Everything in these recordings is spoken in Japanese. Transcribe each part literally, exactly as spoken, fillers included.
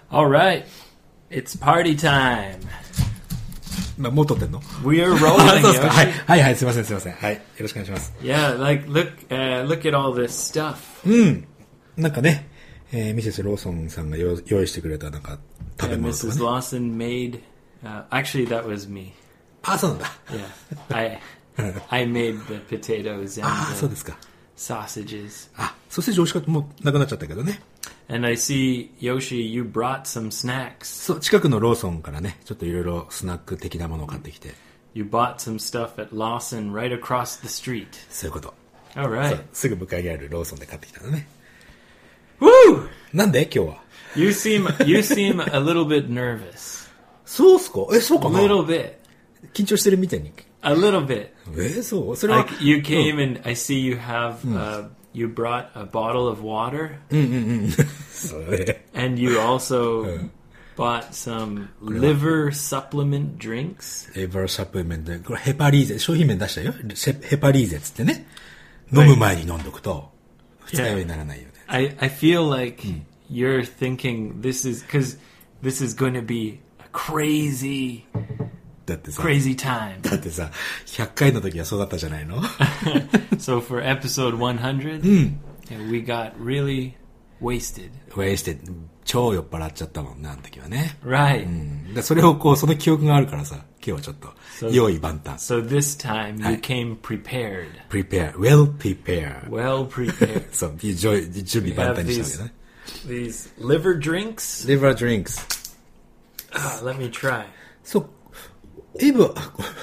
All right, it's party time. まもう撮ってんの We're あ rolling, そうですか。はい、 Yoshi. はいはい、すいませんすいません。はい、よろしくお願いします。 Yeah, like look, uh, look at all this stuff. うん。なんかね、えー、ミセスローソンさんが用用意してくれたなんか食べ Yeah, 物とか Missus ね。 Lawson made. Uh, actually, that was me. あ、そうなんだ。 Yeah, I I made the potatoes and あ、そう the ですか。 sausages. あ、ソーセージ美味しかった。もうなくなっちゃったけどね。 And I see, Yoshi, you brought some snacks. そう、近くのローソンからね、ちょっといろいろスナック的なものを買ってきて。 You bought some stuff at Lawson right across the street. そういうこと。 All そう right. すぐ向かいにあるローソンで買ってきたのね。 Woo! なんで今日は。 You seem you seem a little bit nervous. そうっすか？え、そう A かな？ little bit. 緊張してるみたいに。 A little bit. え、そうそれは。 Like you came and I see you have uh, you brought a bottle of water そうね。 and you also bought some liver supplement drinks. エバーサプリメントで、これヘパリーゼ、商品名出したよ。ヘヘパリーゼっつってね。飲む前に飲んどくと、二日酔いにならないよね。 I I feel like you're thinking this is because this is going to be a crazy だってさ、 crazy time. だってさ、ひゃっかいの時はそうだったじゃないの？ So for episode one hundred, yeah, we got really wasted. ウェイして超酔っ払っちゃったもんな、あの時はね。 Right. うん。でそれをこう、その記憶があるからさ、今日はちょっと、用意万端。 So this time you Hi. came prepared. prepare, well prepare. Well prepared. そう、準備準備万端にしたわけね。 These liver drinks. liver drinks. Ah, let me try. そう、エブは、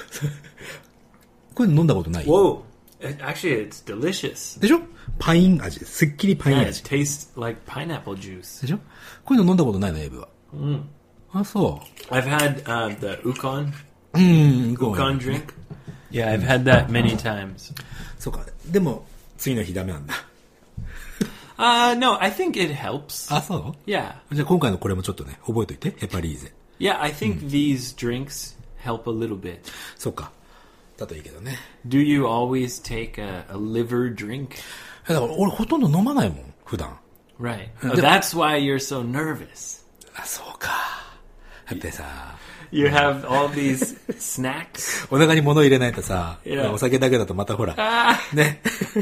これ飲んだことない？ Whoa. It- actually, it's delicious. でしょ？パイン味。すっきりパイン Yeah, it 味。 tastes like pineapple juice. でしょ？こういうの飲んだことないの、エブは。うん。あ、そ I've had uh, the ukon う。うん、ごめ ukon ん drink. Yeah, I've had that many times. そうか。でも、次の日ダメなんだ。 Uh, no, I think it helps. あ、そう Yeah. じゃあ今回のこれもちょっとね、覚えといて。ヘパリーゼ。 Yeah, I think these drinks help a little bit. そうか。だといいけどね。 Do you always take a, a liver drink? えだから俺ほとんど飲まないもん、普段。 Right. Oh, that's why you're so nervous. あ、そうか。だってさ、 You have all these snacks. お腹に物入れないとさ、 いやお酒だけだとまたほら、ね。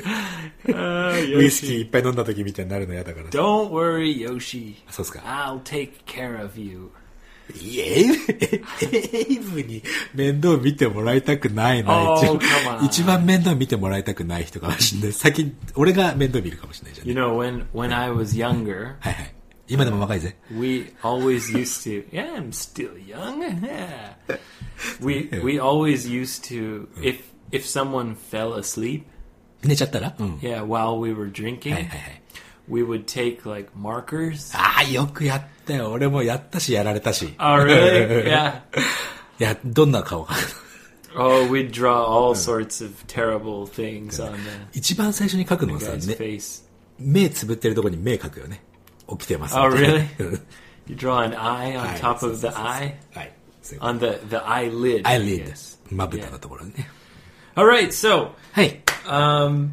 Uh, ウイスキーいっぱい飲んだ時みたいになるの嫌だからさ。 Don't worry, Yoshi. そうっすか。 I'll take care of you. いえ、エイブに面倒見てもらいたくないな。 Oh, 一番 come on. 一番面倒見てもらいたくない人かもしれない。先に、俺が面倒見るかもしれないじゃん、 You ね。 know, when, when I was younger, はいはい。今でも若いぜ。 we always used to, yeah, I'm still young. Yeah. We, we always used to, if, if someone fell asleep, 寝ちゃったらうん。 yeah, while we were drinking, はいはいはい。 we would take like markers. ああ、よくやったよ。俺もやったし、やられたし。 Oh, really? Yeah. いや、どんな顔か。 Oh, we'd draw all sorts of terrible things on the 一番最初に書くのはさ、 guy's ね、 face. 目つぶってるとこに目書くよね。起きてます。 Oh, みたいな really? You draw an eye on はい top そう of そう the そう eye? はい。そういうこと On the, the eyelid. I eyelid。 guess. まぶたのところにね。 All right, so はい。 um,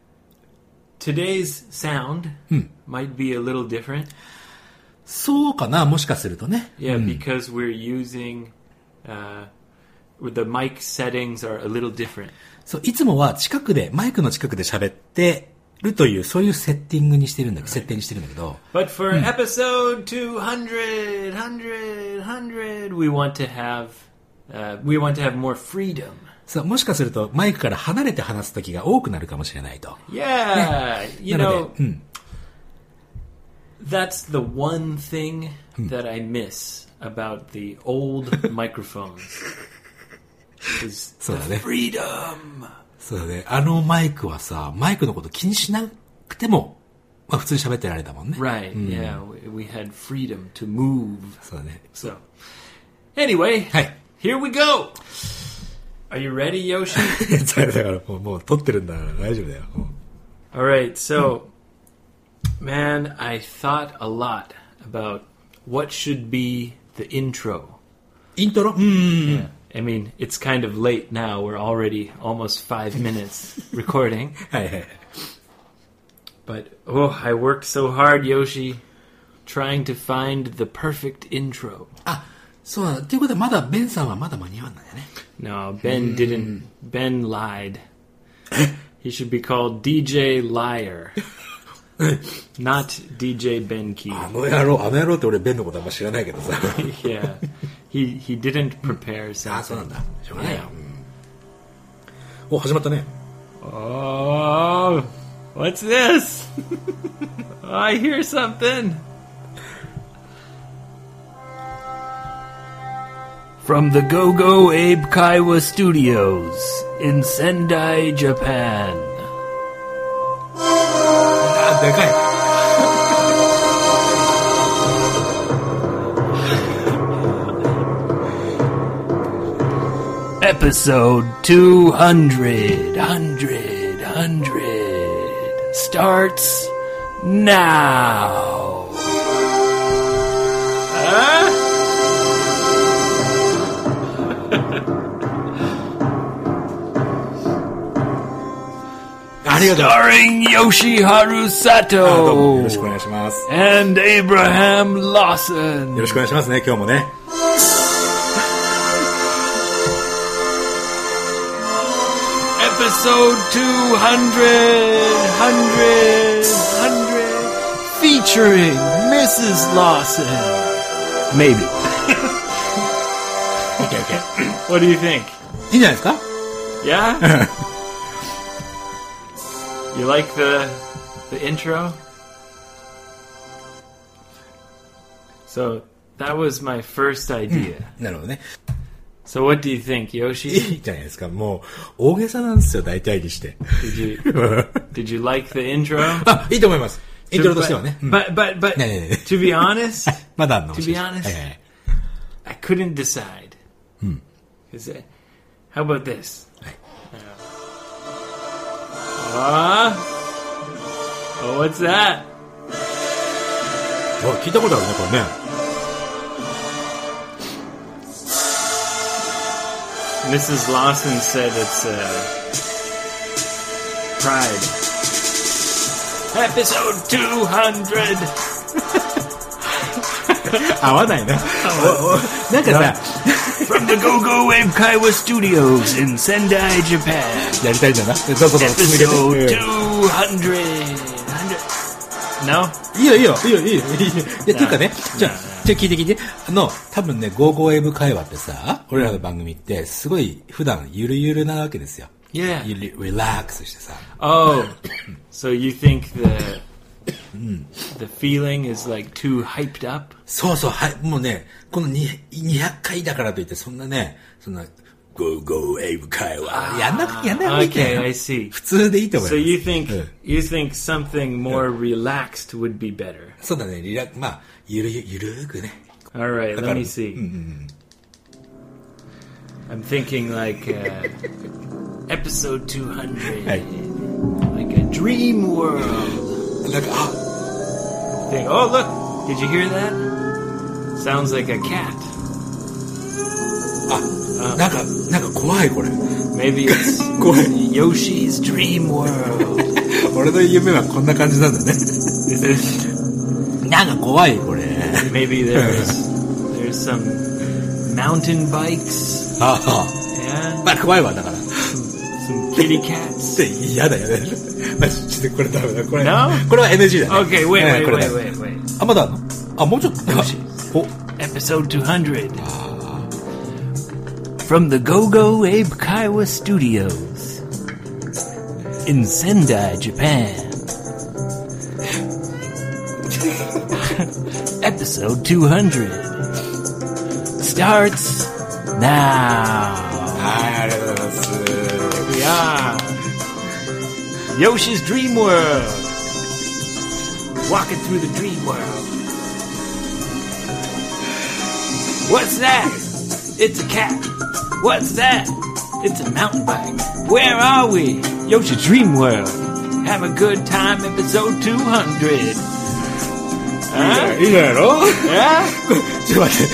today's sound might be a little different. そうかな、もしかするとね。 Yeah, because we're using uh, with the mic settings are a little different. そう、いつもは近くで、マイクの近くで喋ってるという、そういうセッティングにしてるんだけど、設定にしてるんだけど、 But for episode two hundred, one hundred, one hundred, we want to have uh, we want to have more freedom. そう、もしかするとマイクから離れて話す時が多くなるかもしれないと。 Yeah, you なの know, で、うん。 that's the one thing that I miss about the old microphones. Is そう the だね。 freedom. そうだね。あのマイクはさ、マイクのこと気にしなくても、まあ普通に喋ってられたもんね。 Right, yeah, we, we had freedom to move. そうだね。 So, anyway, はい。 here we go. Are you ready, Yoshi? だからもう、もう撮ってるんだから大丈夫だよ。もう All right, so, man, I thought a lot about what should be the intro. イントロうん。 Yeah. I mean, it's kind of late now. We're already almost five minutes recording. はいはい。 But, oh, I worked so hard, Yoshi, trying to find the perfect intro. あ、そうなんだ。っていうことはまだベンさんはまだ間に合わないよね。 No, Ben didn't. Ben lied. He should be called D J Liar. Not D J Ben Key. あの野郎、あの野郎って俺ベンのことあんま知らないけどさ。 Yeah. He, he didn't prepare something. あ、そうなんだ。しょうがないよ。うん、お、始まったね。 Oh, what's this? I hear something. From the Go-Go Abe Kaiwa Studios in Sendai, Japan. あ、でかい。 Episode two hundred, hundred, hundred starts now. Huh? Starring Yoshiharu Sato あ、どうもよろしくお願いします。 and Abraham Lawson. よろしくお願いしますね、今日もね。 Episode two hundred, hundred, hundred, featuring Missus Lawson. Maybe. Okay, okay. What do you think? いいんじゃないですか？ Yeah? You like the the intro? So that was my first idea. なるほどね。 So what do you think, い Yoshi? いじゃないですか。もう、大げさなんですよ、大体にして。 Did you did you like the intro? あ、いいと思います。イントロとしてはね。うん But but but ねえねえねえ to be honest, まだあんの to be honest, はいはいはい I couldn't decide. Hmm. Is it? How about this? はい Ah, oh, what's that? あ、聞いたことあるね、これね。 Missus Lawson said it's uh, Pride. Episode two hundred. 合わないな。おおなんかさ、 From the Go-Go Wave Kaiwa Studios in Sendai, Japan. やりたいんだな。どうぞどうぞ、続け Episode て。 two hundred. No? いいよいいよ、いいよいいよ。いいよいや、ていうかね、じゃあ、じゃあ聞いて聞いて。あの、多分ね、ゴーゴーエブ会話ってさ、俺らの番組って、すごい普段ゆるゆるなわけですよ。 Yeah. ゆるリラックスしてさ。 Oh, so you think the the feeling is like too hyped up? そうそう、はい、もうね、このににひゃっかいだからといって、そんなね、そんな、ゴーゴーエブ会話、やんなくてやんない方がいいんだよ。 Okay, I see. 普通でいいと思い So ます。 you think うん you think something more relaxed would be better? そうだね、リラックス、まあ、ゆるゆゆるーくね。 All right, だか let ら me see. I'm thinking like uh, episode two hundred, はい。 like a dream world. なんか、あ、 Think, oh look, did you hear that? Sounds like a cat. あ、なんか、なんか怖いこれ。 Maybe it's 怖い。 Yoshi's dream world. 俺の夢はこんな感じなんだね。 Is it? なんか怖いこれ。 Maybe there's there's some mountain bikes. ああ、 Yeah, まあ怖いわ、だから。 some kitty cats. で、嫌だよね。マジでこれダメだ。これ、 No? これは エヌジー だね。 Okay, wait, ね wait, これ wait, ね wait, wait. あ、まだあるの？あ、もうちょっと。 よしお、 Episode two hundred. From the Go-Go Abe Kaiwa Studios in Sendai, Japan. Episode two hundred starts now. はい、ありがとうございます。 Yeah. Yoshi's Dream World. Walking through the dream world. What's that? It's a cat. What's that? It's a mountain bike. Where are we? Yoshi's Dream World. Have a good time, episode two hundred. Huh? いいじゃないの？ Yeah? ちょっと待って。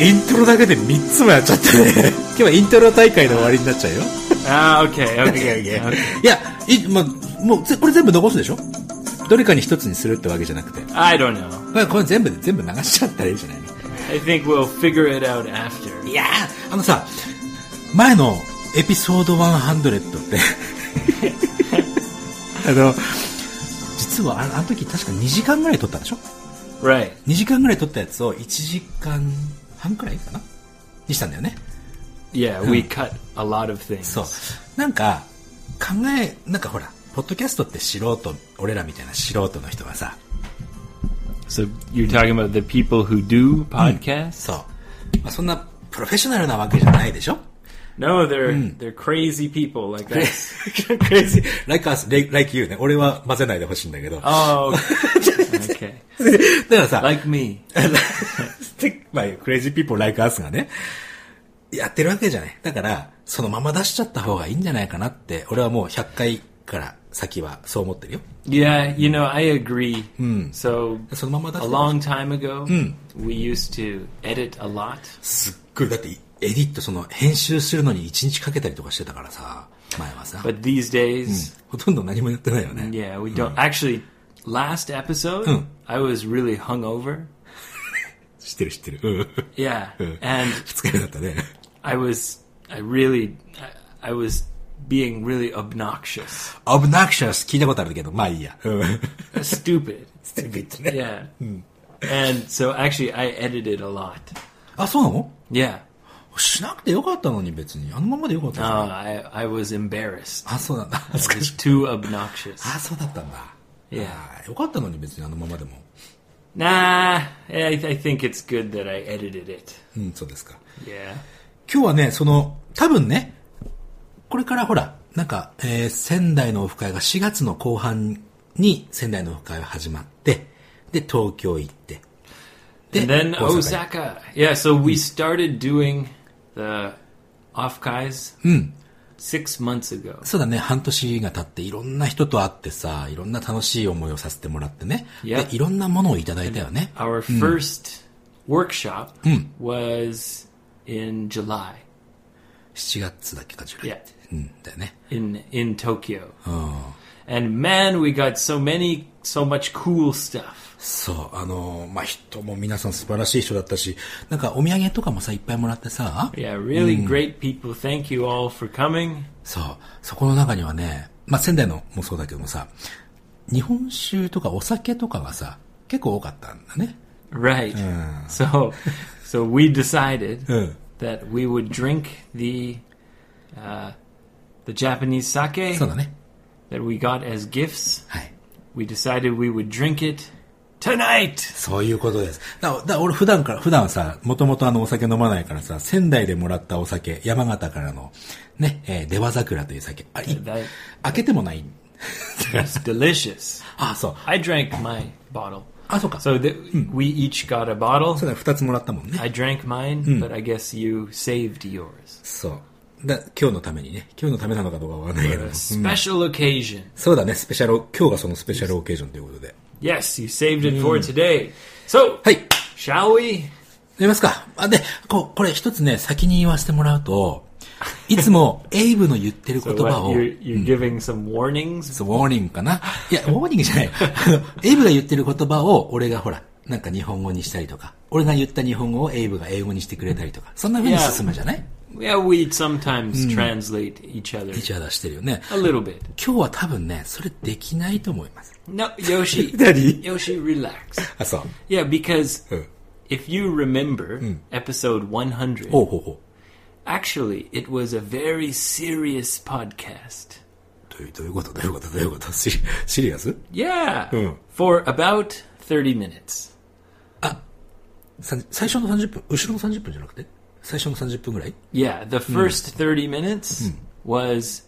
イントロだけでみっつもやっちゃってね。今日はイントロ大会の終わりになっちゃうよ。 Ah, okay, okay, okay. いや、い、ま、もう、これ全部残すでしょ？ どれかに一つにするってわけじゃなくて。 I don't know. まあこれ全部、全部流しちゃったらいいじゃないの。 I think we'll figure it out after. いやー、あのさ、前のエピソードひゃくってあの、実はあの時確かにじかんぐらい撮ったでしょ？ Right. にじかんぐらい撮ったやつをいちじかんはんくらいかなにしたんだよね。 Yeah, we cut a lot of things. そう。なんか、考え、なんかほら、ポッドキャストって素人、俺らみたいな素人の人がさ。 So you're talking about the people who do podcasts? そう。まあ、そんなプロフェッショナルなわけじゃないでしょ？ No, they're、they're crazy people like us. crazy, like us, like you ね。俺は混ぜないでほしいんだけど。 Oh, okay. だからさ、 like me. まあ、crazy people like us がね、やってるわけじゃない。だから、そのまま出しちゃった方がいいんじゃないかなって、俺はもうひゃっかいから先はそう思ってるよ。 Yeah, you know, I agree. So, そのまま出し a た long time ago, we used to edit a lot. すっごい、だって、エディット、その、編集するのにいちにちかけたりとかしてたからさ、前はさ。 But these days, ほとんど何もやってないよね。 yeah, we don't. Actually, last episode, I was really hungover. 知ってる知ってる。うん。 Yeah, and 二日目だったね。 I was, I really, I, I was being really obnoxious. obnoxious 聞いたことあるけど、まあいいや。 Stupid. stupid ね。 Yeah. And so actually, I edited a lot. あ、そうなの？ Yeah. しなくてよかったのに別に。あのままでよかったの。 No, I, I was embarrassed. あ、そうなんだ。 I was too obnoxious. あ、そうだったんだ。 いやよかったのに別にあのままでも。 Nah, I, I think it's good that I edited it. うん、そうですか。 Yeah. 今日はね、その、多分ね、これからほら、なんか、えー、仙台のオフ会がしがつの後半に仙台のオフ会が始まって、で、東京行って、で、 And then 大阪 Osaka. Yeah, so we started doing the off-kais six months ago. そうだね、半年が経っていろんな人と会ってさ、いろんな楽しい思いをさせてもらってね。 Yep. で、いろんなものをいただいたよね。 Our first workshop was in July しちがつだっけか、じゅう Yeah. うん、だよね。 in, in Tokyo. うん。 And man, we got so many, so much cool stuff. そう、あの、まあ、人も皆さん素晴らしい人だったし、なんかお土産とかもさ、いっぱいもらってさ。 Yeah, really great people. Thank you all for coming. そう、そこの中にはね、まあ、仙台のもそうだけどもさ、日本酒とかお酒とかがさ、結構多かったんだね。 Right. So, so we decided Mm. that we would drink the, uh, the Japanese sake そうだね。 that we got as gifts. はい。 We decided we would drink it tonight. そういうことです。だから、だから俺普段から、普段さ、もともとあのお酒飲まないからさ、仙台でもらったお酒、山形からの、ね、えー、出羽桜という酒。あ、い That 開けてもない。 was delicious. あ、そう。 I drank my bottle. あ、そうか。 So the, we each got a bottle. そうだ、二つもらったもんね。 I drank mine, but I guess you saved yours. そう。だ今日のためにね、今日のためなのかどうかわかんないけど For も。 a special occasion. そうだね、スペシャル、今日がそのスペシャルオケージョンということで。 Yes, you saved it for today. So, はい。 shall we? やりますか。あ、で、こう、これ一つね、先に言わせてもらうと、いつもエイブの言ってる言 So 葉 what, を、 you're, you're giving some warnings? そう、ウォーニングかな。いや、ウォーニングじゃない。あのエイブが言ってる言葉を、俺がほら、なんか日本語にしたりとか、俺が言った日本語をエイブが英語にしてくれたりとか、そんな風に進むじゃない？ Yeah, we sometimes translate each other 一応出してるよね。 a little bit. 今日は多分ね、それできないと思います。 No, Yoshi. 何？ Yoshi, relax. あ、そう。 Yeah, because うん。 if you remember episode one hundred, ほうほうほ actually, it was a very serious podcast. う。どういう、どういうことどういうことどういうことシリ、シリアス？ Yeah, Hmm. for about thirty minutes. さ最初のさんじゅっぷん、後ろのさんじゅっぷんじゃなくて最初のさんじゅっぷんぐらい？ Yeah, the first thirty minutes was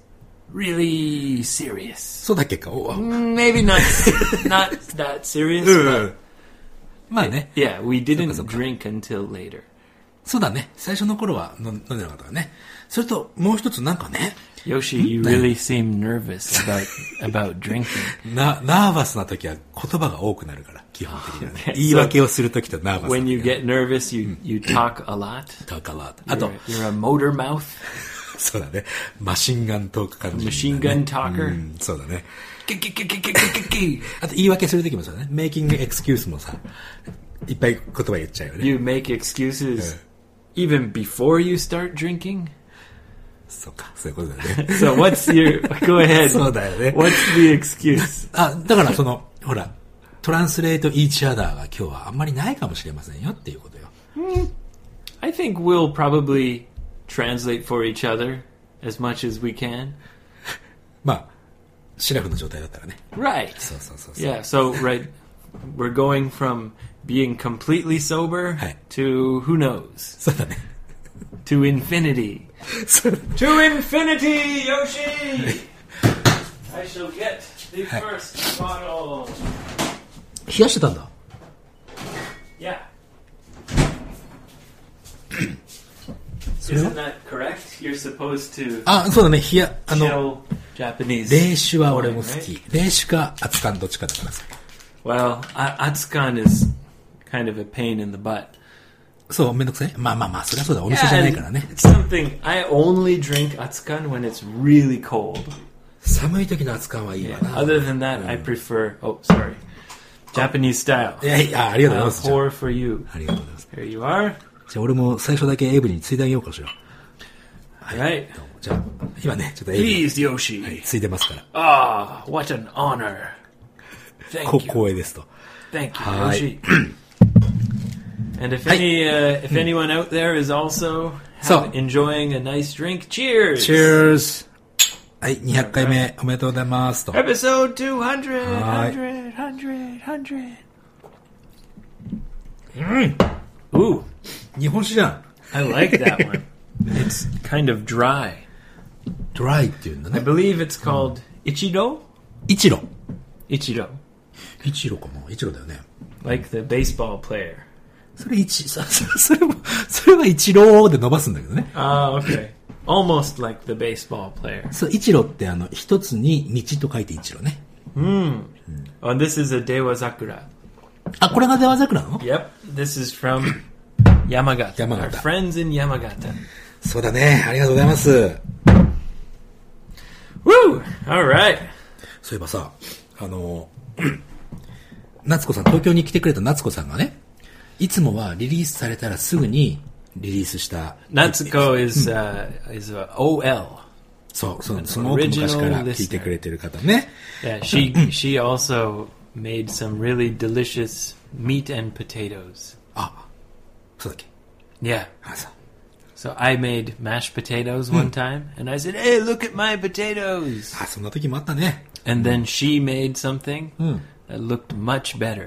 really serious. そうだっけか。お Maybe not not that serious, う but ん。まあね。 yeah, we didn't そっかそっか。 drink until later. そうだね。最初の頃は飲ん飲んでなかったからね。それと、もう一つなんかね、 Yoshi, you really seem nervous about about drinking. な、ナーバスな時は言葉が多くなるから、基本的にはね。 Okay, 言い訳をする時とナーバスな時 When you get nervous, you you talk a lot. talk a lot. あと You're,、you're a motor mouth. そうだね。マシンガントーク感じ、ね。 Machine gun talker? うん、そうだね。 キキキキキキキあと言い訳するときもそうだね。making excuse もさ、いっぱい言葉言っちゃうよね。 You make excuses even before you start drinking? そうか、そういうことだよね。 So what's your, go ahead. そうだよね。 What's the excuse? あ、だからその、ほら、トランスレート each other が今日はあんまりないかもしれませんよっていうことよ。 I think we'll probably translate for each other as much as we can. まあ、シラフの状態だったらね。 Right. そうそうそうそう。 Yeah, so, right, we're going from being completely sober はい。 to, who knows, そうだね。 to infinity. そう To infinity, Yoshi! I shall get the first bottle. 冷やしてたんだ。 Yeah. それは Isn't that correct? You're supposed to あ、そうだね。冷や、あの、 chill Japanese. 冷酒は俺も好 wine, き right?。 冷酒か熱燗どっちかだからさ。 Well, a- Atsukan is kind of a pain in the butt. そう、めんどくさい。まあまあまあ、そりゃそうだ。お店じゃ Yeah, ない and からね。 it's something, I only drink Atsukan when it's really cold. 寒い時の熱燗はいい Yeah. わな。 Other than that, I prefer, oh, sorry, Japanese style. いやいや、ありがとうござい I'll ます。じゃあ pour for you. ありがとうございます。 Here you are. じゃあ俺も最初だけエイブについであげようかしら。 Right. どうもじゃあ、今ね、ちょっとエイブに Please, Yoshi. はいついでますから。 Ah, what an honor. こ Thank you. 光栄ですと。 Thank you, Hi. Yoshi. And if any, uh, if anyone out there is also So- have- enjoying a nice drink, cheers. Cheers! はい、にひゃっかいめおめでとうございますと。 Episode two hundred, Hi. one hundred, one hundred, one hundred. うん Ooh, 日本酒じゃん。 I like that one. It's kind of dry. ドライっていうんだ I ね。 believe it's called Ichido? イチロ。 Ichido. イチロかも。イチロだよね。 Like the baseball player. それ一、そそそれも、それはイチローで伸ばすんだけどね。 Ah, okay. Almost like the baseball player. そう、イチロってあの、一つに道と書いてイチロね。 Oh, this is a Dewa Zakura. あ、これが出羽桜なの？ Yep, this is from Yamagata. Yamagata. Our friends in Yamagata. そうだね。ありがとうございます。 Woo! All right. そういえばさ、あの、夏子さん、東京に来てくれた夏子さんがね、いつもはリリースされたらすぐにリリースした。 Natsuko is uh, is a O L. そう、その、その昔から聞いてくれてる方ね。 Yeah, she she also made some really delicious meat and potatoes. あ、そうだっけ。 Yeah. あ、そう。 So I made mashed potatoes one time, and I said, "Hey, look at my potatoes!" あ、そんな時もあったね。 And then she made something that looked much better.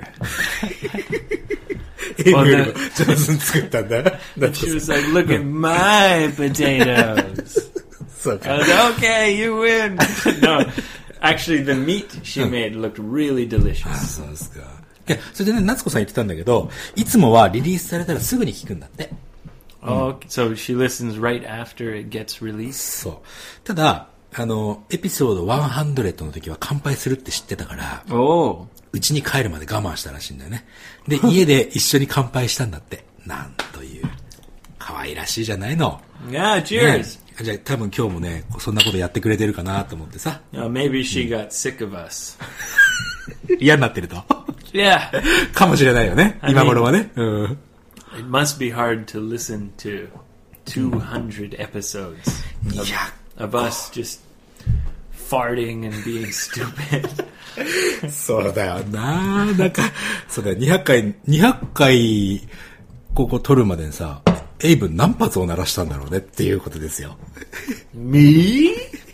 エイブよりも上手に作ったんだ。 She was like, "Look at my potatoes." そうか。 I was like, "Okay, you win." No, actually, the meat she made looked really あ、 delicious. そうですか。いや、それでね、夏子さん言ってたんだけど、いつもはリリースされたらすぐに聞くんだって。 Oh, so she listens right after it gets released. そう。ただ、あの、エピソードひゃくの時は乾杯するって知ってたから、 Oh, うちに帰るまで我慢したらしいんだよね。で、家で一緒に乾杯したんだって。なんという、可愛らしいじゃないの。 yeah, ね cheers. じゃあ多分今日もね、そんなことやってくれてるかなと思ってさ。 Uh, maybe she got sick of us. 嫌になってると。 Yeah, かもしれないよね。 I mean- 今頃はね。うん。 it must be hard to listen to two hundred episodes いや、 of us just farting and being stupid. そうだよな。なんか、そうだよ、にひゃっかい、にひゃっかい、ここ撮るまでにさ、エイブ何発を鳴らしたんだろうねっていうことですよ。 Me?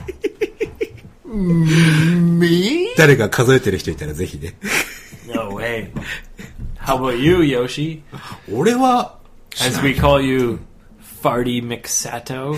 Me? 誰か数えてる人いたらぜひね。 No way. How about you, Yoshi? 俺は、 As we call you, Farty McSato.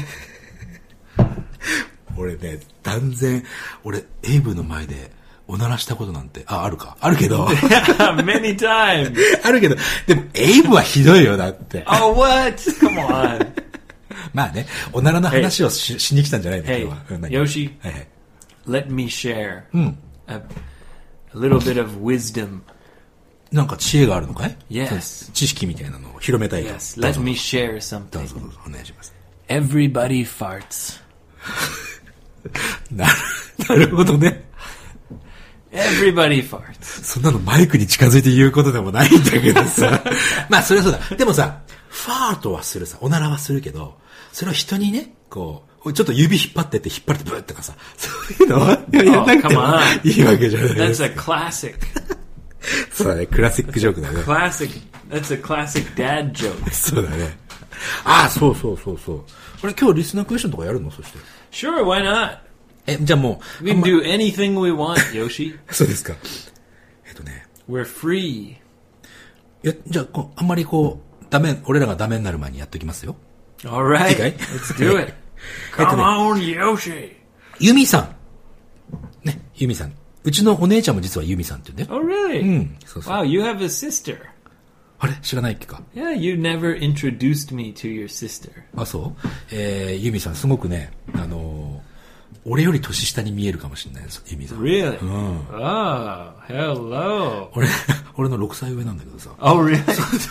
俺ね、断然、俺、エイブの前で、おならしたことなんて、あ、あるか。あるけど、 Many times. あるけど、でも、エイブはひどいよ、だって。 Oh, what? Come on. まあね、おならの話をし,、しに来たんじゃないの、今 Hey, 日は。うん何 Yoshi, はいはい。 let me share a, a little bit of wisdom. なんか知恵があるのかい？ Yes. そう知識みたいなのを広めたいと。 Yes, どう let ぞ me share どう something. ぞどうぞお願いします。 Everybody farts. なる、なるほどね。 Everybody farts. そんなのマイクに近づいて言うことでもないんだけどさ。まあ、それはそうだ。でもさ、ファートはするさ、おならはするけど、それを人にね、こう、ちょっと指引っ張ってって引っ張ってブーってかさ、そういうのは、やらなくてもいいわけじゃない。 That's a classic. そうだね、クラシックジョークだね。 Classic. That's a classic dad joke. そうだね。ああ、そうそうそうそう。これ今日リスナークエスチョンとかやるの？そして。 Sure, why not? え、じゃあもう。 We can do anything we want, Yoshi. そうですか。えっとね。 We're free. いや、じゃあこう、あんまりこう、ダメ、俺らがダメになる前にやっときますよ。 Alright, いいかい let's do it. Come on, Yoshi. ユミさん。ね、ユミさん。うちのお姉ちゃんも実はユミさんって言うんだよ。 Oh, really? うん。そうそう。 Wow, you have a sister. あれ知らないっけか。 Yeah, you never introduced me to your sister. あ、そうえー、ユミさんすごくね、あのー、俺より年下に見えるかもしれないです、ユミさん。 Really? うん。 Oh, hello. 俺、俺のろくさい上なんだけどさ。 Oh, really?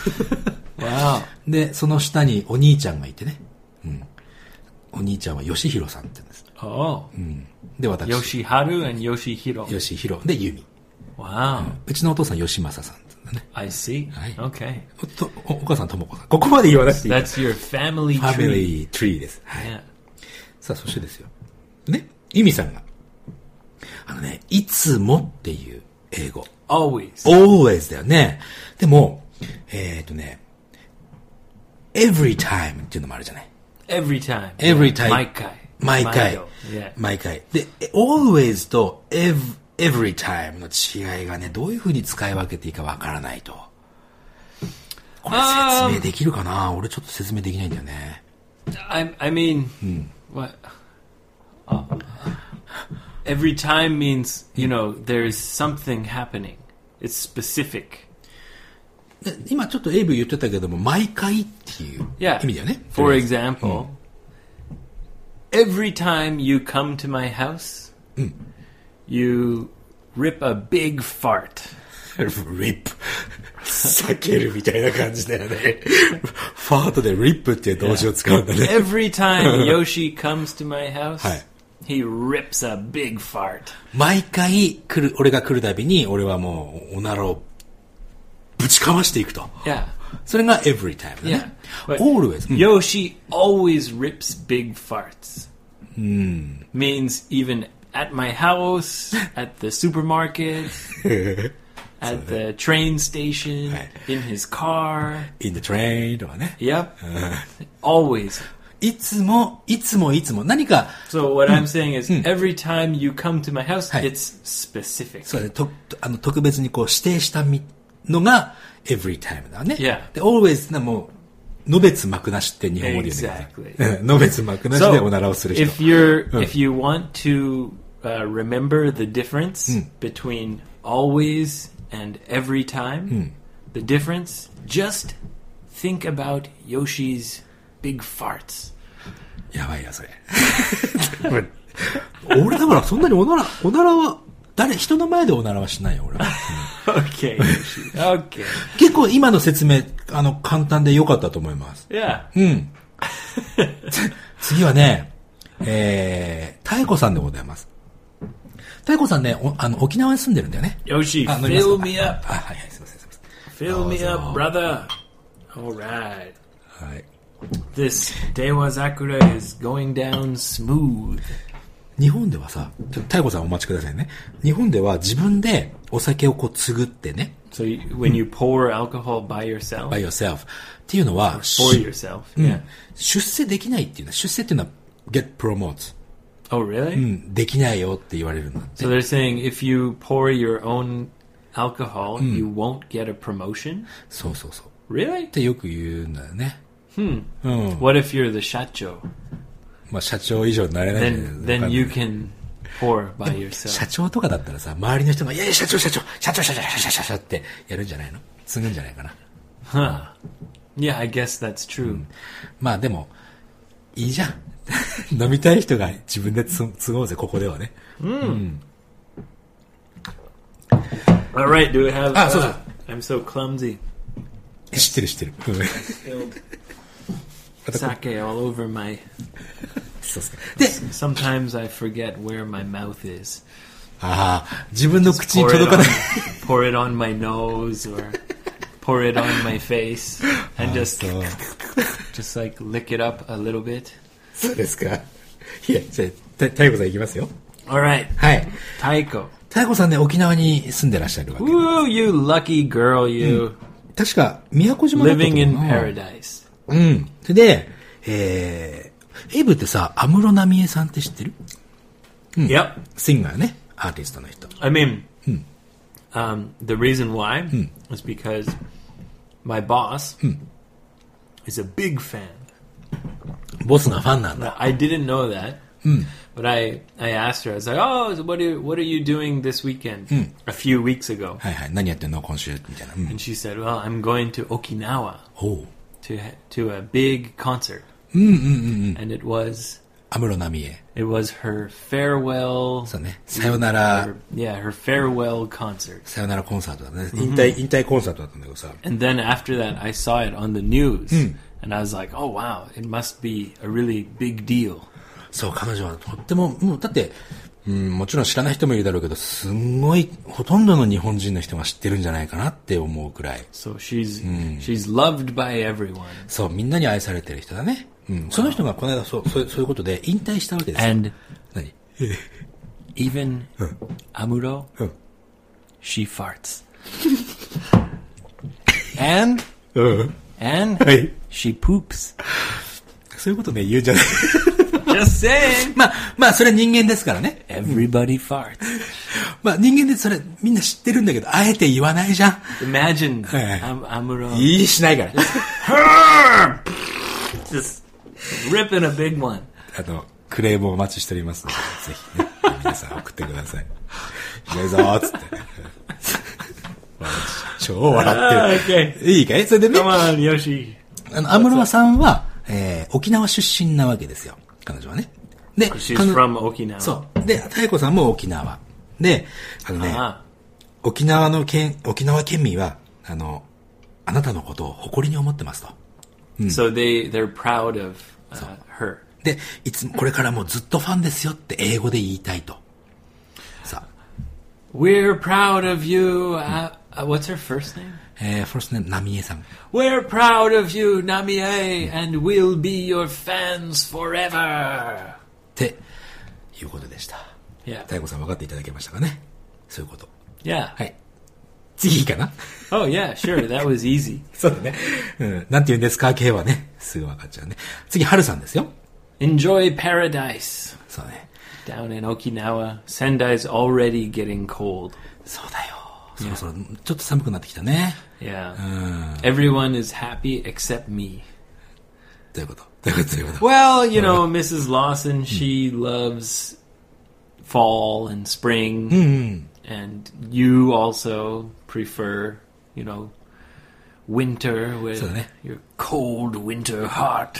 Wow. で、その下にお兄ちゃんがいてね。うん。お兄ちゃんはヨシヒロさんって言うんです。 Oh. うん。で、私。 Yoshiharu and Yoshihiro. ヨシヒロ。で、ユミ。 Wow. うん。うちのお父さん、ヨシマサさんって言うんだね。 I see. はい。 Okay. お, とお, お母さん、ともこさん。ここまで言わなくていい。 That's your family tree. ファミリートリーです。はい。 Yeah. さあ、そしてですよ。ね。ユミさんが。あのね、いつもっていう英語。 Always. always だよね。でも、えっとね、every time っていうのもあるじゃない。 Every time. every time. 毎回。 毎回。 Yeah. 毎回。で、always と ev, every time の違いがね、どういう風に使い分けていいかわからないと。これ説明できるかな？俺ちょっと説明できないんだよね。 I, I mean, what? Uh, every time means, you know, there's something happening. It's specific. で今ちょっとエイブ言ってたけども、毎回っていう Yeah. 意味だよね。 For example, every time you come to my house, you rip a big fart. rip 避けるみたいな感じだよね。ファートで rip っていう動詞を使うんだね。 Every time Yoshi comes to my house, はい。 he rips a big fart. 毎回来る、俺が来るたびに、俺はもうおならをぶちかましていくと。 Yeah. それが every time だね。 Yeah. But always. Yoshi always rips big farts. Means even at my house, at the supermarket, at the train station, in his car. in the train とかね。 Yep. Always. いつも、いつもいつも。何か。 So what I'm saying is, every time you come to my house, it's specific. そうだね。と、あの、特別にこう指定したみのが every time だね。 Yeah. で、always なもう、のべつ幕なしって日本語で言うんだよね。のべつ幕なしでおならをする人。 if you're, if you want to uh, remember the difference between always and every time, the difference, just think about Yoshi's big farts. やばいや、それ。俺だからそんなにおなら、おならは、誰、人の前でおならはしないよ、俺は。 Okay, Yoshi. Okay. 結構今の説明、あの、簡単で良かったと思います。 Yeah. うん。次はね、えー、太子さんでございます。太子さんね、おあの、沖縄に住んでるんだよね。 Yoshi, あ、飲みますか fill me up. あ、はいはい、すいません、すいません。 Fill me up, brother. All right. はい。 This Dewa Zakura is going down smooth. 日本ではさ、ちょっと太子さんお待ちくださいね。日本では自分でお酒をこう継ぐってね。 So you, when you pour alcohol by yourself? by yourself. っていうのは、 For yourself, うん yeah. 出世できないっていうのは、出世っていうのは get promotes. Oh, really? うん、できないよって言われるんだって。 So they're saying if you pour your own alcohol, you won't get a promotion? そうそうそう。 Really? ってよく言うんだよね。 Hmm. うん。 What if you're the shacho? まあ社長以上になれないん Then だよ then ね。 you can pour by yourself. 社長とかだったらさ、周りの人が、いやいや、社長、社長、社長、社長、社長、社長、社長ってやるんじゃないの？継ぐんじゃないかな。 Huh. Yeah, I guess that's true. まあでも、いいじゃん。飲みたい人が自分でつ継ごうぜ、ここではね。 All right, do we have... Ah, so- uh, I'm so clumsy. 知ってる知ってる。うん Spilled sake all over my そうですか。で、 Sometimes I forget where my mouth is. ああ、自分の口に届かない。 pour it on my nose or pour it on my face and just, just like lick it up a little bit. そうですか。いや、じゃあ、たいこさんいきますよ。 Alright. はい。 たいこ。 たいこさんね、沖縄に住んでらっしゃるわけ。 Woo, you lucky girl, you.、うん、 確か、宮古島だったと思う。 Living in paradise. うん。それで、えー、エイブってさ、安室奈美恵さんって知ってる？うん。 Yep. シンガーね。アーティストの人。 I mean,、 うん、 um, the reason why、うん、is because my boss、うん、is a big fan. ボスがファンなんだ。 I didn't know that. うん。 But I, I asked her, I was like, oh, so what are, what are you doing this weekend? うん、 a few weeks ago. はいはい。何やってんの今週みたいな。うん、 and she said, well, I'm going to Okinawa. Oh. To, to a big concert. うんうんうんうん。 And it was... 安室奈美恵。 It was her farewell... そうね。さよなら。 Her, yeah, her farewell concert. さよならコンサートだね。引退、引退コンサートだったんだけどさ。 And then after that, I saw it on the news. うん。 And I was like, oh wow, it must be a really big deal. そう、彼女はとっても、もう、だって、うん、もちろん知らない人もいるだろうけど、すんごい、ほとんどの日本人の人が知ってるんじゃないかなって思うくらい。 So she's,、うん、she's loved by everyone. そう、みんなに愛されてる人だね。うん。その人がこの間そう、そう、そういうことで引退したわけですよ。 And, 何 even、うん、Amuro,、 うん、 she farts. and, うん、 and、はい、she poops. そういうことね、言うんじゃない。 Just saying. まあ、まあ、それは人間ですからね。 Everybody farts. まあ、人間でそれみんな知ってるんだけど、あえて言わないじゃん。 Imagine, Amuro. いいしないから。 Just ripping a big one. あの、クレームをお待ちしておりますので、ぜひね、皆さん送ってください。いないぞーっつって。超笑ってる。 Okay. いいかいそれでね。 Come on, Yoshi. あの、安室さんは、えー、沖縄出身なわけですよ。彼女はね。で、 She's from Okinawa. そう。で、太鼓さんも沖縄。で、あのね、あ沖縄の県、沖縄県民は、あの、あなたのことを誇りに思ってますと。 うん、so they, they're proud of、uh, her. で、いつもこれからもずっとファンですよって英語で言いたいと。さあ。 We're proud of you,、uh, what's her first name? えー、first name, ナミエさん。 We're proud of you, Namie, and we'll be your fans forever. っていうことでした。 Yeah. 太鼓さん分かっていただけましたかね。そういうこと。 Yeah. はい。次いいかな Oh, yeah, sure. That was easy. そうだね。うん。なんて言うんですか系はね、すぐ分かっちゃうね。次、春さんですよ。 Enjoy paradise. そうね。 Down in Okinawa, Sendai's already getting cold. そうだよ。そろそろちょっと寒くなってきたね。 Yeah. Everyone is happy except me. どういうことどういうことどういうこと Well, you know, Missus Lawson, she loves fall and spring. And you also prefer, you know, winter with your cold winter heart.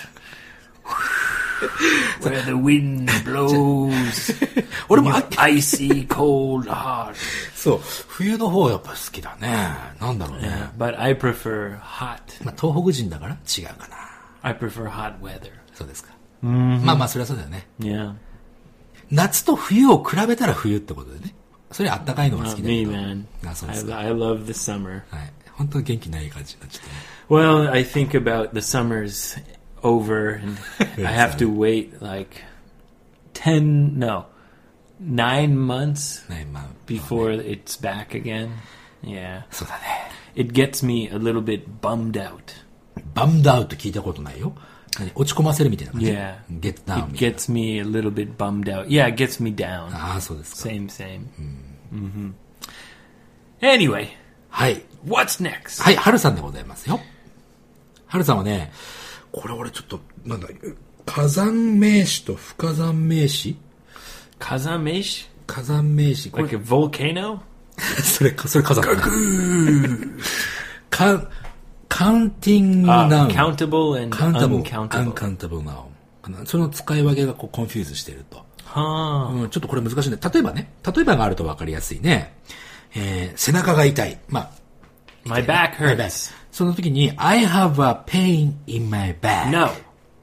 Where the wind blows. Your icy cold heart. そう。冬の方やっぱ好きだね。なんだろうね。 Yeah, but I prefer hot. まあ、東北人だから違うかな。 I prefer hot weather. そうですか。 Mm-hmm. まあまあ、それはそうだよね。 Yeah. 夏と冬を比べたら冬ってことでね。それあったかいのが好きだけど。 Not me, man. あ、そうですか。 I, I love the summer. はい。本当に元気ない感じになっちゃったね。 Well, I think about the summers over and I have to wait like ten, no, nine months before it's back again. Yeah. そうだね。 It gets me a little bit bummed out. Bummed out 聞いたことないよ。落ち込ませるみたいな感じ。 Yeah. Get down. It gets me a little bit bummed out. Yeah, it gets me down. ああ、そうですか。 Same, same. Mm-hmm. Anyway. はい。 What's next? はい、春さんでございますよ。春さんはね、これ俺ちょっと、なんだ、火山名詞と不火山名詞火山名詞火山名詞。 Like a volcano? それ、それ火山だな。カカウンティングナウン。 countable and uncountable. uncountable noun. その使い分けがこうコンフューズしていると。 はあ、 うん。ちょっとこれ難しいね。例えばね、例えばがあると分かりやすいね。えー、背中が痛い。まあ、 My back hurts. その時に、I have a pain in my back. No.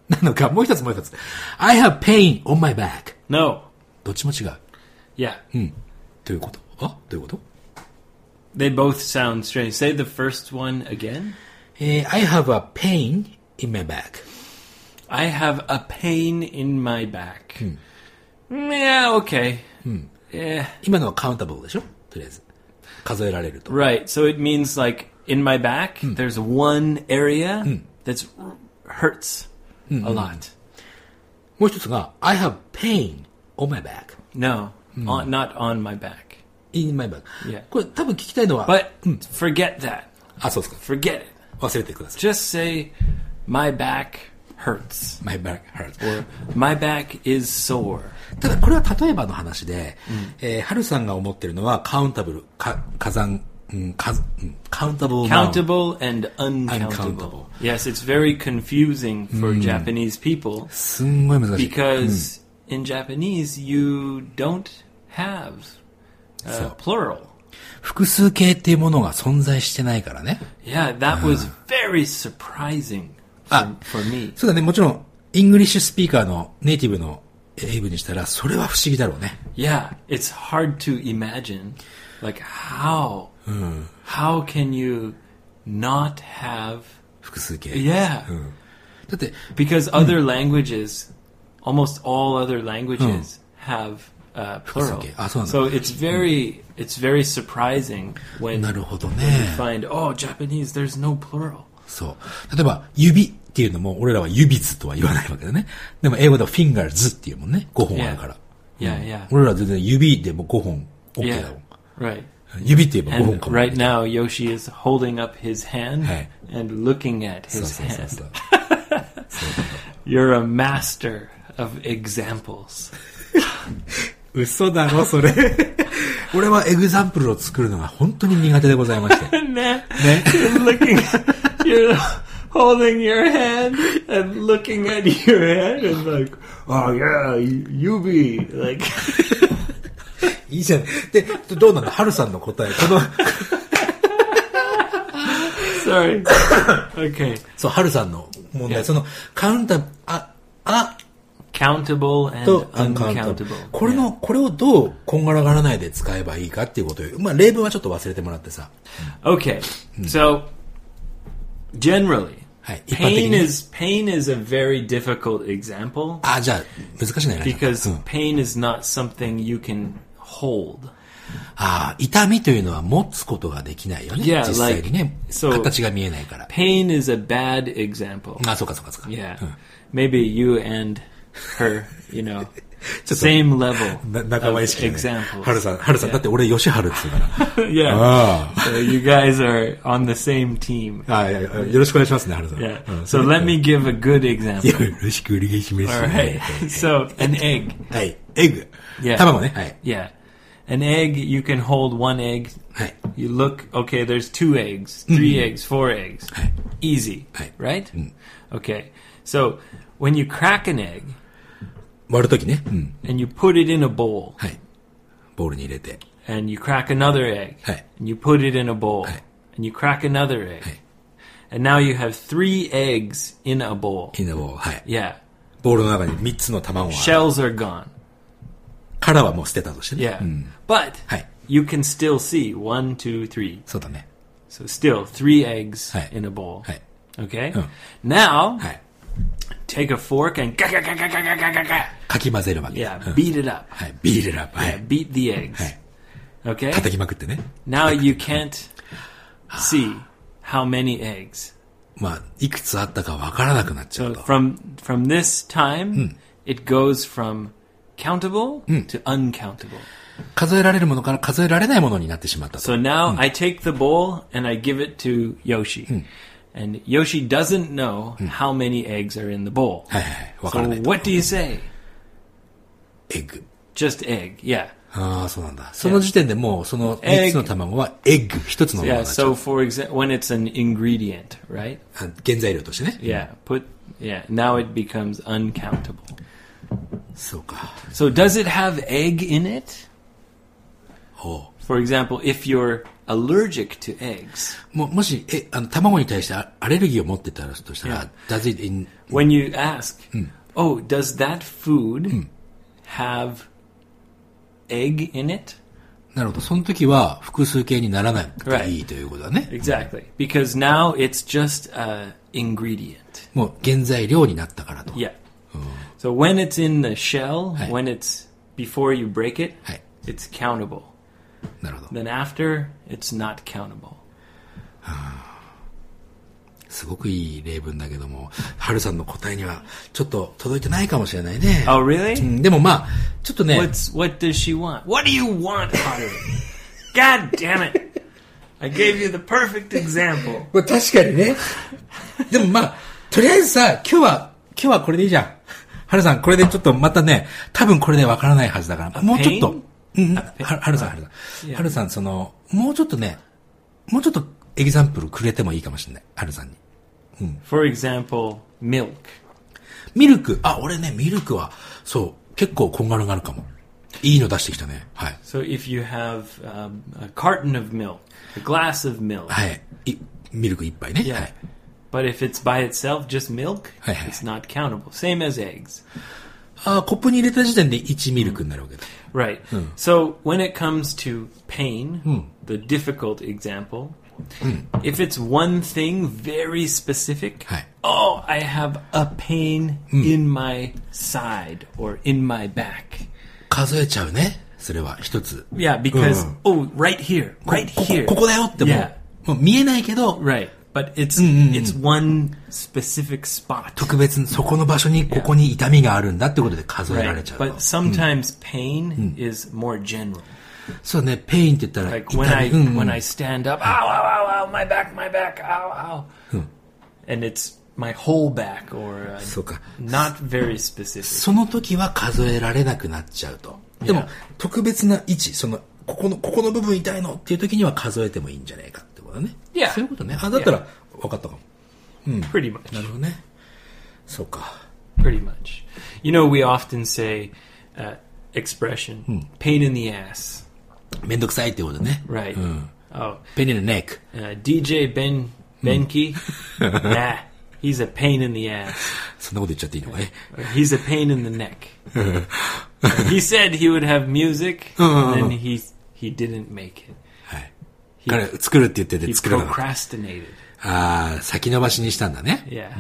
なのか、もう一つもう一つ。I have pain on my back. No. どっちも違う。 Yeah. うん。どういうことあどういうこと They both sound strange. Say the first one again. えー、I have a pain in my back. I have a pain in my back. Yeah, okay. Yeah. 今のはカウンタブルでしょとりあえず。数えられると。 Right. So it means like in my back, there's one area that's hurts a lot. もう一つが、I have pain on my back. No, on, not on my back. in my back. Yeah. これ多分聞きたいのは、 But forget that. あ、そうですか。 Forget it. 忘れてください。 Just say, my back hurts. my back hurts. Or, my back is sore. ただこれは例えばの話で、えー、ハルさんが思ってるのはカウンタブル、か火山、うんかうん、カウンタブル Countable and uncountable. Uncountable. Yes, it's very confusing for Japanese people すんごい難しい。 because in Japanese you don't have uh, So. plural. 複数形っていうものが存在してないからね。 Yeah, that was very surprising for, for me. そうだね、もちろん、イングリッシュスピーカーのネイティブの英語にしたら、それは不思議だろうね。 Yeah, it's hard to imagine. Like, how? How can you not have... 複数形。 Yeah. だって、 Because other languages, almost all other languages have uh, plural. Okay. Ah, so- So it's very, it's very surprising when なるほど you ね。 find, oh, Japanese, there's no plural. そう。例えば、指っていうのも、俺らは指図とは言わないわけだね。でも、英語では fingers っていうもんね。ごほんあるから。 Yeah, yeah. 俺らは全然指でもごほん OK だもん。 Right. 指って言えばごほん And かも。 right now, Yoshi is holding up his hand Hey. and looking at そう his そうそう hand. そう。 You're a master of examples. 嘘だろ、それ。俺はエグザンプルを作るのが本当に苦手でございまして。 Nah, you're looking, you're holding your hand and looking at your hand and like, oh yeah, you be like. いいじゃん。で、どうなんだハルさんの答え。この、 Sorry. Okay. そう、ハルさんの問題。その、カウンタ、あ、あ、 Countable and と、アンカウンタ uncountable. これの、これをどう、こんがらがらないで使えばいいかっていうことを、まあ、例文はちょっと忘れてもらってさ。 Okay. So, generally, はい。一般的 pain に。 is pain is a very difficult example あ、じゃあ、難しいね。 because うん pain is not something you can hold. ああ、痛みというのは持つことができないよね。 Yeah, 実際にね。 like- so- 形が見えないから。 Pain is a bad example. あ、そうかそうかそうか。 Yeah. Maybe you and her, you know, ちょっと same level な仲間意 of 識、ね。 examples. ハルさん、ハルさん。だって俺、吉春っつうから。 Yeah. あ So you guys are on the same team. あ。あいやいやよろしくお願いしますね、ハルさん。 Yeah. うん So let me give a good よ example. ろしくお願いします。 All right. So an egg. はい。エッグ。 Yeah. 卵ね。はい。 Yeah. An egg, you can hold one egg. はい。 You look, okay, there's two eggs, three eggs, four eggs. Hey. Easy, Hey. right? Okay. So when you crack an egg 割るときね。うん。 and you put it in a bowl はい。ボウルに入れて。 and you crack another egg Hey. and you put it in a bowl Hey. and you crack another egg Hey. and now you have three eggs in a bowl. インドボウル。はい。 Yeah. ボウルの中にみっつの卵が。 Shells are gone. 殻はもう捨てたとしてね。 Yeah. うん。 But Hey. you can still see one, two, three. そうだね。 So still three eggs Hey. in a bowl. はい。 Okay? Oh. Now, はい。 take a fork and ga ga ga ga ga ga ga ga ga. かき混ぜるわけ。 Yeah, うん beat it up. はい。ビールラップ。は Yeah, い。 beat the eggs. はい。 Okay? 叩きまくってね。 Now you can't see how many eggs. まあ、いくつあったかわからなくなっちゃ So うと。 from from this time, it goes from countable to uncountable. 数えられるものから数えられないものになってしまったと。 So now I take the bowl and I give it to Yoshi. And Yoshi doesn't know how many eggs are in the bowl. はいはいはい。わから So ないと。 what do you say? エッグ。 Just egg. Yeah. ああ、そうなんだ。その時点でもう、そのみっつの卵はエッグ、一つのもの Yeah, になっちゃう so。for example, when it's an ingredient, right? あ原材料としてね。 Yeah, put yeah, now it becomes uncountable. そうか。 So does it have egg in it? ほう。 For example, if you're allergic to eggs. ももし、え、あの、卵に対してアレルギーを持ってたらとしたら、 Yeah. does it in... When you ask, oh, does that food have egg in it? なるほど。その時は複数形にならなくていいということだね。 Exactly. Because now it's just an ingredient. もう原材料になったからと。 Yeah. So when it's in the shell, はい。 when it's before you break it, はい。 it's countable. なるほど。 Then after, it's not countable. すごくいい例文だけども、ハルさんの答えにはちょっと届いてないかもしれないね。 Oh, really? うんでもまあ、ちょっとね、 What's what does she want? What do you want, Haru? God damn it! I gave you the perfect example. これ確かにね。でもまあ、とりあえずさ、今日は、今日はこれでいいじゃん。ハルさん、これでちょっとまたね、多分これでわからないはずだから、もうちょっと、うん、はハルさん、ハルさん。ハルさん、その、もうちょっとね、もうちょっとエグザンプルくれてもいいかもしれない。ハルさんに。 For example, milk. ミルク。あ、俺ね、ミルクは、そう、結構こんがらがるかも。いいの出してきたね。はい。 So if you have um, a carton of milk, a glass of milk, はい。いミルク一杯ね。 yeah. はい。 But if it's by itself, just milk, はいはい。 it's not countable. Same as eggs. あ、コップに入れた時点でいちミルクになるわけだ。 Right. So when it comes to pain, the difficult example, if it's one thing very specific, はい。 oh, I have a pain in my side or in my back. 数えちゃうね。それは一つ。 Yeah, because, oh, right here, こ right こ here. ここだよってもう、 Yeah. もう見えないけど、 Right. But it's it's one specific spot. 特別にそこの場所にここに痛みがあるんだってことで数えられ Right. ちゃうと。 But sometimes pain is more general. そうね、ペインって言ったら Like 痛 when I み。うんうん when I stand up, ow, ow, ow, ow, my back, my back, ow, ow. And it's my whole back or uh, そうか。 not very specific. その時は数えられなくなっちゃうと。でも、特別な位置、その、ここの、ここの部分痛いのっていう時には数えてもいいんじゃないかってことだね。 Yeah. そういうことね。あ、だったら分かったかも。 Pretty much. なるほどね。そうか。 Pretty much. You know, we often say uh, expression, pain in the ass. めんどくさいってことね。 Right. うん。 Oh, pain in the neck. uh, D J Ben Benke, nah, he's a pain in the ass. そんなこと言っちゃっていいのかね。 He's a pain in the neck. He said he would have music, and then he he didn't make it. はい。彼、作るって言ってて He 作らなかった。 procrastinated. ああ、先延ばしにしたんだね。 Yeah.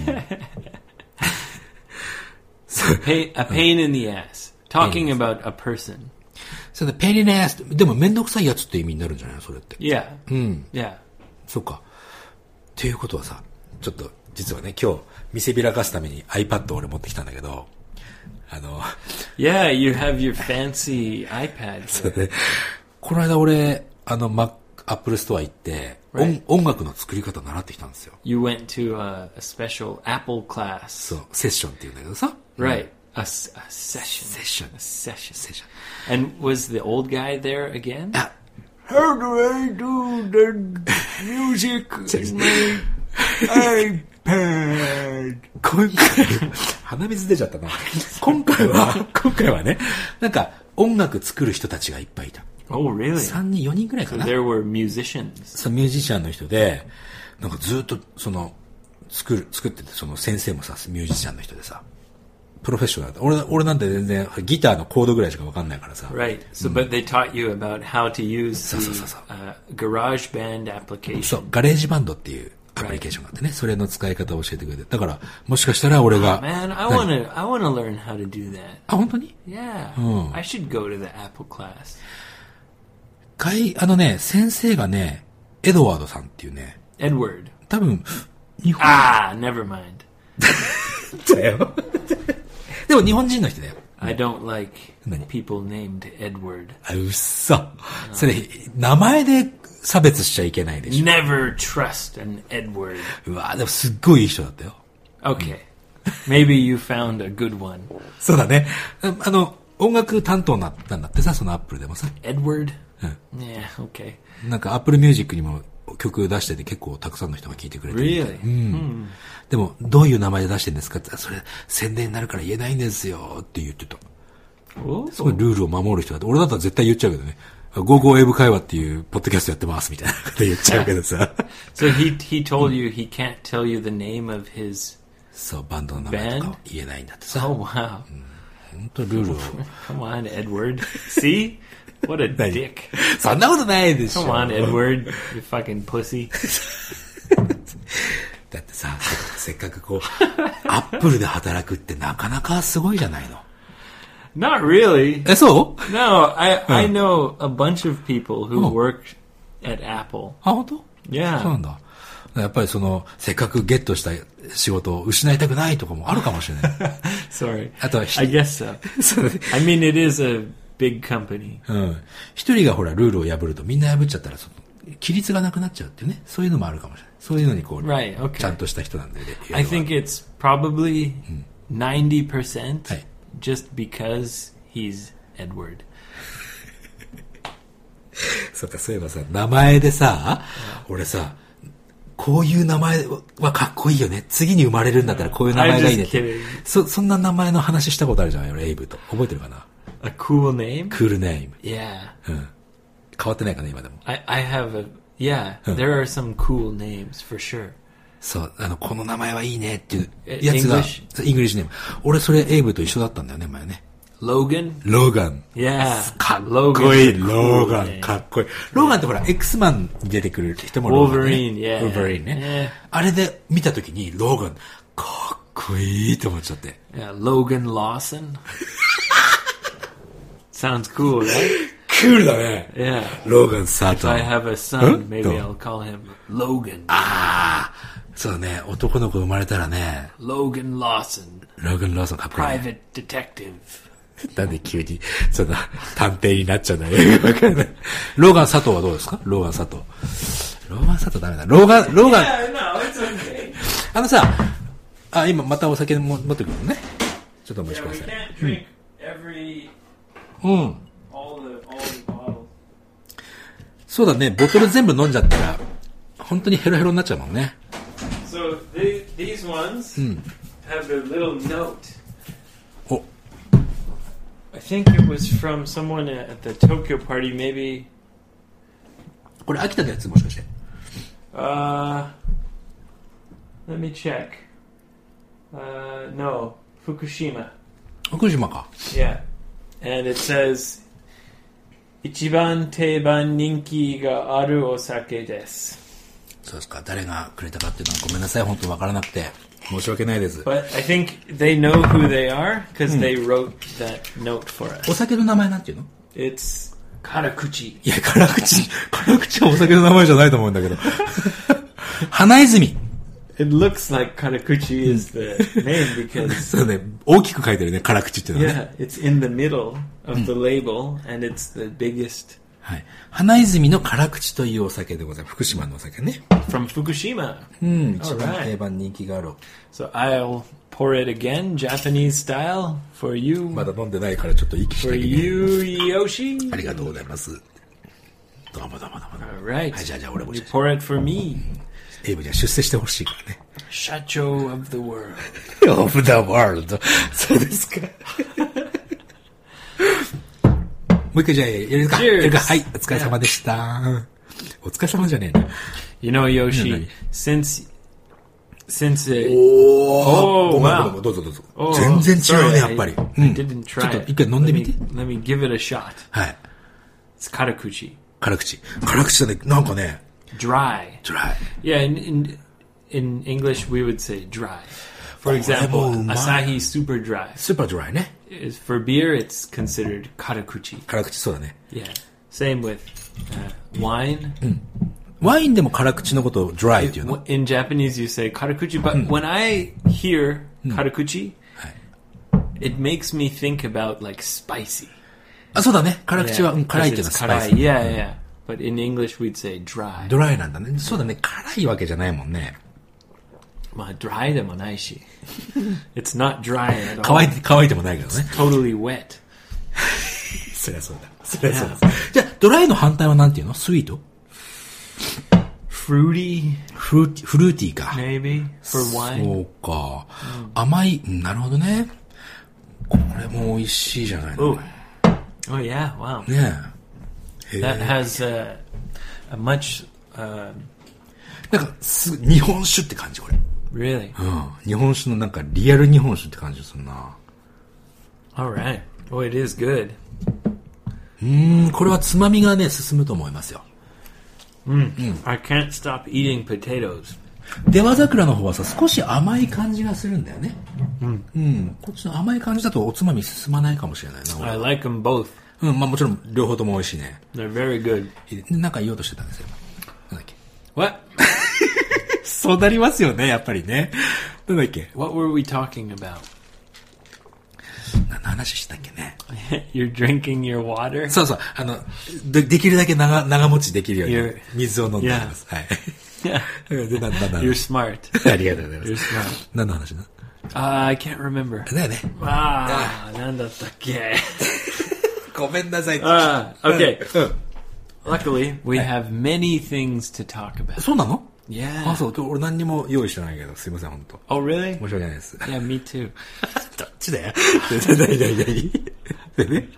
Pain, a pain in the ass. Talking about a person. そうだ、ペニネス。でもめんどくさいやつって意味になるんじゃないそれって。 Yeah. Yeah. そうか。っていうことはさ、ちょっと、実はね、今日、見せびらかすために iPad を俺持ってきたんだけど、あの、 Yeah, you have your fancy iPad. そう here. ね、この間俺、あの、Mac、Apple Store 行って、 Right. 音音楽の作り方習ってきたんですよ。 You went to a, a special Apple class. そう、セッションっていうんだけどさ。 Right. A, s- a session. セッション。 A session. セッション。 And was the old guy there again? あ、 How do I do the music in my iPad? 今回、鼻水出ちゃったな。今回は、今回はね、なんか音楽作る人たちがいっぱいいた。 Oh, really? さんにん、よにんぐらいか So な。 there were musicians. そのミュージシャンの人で、なんかずっとその、作る、作ってて、その先生もさ、ミュージシャンの人でさ、プロフェッショナルだ。俺、俺なんて全然ギターのコードぐらいしかわかんないからさ。 Right. So, but they taught you about how to use So, so, so, the so. uh, GarageBand application. そう、ガレージバンドっていうアプリケーションがあってね、それの使い方を教えてくれて。だから、もしかしたら俺が。 Man, I want to I want to learn how to do that. あ、本当に Yeah. Oh. I should go to the Apple class. かい、あのね、先生がね、エドワードさんっていうね、 Edward. 多分、日本 Ah, never mind. だよ。でも日本人の人だよ。 I don't like Nani? people named Edward. あ、うっそ。それ、名前で差別しちゃいけないでしょ。 Never trust an Edward. うわでもすっごいいい人だったよ。 Okay. Maybe you found a good one. そうだね。ああの、音楽担当なったんだってさ、そのアップルでもさ。 Edward? Yeah. Yeah, okay. なんかアップルミュージックにも曲出してて結構たくさんの人が聴いてくれてるみたい。 Really? うん。でも、どういう名前で出してるんですかって言ったら、それ宣伝になるから言えないんですよって言ってた。 Oh. すごいルールを守る人だって。俺だったら絶対言っちゃうけどね。 ゴーゴー英語会話っていうポッドキャストやってますみたいなこと言っちゃうけどさ。 So he he told you he can't tell you the name of his そう、バンドの名前とか言えないんだってさ。 Oh wow. 本当ルールを。 Come on, Edward. See? What a dick. そんなことないでしょ。 Come on, Edward. You fucking pussy. だってさ、せっかくこう、アップルで働くってなかなかすごいじゃないの。 Not really. え、そう No, I I know a bunch of people who work at Apple. あ、本当 Yeah. そうなんだ。やっぱりその、せっかくゲットした仕事を失いたくないとかもあるかもしれない。 Sorry. あとは、 I guess so. そう I mean, it is a big company. うん。一人がほら、ルールを破るとみんな破っちゃったら、その、規律がなくなっちゃうっていうね。そういうのもあるかもしれない。そういうのにこう、 Right, okay. ちゃんとした人なんで、ね。 I think it's probably ninety percent はい。 just because he's Edward. そうか、そういえばさ、名前でさ、俺さ、こういう名前はかっこいいよね。次に生まれるんだったらこういう名前がいいねっ I'm just て。 kidding. そ、そんな名前の話したことあるじゃない俺、エイブと。覚えてるかな A cool name? クールネーム。 Yeah. うん。変わってないかな、今でも。 I, I have a, yeah, there are some cool names for sure. そう、あの、この名前はいいねっていうえやつが、 English？ そうイングリッシュネーム。俺それエイブと一緒だったんだよね、前ね。 Logan? ローガン。 Yeah. かっ Logan こいい、 is a cool ローガン。 name. かっこいい。ローガンってほら、X マンに出てくる人もローガン、ね。 Wolverine, yeah. ウォーバリンね。あれで見たときに、ローガン、かっこいいって思っちゃって。 Yeah, Logan Lawson. Sounds cool, right? クールだね。 Yeah. ローガン・サー If トン。 I have a son, maybe どう I'll call him Logan. ああ、そうだね。男の子生まれたらね、 Logan Lawson, ローガン・ローソンかっこいい、ね。 private detective. なんで急に、そんな、探偵になっちゃうんだよ。わかんない。ローガン・佐藤はどうですかローガン・佐藤。ローガン・佐藤ダメだ。ローガン、ローガン、 Yeah, no, it's okay. あのさ、あ、今またお酒も持ってくるのね。ちょっとお待ち Yeah, く we ださい。 can't drink every うん。 all the all the bottles. そうだね。ボトル全部飲んじゃったら、本当にヘロヘロになっちゃうもんね。 So they, these ones have a little note. お、 I think it was from someone at the Tokyo party, maybe. これ秋田のやつもしかして。 Uh, let me check. Uh, no, Fukushima. 福島か。 Yeah, and it says, 一番定番人気があるお酒です。 そうですか。誰がくれたかっていうのはごめんなさい。本当わからなくて。申し訳ないです。 But I think they know who they are because they wrote that note for お us. 酒の名前なんていうの It's Karakuchi. いや、辛口。辛口はお酒の名前じゃないと思うんだけど。花泉。 It looks like Karakuchi is the name because そうね。大きく書いてるね。辛口っていうのはね。 yeah, it's in the middle of the label and it's the biggest はい。花泉の辛口というお酒でございます。福島のお酒ね。 from Fukushima. うん。一番 Alright. 定番人気がある。 So I'll pour it again, Japanese style, for you, まだ飲んでないからちょっと息し for なきゃいけない you, Yoshi. ありがとうございます。どうもどうもどうもどうも。 All right. はい、じゃあじゃあ俺も You pour it for me, エイブには出世してほしいからね。 Shacho of the world. of the world. そうですか。もう一回じゃあやるか。 Cheers. やるか。はい、お疲れ様でした。お疲れ様じゃねえな。 You know, Yoshi, Yeah, since since it, おー。 Oh, どうも wow. どうもどうぞどうぞ。 oh, 全然違う sorry, ね、やっぱり。 I, う I ん。 didn't ちょっ try と it. 一回飲んで Let み me, て。 let me give it a shot. はい。 It's Karakuchi. 辛口。辛口だね。なんかね、 Dry. ドライ。 Yeah, in, in in English we would say dry. For Oh, example, oh, my. Asahi Super Dry. スーパードライね。 Is for beer, it's considered karakuchi. 辛口そうだね。 Yeah. Same with uh, wine. ワインでも辛口のことをドライっていうの。 In Japanese, you say karakuchi, but when I hear karakuchi, はい。 it makes me think about like spicy. あ、そうだね。辛口は、 Yeah, うん、辛いっていうのは because スパイ it's ス。 karai. Yeah, yeah. But in English, we'd say dry. ドライなんだね。そうだね。辛いわけじゃないもんね。 Ma, dry でもないし. It's not dry at all. 乾いて、乾いてもないけどね。 Totally wet. そりゃそうだ。そりゃそうだ。じゃあ、ドライの反対はなんていうのスイート Fruity, フルーティー、フルーティーか。 maybe, for wine. そうか。甘い、うんなるほどね。これも美味しいじゃないの。 Oh. Oh, yeah. Wow. ね that has a, a much... Uh, なんかす日本酒って感じこれ。 Really? うん。日本酒のなんかリアル日本酒って感じするな。 Alright. Oh, it is good. うーん、これはつまみがね、進むと思いますよ。 うん。うん、I can't stop eating potatoes. 出羽桜の方はさ、少し甘い感じがするんだよね。うん。うん。こっちの甘い感じだとおつまみ進まないかもしれないな。 I like them both. うん、まあもちろん両方とも美味しいね。 They're very good. なんか言おうとしてたんですよ。なんだっけ。 What? そうなりますよね、やっぱりね。なんだっけ。 What were we talking about? 何の話したっけね。 You're drinking your water? そうそう。あの、で、できるだけ長、長持ちできるように水を飲んでいます。はい。 で、なんだなんだ You're smart. ありがとうございます。 You're smart. 何の話だ uh, I can't remember. だよね。 ああ、なんだったっけ。 ごめんなさい。 ああ、okay. Luckily, we have many things to talk about. そうなの Yeah. あ、そう。俺何にも用意してないけど、すいません、本当。 Oh, really? 申し訳ないです。 Yeah, me too. どっちだよ。何何何でね。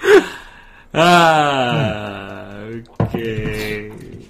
ああ、okay.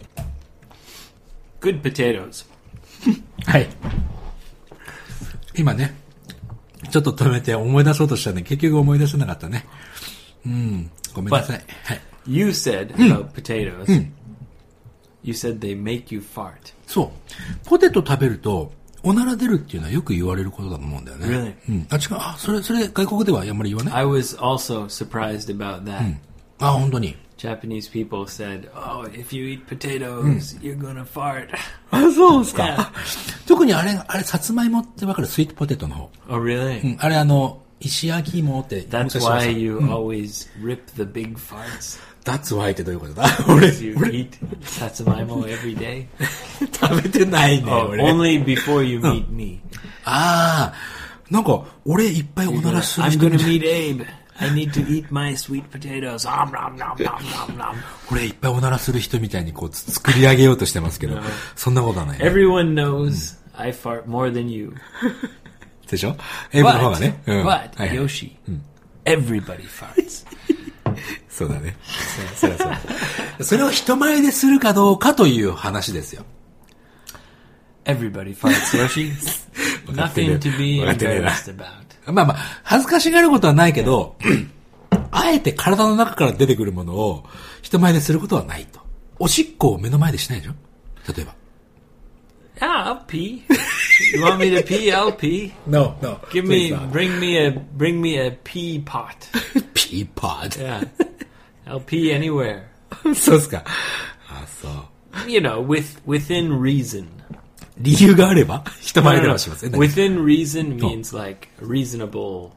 Good potatoes. はい。今ね、ちょっと止めて思い出そうとしたね。結局思い出せなかったね。うん。ごめんなさい。はい。 You said about potatoes, you said they make you fart. そう。ポテト食べると、おなら出るっていうのはよく言われることだと思うんだよね。 Really? うん。あ、違う。あ、それ、それ外国ではあんまり言わない I was also surprised about that. うん、あ、本当に。 Japanese people said, oh, if you eat potatoes, you're gonna fart. あ、そうですか。特にあれ、あれ、さつまいもってわかるスイートポテトの方。 Oh, really? うん。あれ、あの、石焼き芋って。 That's why you always rip the big farts.That's why ってどういうことだ俺、 you eat さつまいも every day? 食べてないね、 oh, 俺。 Only before you meet me. ああ、なんか、俺いっぱいおならする人 I'm gonna meet Abe.I need to eat my sweet potatoes. Om, nom, nom, nom, nom, nom. 俺いっぱいおならする人みたいにこう作り上げようとしてますけど、そんなことはない、ね。 Everyone knows、うん、I fart more than you. でしょ？エイブの方がね。 But, うん、but、はいはい、Yoshi、うん、everybody farts. そうだね。そ, そ, そ, そ, それを人前でするかどうかという話ですよ。 Everybody farts, Yoshi. Nothing to be embarrassed about. まあまあ、恥ずかしがることはないけど、あえて体の中から出てくるものを人前ですることはないと。おしっこを目の前でしないでしょ？例えば。 Yeah, I'll pee. You want me to pee? I'll pee. No, no. Give me, bring me a, bring me a pee pot. Pee pot? Yeah. I'll pee anywhere. そうっすか。あ、そう。 You know, with, within reason. 理由があれば人前ではします。 No, no, no. Within reason means like reasonable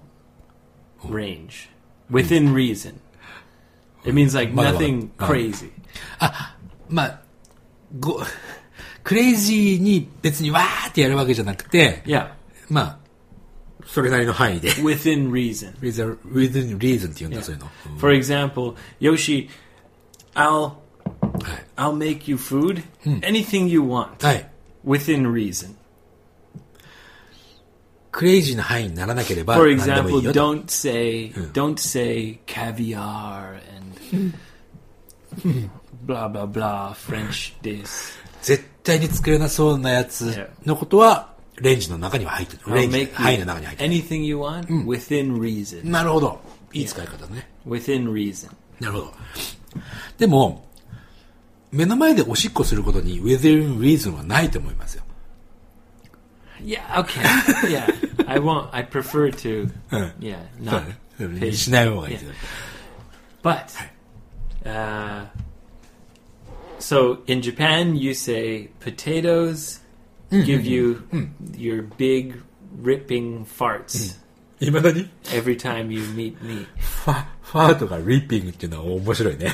range. Within reason. It means like nothing crazy. あ、まあ、ご、クレイジーに別にわーってやるわけじゃなくて、 yeah. まあ、それなりの範囲で。 Within reason. Within, within reason って言うんだ、yeah. そういうの。 For example, Yoshi, I'll, I'll make you food, anything you want. はい。 Within reason. クレイジーな範囲にならなければ For example, don't say, don't say caviar and blah blah blah French this. 絶対に作れなそうなやつのことはレンジの中には入ってる。レンジの範囲の中に入ってる。 Anything you want within reason. なるほど。いい使い方ね。 Within reason. なるほど。でも目の前でおしっこすることに within reason はないと思いますよ。 Yeah, okay. Yeah. I won't, I prefer to, yeah, not pay. しない方がいいですよ。 But, uh, so in Japan you say potatoes give you your big ripping farts. いまだに Every time you meet me. ファ、ファーとかリッピングっていうのは面白いね。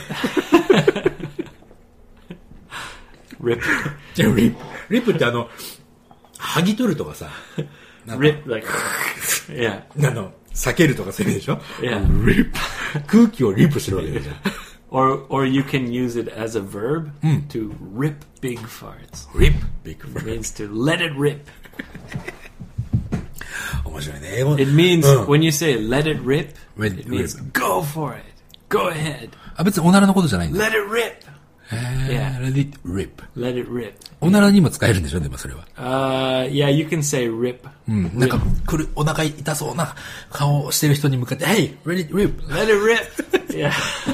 Rip. リップ。リップってあの、剥ぎ取るとかさ。 Rip, like, yeah. あの、避けるとかそういう意味でしょ Yeah. Rip. 空気をリップしてるわけじゃん。 or, or you can use it as a verb to rip big farts. Rip big farts. It means to let it rip. 面白いね。英語。 It means, when you say let it rip, it means go for it. Go ahead. あ、別におならのことじゃないんだ。 Let it rip. えー、let it rip. Let it rip. おならにも使えるんでしょ、でもそれは。 Uh, yeah, you can say rip. うん。なんか、くる、お腹痛そうな顔をしてる人に向かって、Hey, let it rip. Let it rip. Yeah.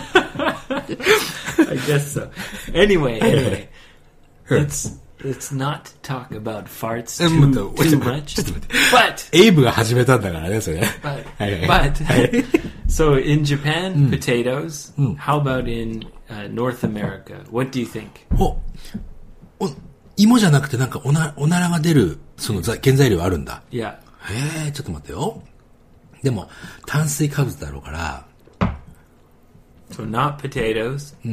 I guess so. Anyway, anyway. Let's, let's not talk about farts too, too much. But, エイブが始めたんだからね、それ。 But, but so in Japan, mm. potatoes. Mm. How about in uh, North America? What do you think? お、お、芋じゃなくてなんかおな、おならが出る、その原材料あるんだ。 Yeah. へえ、ちょっと待ってよ。でも、炭水化物だろうから。 So not potatoes. うん。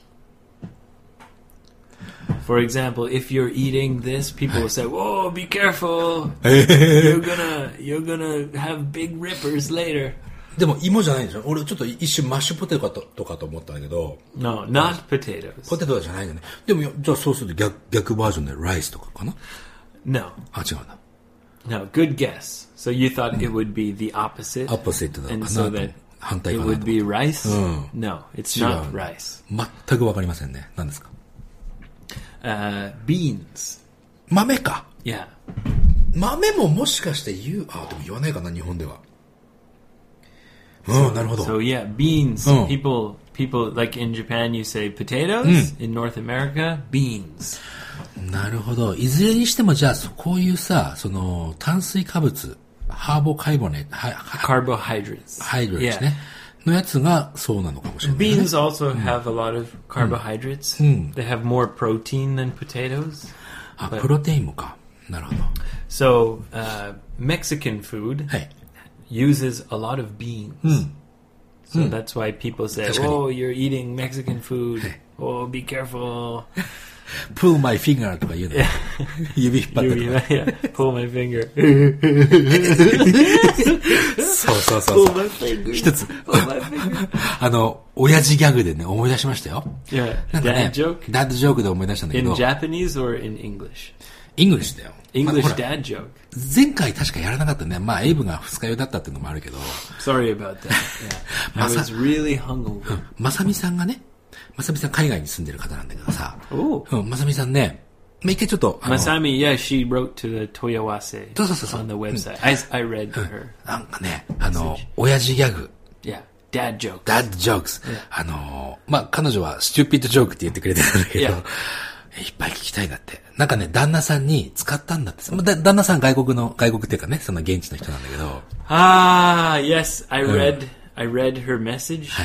For example, if you're eating this, people will say, "Whoa, be careful! You're gonna, you're gonna have big rippers later." でも芋じゃないんでしょ。俺ちょっと一瞬マッシュポテトかと、とかと思ったんだけど。 No, not potatoes. ポテトじゃないんだね。でもじゃあそうすると逆逆バージョンでライスとかかな。 No. あ、違うんだ。 No, good guess. So you thought it would be the opposite. Opposite だかな。 And so that 反対 it かなと。 would be rice. うん。 No, it's not rice. 全くわかりませんね。何ですか。 Uh, beans. 豆か。 Yeah. 豆ももしかして言う、あ、でも言わないかな、日本では。うん、なるほど。 So yeah, beans. Mm. People, people like in Japan, you say potatoes. Mm. In North America, beans. なるほど。いずれにしてもじゃあこういうさ、その炭水化物、ハーボカイボネ、 carbohydrates. ハイドレットね。のやつがそうなのかもしれない、ね。 Beans also have a lot of carbohydrates. Mm. They have more protein than potatoes. あ、プロテインもか。なるほど。 So, uh, Mexican food uses a lot of beans. Mm. So mm. that's why people say, "Oh, you're eating Mexican food. Oh, be careful." Pull my finger とか言うの。指引っ張ってとか。 Yeah, pull my finger. そうそうそう。 Pull my finger. 一つ。 Pull my finger. あの、親父ギャグでね、思い出しましたよ。 Yeah. なんかね、 dad joke? Dad joke で思い出したんだけど。 In Japanese or in English? English だよ。 English dad joke. 前回確かやらなかったね。まあ、エイブが二日酔いだったっていうのもあるけど。 Sorry about that. Yeah. I was really hungover. まさみさんがね、まさみさん海外に住んでる方なんだけどさ。 おうん、まさみさんね、まあ、一回ちょっと。 まさみ、yeah, she wrote to the Toyawase そうそうそうそう on the website.、うん、I, I read her. なんかね、あの、親父ギャグ。 Yeah, dad jokes. Dad jokes. Yeah. あの、まあ、彼女はスチューピッドジョークって言ってくれてるんだけど、yeah. いっぱい聞きたいだって。なんかね、旦那さんに使ったんだって。だ旦那さん外国の、外国っていうかね、その現地の人なんだけど。 ああ、yes, I read,、うん、I read her message. はい。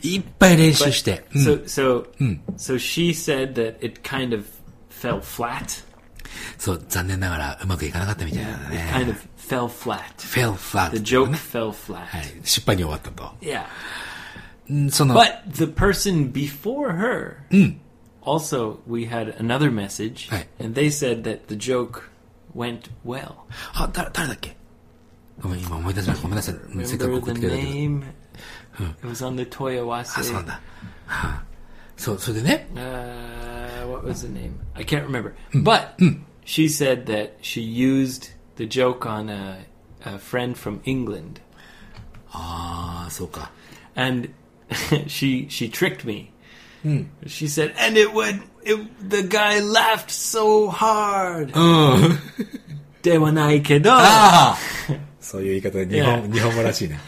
いっぱい練習して。 But, so, so,、うん、so she said that it kind of fell flat. そう、残念ながらうまくいかなかったみたいなんだね。 It kind of fell flat. Fell flat. The joke、ね、fell flat. はい。失敗に終わったと。 Yeah. その But the person before her,、 うん、 also, we had another message, はい、 and they said that the joke went well. あ、だ、誰だっけ？ごめん、今思い出せない。ごめんなさい。せっかく送ってくれたけど。 Remember the name? It was on the Toyawase. あ、そうなんだ。はあ、そう、それでね。 Uh, what was the name? I can't remember. うん、But、うん、she said that she used the joke on a, a friend from England. ああ、そうか。 And she she tricked me. うん、 she said, and it would, it, the guy laughed so hard. うん。 ではないけど。 ああ。そういう言い方で日本、yeah. 日本語らしいね。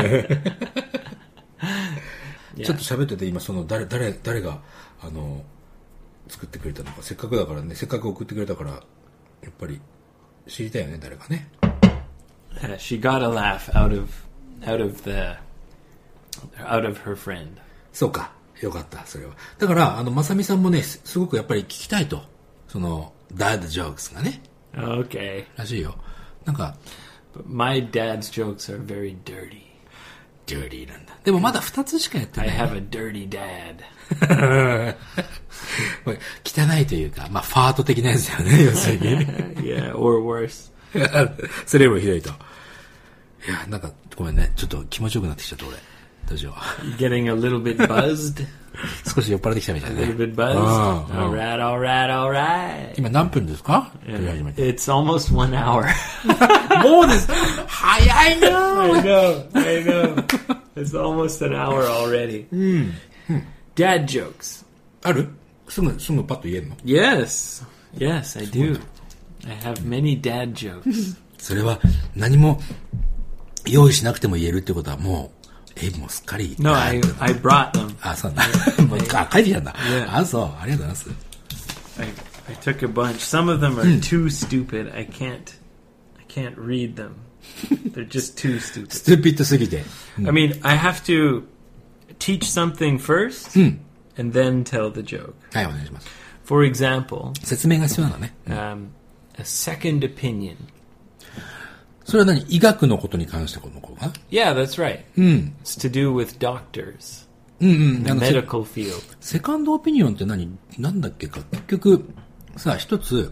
ちょっと喋ってて今その誰誰誰があの作ってくれたのか、せっかくだからね、せっかく送ってくれたからやっぱり知りたいよね、誰かね。 Uh, she got a laugh out of out of the out of her friend. そうか、よかったそれは。だからあのまさみさんもね、すごくやっぱり聞きたいと、その dad jokes がね。 Okay. らしいよ。なんか。 But my dad's jokes are very dirty. Dirty なんだ。でもまだ二つしかやってない。 I have a dirty dad. 汚いというか、まあファート的なやつだよね、要するに。 Yeah, or worse. それよりひどいと。いや、なんかごめんね、ちょっと気持ちよくなってきちゃった俺。どうしよう。 You getting a little bit buzzed? 少し酔っ払ってきたみたいなね。 A little bit buzzed? Alright, alright, alright. 今何分ですか？ Yeah, it's almost one hour. もうです。早いな。 I know, I know. It's It's almost an hour already. Dad jokes. ある？すぐ、すぐパッと言えるの？ Yes. Yes, I do. I have many dad jokes. それは何も用意しなくても言えるってことはもう、エイブもすっかり。 No, I, I brought them. あ、そうなんだ。もうあ、書いてきたんだ。 Yeah. あ、そう。ありがとうございます。 I, I took a bunch. Some of them are too stupid. I can't, I can't read them. They're just too stupid. ストゥピッドすぎて。 I mean, I have to teach something first and then tell the joke. はい、お願いします。 For example, 説明が必要なのね。 um, a second opinion. それは何？医学のことに関してこのことか？ Yeah, that's right. うん。 It's to do with doctors. うんうん。 The あの、セ medical field. セカンドオピニオンって何？なんだっけか。結局、さあ、一つ、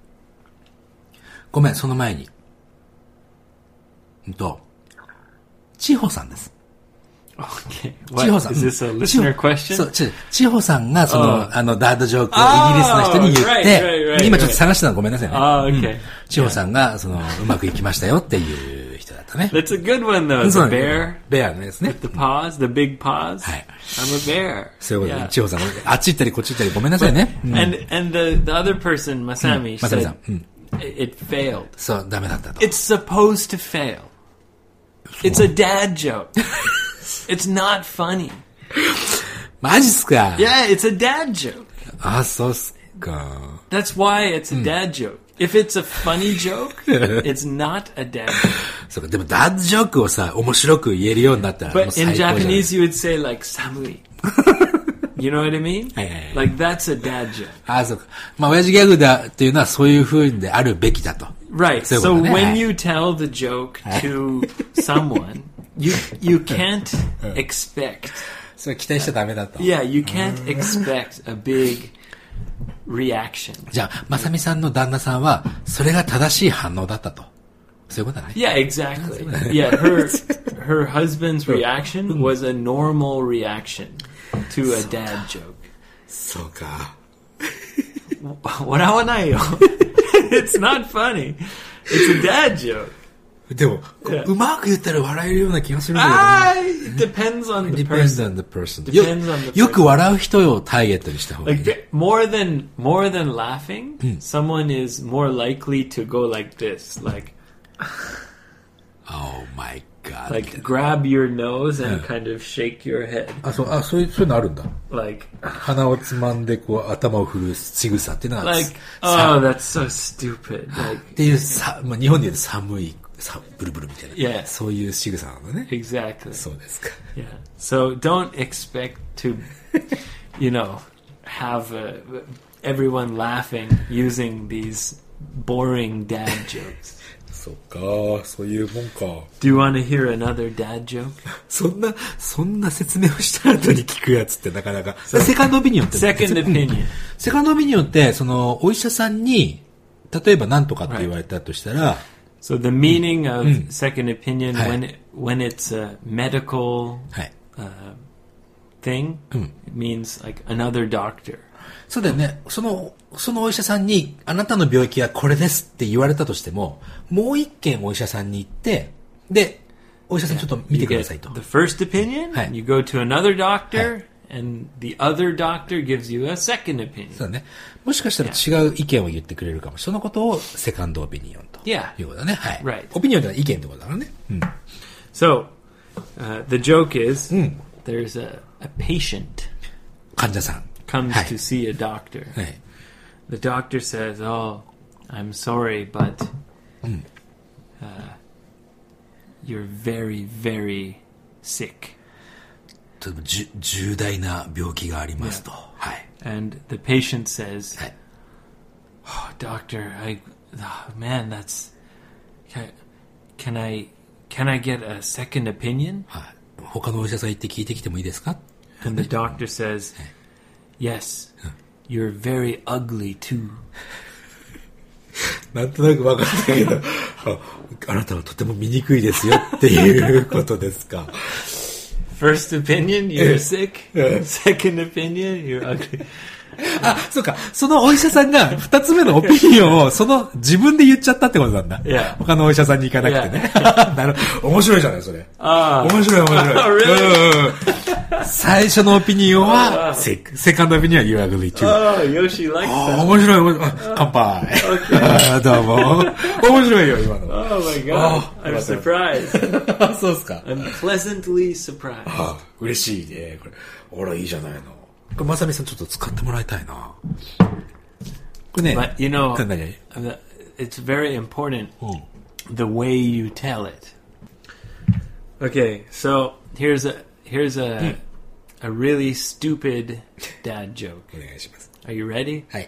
ごめん、その前に。うんと、千穂さんです。 Okay. 千穂 What? さん。 Is this a うん listener 千穂 question? そう、ち千穂さんがその、 Oh. あの、ダードジョークをイギリスの人に言っ Oh, right, て、 right, right, 今ちょっと探してたのごめんなさいね。 Oh, okay. 千穂さんが、その、うまくいきましたよっていう人だったね。 That's a good one, though. そう The なんだ bear, ベアのですね。 the paws, the big paws. はい。 I'm a bear. そういうことで、 Yeah. 千穂さんが、あっち行ったりこっち行ったりごめんなさいね。うん And and the the other person, Masami, まさみさ said ん。うん。 it it failed. そう、ダメだったと。 It's supposed to fail. It's a dad joke. It's not funny. マジっすか？ Yeah, it's a dad joke. あ、そうっすか。 That's why it's a dad joke. If it's a funny joke, it's not a dad joke. そうか、でもダードジョークをさ、面白く言えるようになったらもう But 最 in 高じゃない。 Japanese, you would say like samui. You know what I mean? はいはいはい。 Like that's a dad joke. あ、そうか。まあ、親父ギャグだっていうのはそういう風であるべきだと。 Right. そういう So ことね。 when はい you tell the joke to someone, you you can't expect. それ期待しちゃダメだと。 Yeah, you can't expect a big reaction. じゃあ、まさみさんの旦那さんは、それが正しい反応だったと。そういうことだね。 Yeah, exactly. Yeah, her her husband's reaction was a normal reaction to a dad joke. そうか。 笑わないよ。It's not funny. It's a dad joke. でも、こう Yeah. うまく言ったら笑えるような気がするんだけどね。 Ah, it depends on the Depends on person. the person. よ Depends on the よく笑う人をターゲットにした方がいい Like ね。 th- more than more than laughing, someone is more likely to go like this, like Oh my god. like grab your nose and kind of shake your head, あ、そう、あ、そういう、そういうのあるんだ。 like 鼻をつまんで、こう、頭を振る仕草っていうのは、 like さ oh, that's so stupid. Like っていうさ、まあ、日本で言うと寒い、さブルブルみたいな。 Yeah. そういう仕草なのね。 exactly. そうですか。 Yeah. So don't expect to, you know, have uh, everyone laughing using these boring dad jokes. そっか、そういうもんか。 Do you want to hear another dad joke? そんな、そんな説明をした後に聞くやつってなかなか。セカンドオピニオンって。 Second opinion. セカンドオピニオンって、その、お医者さんに、例えば何とかって言われたとしたら、 So the meaning of second opinion Hi. when it, when it's a medical はい。 uh, thing, it means like another doctor. そうだよね。その、そのお医者さんに、あなたの病気はこれですって言われたとしても、もう一軒お医者さんに行って、で、お医者さんちょっと見 You てくだ get さいと。 the first opinion, Hi. you go to another doctor, and the other doctor gives you a second opinion. そうだね。もしかしたら違う意見を言ってくれるかも。そのことをセカンドオピニオンと。 Yeah. いうことだね。はい。 Right. オピニオンというのは意見ってことだからね。うん。 So uh, the joke is there's a, a patient 患者さん。 comes はい to see a doctor. はい。 The doctor says, "Oh, I'm sorry, but uh, you're very, very sick." とてもじゅ重大な病気がありますと。はい。 And the patient says, はい。 "Oh, doctor, I, oh, man, that's. Can, can I, can I get a second opinion?" はい。他のお医者さん行って聞いてきてもいいですか？ And the doctor says, "Yes, you're very ugly too." なんとなく分かったけど、あ、あなたはとても醜いですよっていうことですか。 First opinion, you're sick. Second opinion, you're ugly. あ、そうか。そのお医者さんが二つ目のオピニオンをその自分で言っちゃったってことなんだ。 Yeah. 他のお医者さんに行かなくてね。なるほど。面白いじゃない、それ。 ああ。 面白い面白い。 Really? うん最初のオピニオンは、セセカンドオピニオンは You are ugly too. Oh, Yoshi likes あ that. 面白い面白い。乾杯。どうも。面白いよ、今の。 Oh my god. I'm surprised. そうっすか。 I'm pleasantly surprised. あ嬉しいね。これ、あら、いいじゃないの。これ、まさみさんちょっと使ってもらいたいな。これね。 But you know, 何々 it's very important the way you tell it. Okay, so here's a here's a a really stupid dad joke. お願いします。 Are you ready? はい。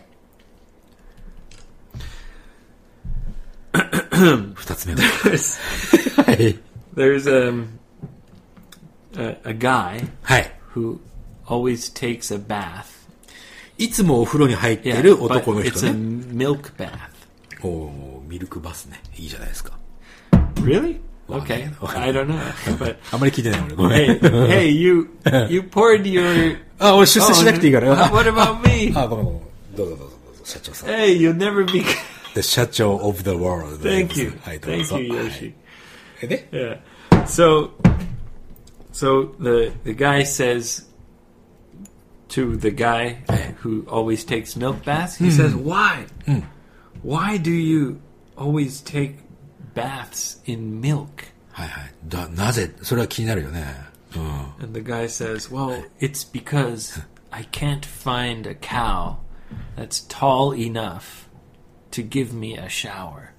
二つ目の。はい。 There's um, a a guy はい。 who always takes a bath. いつもお風呂に入って Yeah, いる but 男の it's 人 a ね。 milk bath. おー、ミルクバスね。いいじゃないですか。 Really? Well, Okay, okay. I don't know. But あんまり聞いてない俺。ごめん。 hey, hey, you you poured your. あ、俺出世しなくていいから。 Oh, what about me? あ、ごめんごめん。どうぞどうぞどうぞ、社長さん。 Hey, you'll never be. The 社長 of the world. Thank you. はい、どうぞ。 Thank you, はい Yoshi. えで Yeah. So, so the the guy says to the guy who always takes milk baths, he says, "Why? Why do you always take baths in milk?" はいはい。だ、なぜそれは気になるよね。うん。 And the guy says, "Well, it's because I can't find a cow that's tall enough to give me a shower."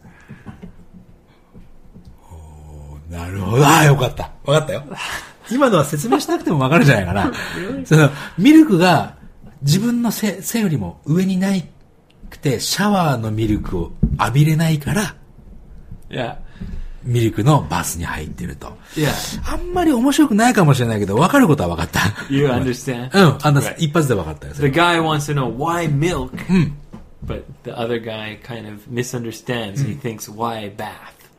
なるほど。ああ、よかった。わかったよ。今のは説明しなくてもわかるんじゃないかな。その、ミルクが自分の背、背よりも上にないくて、シャワーのミルクを浴びれないから、 Yeah. ミルクのバスに入ってると。 Yeah. あんまり面白くないかもしれないけど、わかることはわかった。 You understand? うん、あの、 Right. 一発でわかったよ。そ The れ guy wants to know why milk, but the other guy kind of misunderstands. He thinks, why bath?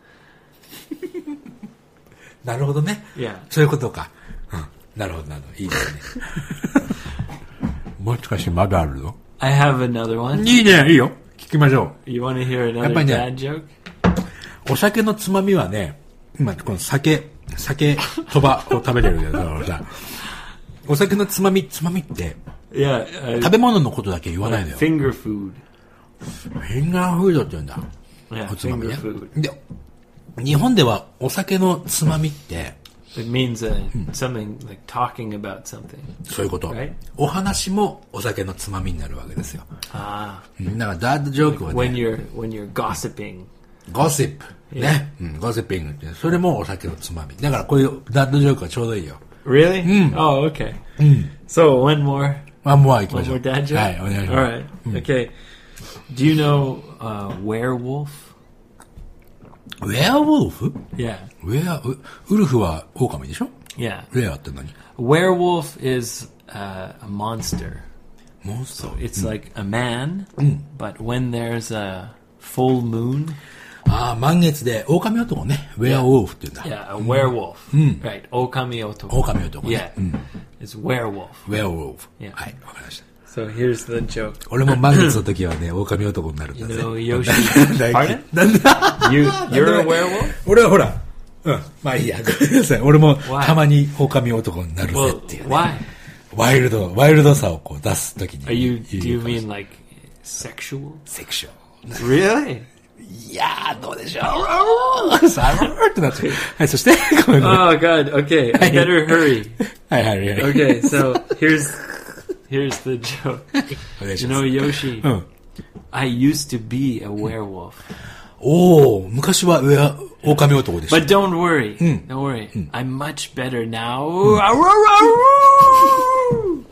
なるほどね。 Yeah. そういうことか。うん。なるほど、なるほど。いいですね。もしかしてまだあるの I have another one. いいね、いいよ。聞きましょ You want to hear やっ another ぱりね、 dad joke? う。お酒のつまみはね、今、この酒、酒、そばを食べてるけどさ、お酒のつまみ、つまみって、 Yeah. Uh, 食べ物のことだけ言わないのよ。 finger food. フィンガーフードって言うんだ。 Yeah, おつまみ finger ね。 food. で、日本ではお酒のつまみって、 It means uh, something like talking about something. そういうこと。 Right. お話もお酒のつまみになるわけですよ。 Ah. うんだからダッドジョークは When ね、 you're when you're gossiping. ゴシップ。ね。うん、ゴシッピングって、それもお酒のつまみ。だからこういうダッドジョークはちょうどいいよ。 Really? Oh, okay. So one more. あ、もう行きま One しょ more う。 dad joke? はい、お願いし All ま right. Okay. Do you know uh, werewolf? す。ウェアウォルフ Yeah. ウェア、ウウルフは狼でしょ Yeah. ウェアって何 Werewolf is uh, a monster. モンスター It's like a man, but when there's a full moon, ああ、満月で狼男ね。ウェアウォルフって言うんだ。 yeah, a werewolf. Right. Okami otoko. 狼男ね。 Yeah. It's werewolf. ウェアウォルフ。 Yeah. はい、わかりました。 So here's the joke. 俺も満月の時はね、狼男になるんだ You ぜ。 know Yoshi. 大 Pardon? なんだ You you're a werewolf? 俺はほら、うん、まあいいや、ごめんなさい。俺も Why? たまに狼男になるぜ Well, っていう、ね。 why? ワイルド、ワイルドさをこう出すときに。 Are you? Do you 言うかもしれない mean like sexual? セクション。 Really? いやー、どうでしょうさあ、ってなっちゃう。はい、そして、ごめんごめん。 Oh God. Okay. I better hurry. はいはいはい。 Okay. So here's here's the joke. お願いし You ます。 know Yoshi. うん。 I used to be a werewolf. おー、昔は上、狼男でした。 But don't worry. Don't worry. I'm much better now. Aroo!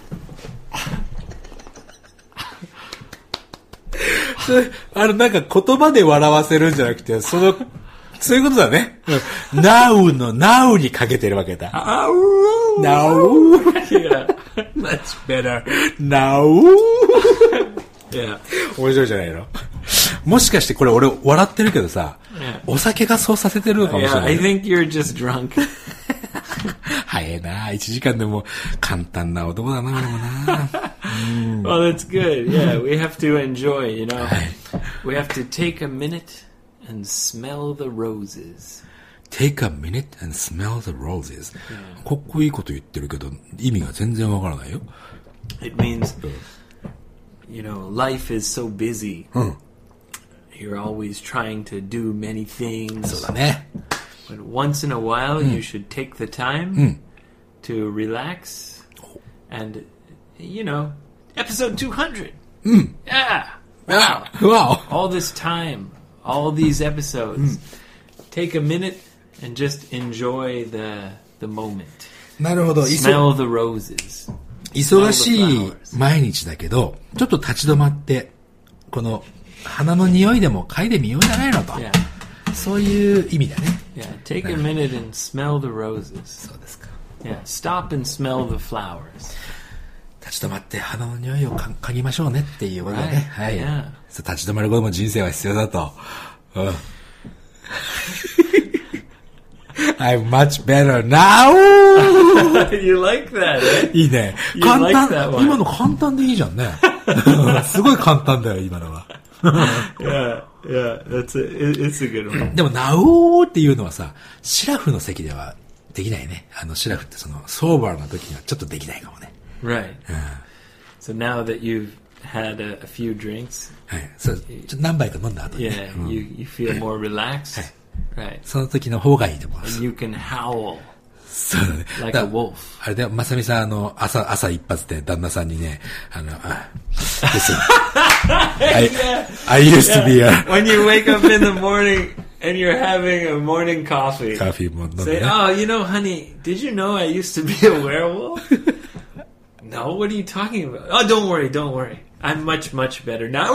それあの、なんか言葉で笑わせるんじゃなくて、その、そういうことだね。うん now の now にかけてるわけだ。 Aroo! now, Yeah. Much better. now. Yeah. 面白いじゃないのもしかしてこれ俺笑ってるけどさ、 Yeah. お酒がそうさせてるのかもし Yeah. れな I い。 think you're just drunk. 早いな、いちじかんでも簡単な男だな、俺もな。 Well, that's good. Yeah, we have to enjoy, you know. We have to take a minute and smell the roses. Take a minute and smell the roses. かっこいいこと言ってるけど、意味が全然わからないよ。 It means, you know, life is so busy. You're always trying to do many things. そうだね。 But once in a while, you should take the time to relax. And, you know, episode two hundred. Yeah. Wow. Wow. All this time, all these episodes. Take a minute and just enjoy the the moment. なるほど。 Smell the roses. 忙しい毎日だけど、ちょっと立ち止まって、この花の匂いでも嗅いでみようじゃないのと。 Yeah. そういう意味だね。 Yeah, take a minute and smell the roses. そうですか。 Yeah, stop and smell the flowers. 立ち止まって花の匂いをか嗅ぎましょうねっていうことでね。 Right. はい。 Yeah. そう立ち止まることも人生は必要だと。うん。I'm much better now! You like that, eh? いいね。 You 簡 like 単、 that one. 今の簡単でいいじゃんね。すごい簡単だよ、今のは。 Yeah, yeah, that's a, it, it's a good one. でも、ナオーっていうのはさ、シラフの席ではできないね。あの、シラフってその、ソーバーの時にはちょっとできないかもね。 Right. So now that you've had a, a few drinks, はい。そう、ちょっと何杯か飲んだ後に、ね。 yeah, うん you, you feel more relaxed. Right. その時の方がいいと思います。 And you can howl そうだね。 like だ a wolf. あれで、まさみさん、あの、朝、朝一発で旦那さんにね、あの、あ、listen, I, I used to be a... When you wake up in the morning and you're having a morning coffee. カーフィーも飲んで Say, ね。 oh, you know, honey, did you know I used to be a werewolf? No, what are you talking about? Oh, don't worry, don't worry. I'm much, much better now.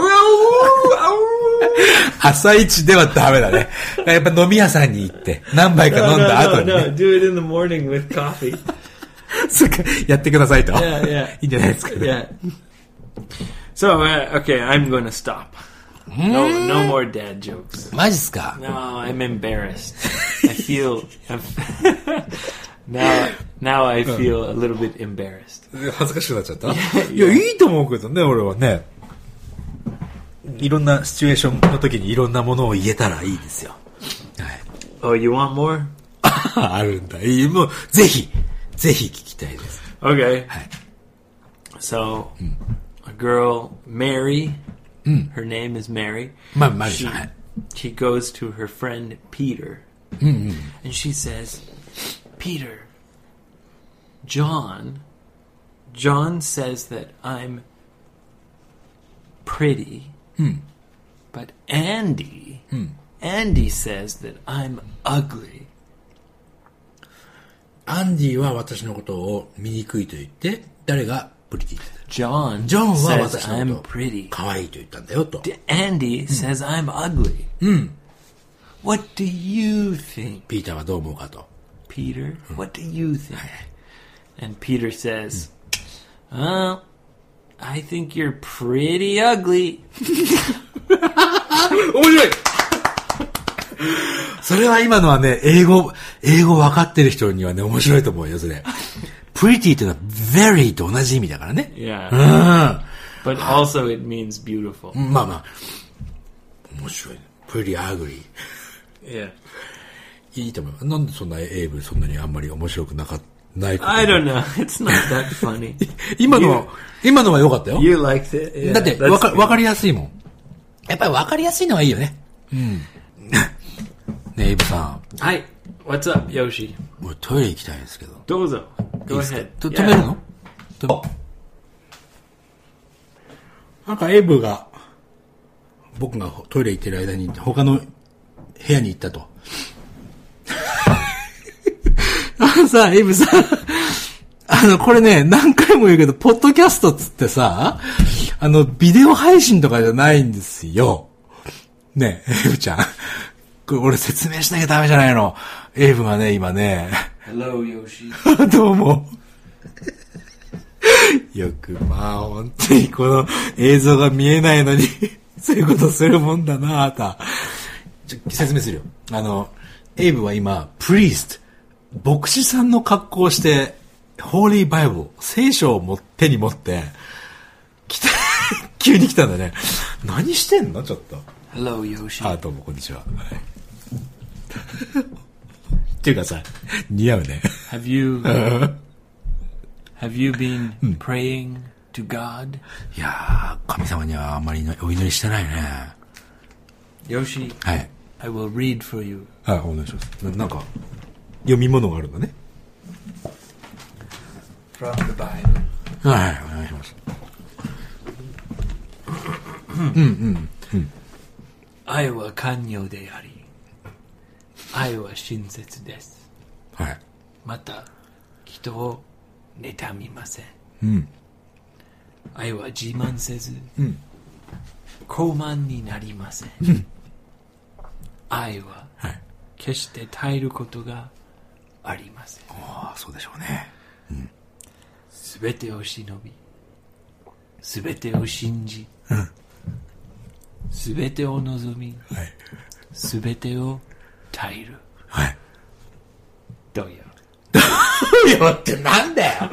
朝一ではダメだね。やっぱ飲み屋さんに行って、何杯か No, 飲ん no, だ後 no, に、ね。 no. Do it in the morning with coffee. そっか、やってくださいと。 Yeah, yeah. いいんじゃないですか、ね。 Yeah. So, uh, okay, I'm going to stop. No, no more dad jokes. マジっすか No, I'm embarrassed. I feel... I'm now, now I feel a little bit embarrassed. 恥ずかしくなっちゃったいや、いいと思うけどね、俺はね。いろんなシチュエーションの時にいろんなものを言えたらいいですよ。はい。 Oh, you want more? あるんだ。いい、もう、ぜひ、ぜひ聞きたいです。 Okay. はい。 So, a girl, Mary, her name is Mary. まあ、マリ She, さん。はい。 she goes to her friend Peter. And she says, Peter, John, John says that I'm pretty, but Andy, Andy says that I'm ugly. アンディは私のことを醜いと言って、誰がプリティ John, ジョンは says 私の I'm ことを pretty. 可愛いと言ったんだよと。 Andy says I'm ugly. What do you think, ピーターはどう思うかと。 Peter? What do you think? And Peter says, well, I think you're pretty ugly. 面白いそれは今のはね、英語、英語分かってる人にはね、面白いと思うよ、それ。pretty っていうのは very と同じ意味だからね。 Yeah. うん。 But also it means beautiful. まあまあ。面白いね。pretty ugly. Yeah. いいと思う。なんでそんな英文そんなにあんまり面白くなかったないこと I don't know. It's not that funny. 今のは、今のは良かったよ。 You liked it. Yeah, だって、 that's わか、 good. わかりやすいもん。やっぱりわかりやすいのはいいよね。うん。ねえ、エイブさん。 Hi. What's up, Yoshi? 俺トイレ行きたいんですけど。 Dozo. いい Go ですか ahead. と Yeah. 止めるのとなんかエイブが、僕がトイレ行ってる間に他の部屋に行ったと。あのさ、エイブさん。あの、これね、何回も言うけど、ポッドキャストっつってさ、あの、ビデオ配信とかじゃないんですよ。ねえ、エイブちゃん。これ俺説明しなきゃダメじゃないの。エイブがね、今ね。 Hello, Yoshi. どうも。よく、まあ、本当にこの映像が見えないのに、そういうことするもんだなあた。ちょ、説明するよ。あの、エイブは今、プリースト、牧師さんの格好をして、ホーリーバイブル、聖書をも手に持って、 来た、急に来たんだね。何してんのちょっと。 Hello, Yoshi. あ、どうも、こんにちは。はい、っていうかさ、似合うね。 Have you, have you been praying to God? いやー、神様にはあんまりお祈りしてないね。 Yoshi, はい。 I will read for you. はい、お願いします。な、なんか、読み物があるんだね。 From the Bible. はい、お願いします。うんうんうん。 愛は寛容であり、愛は親切です。 はい。 また、人を妬みません。 うん。 愛は自慢せず、 うん、 高慢になりません。 うん、 愛は、決して耐えることがありません。 ああ、そうでしょうね。 すべてを忍び、すべてを信じ、すべてを望み、すべてを耐える。 はい。 どうよ。 どうよってなんだよ。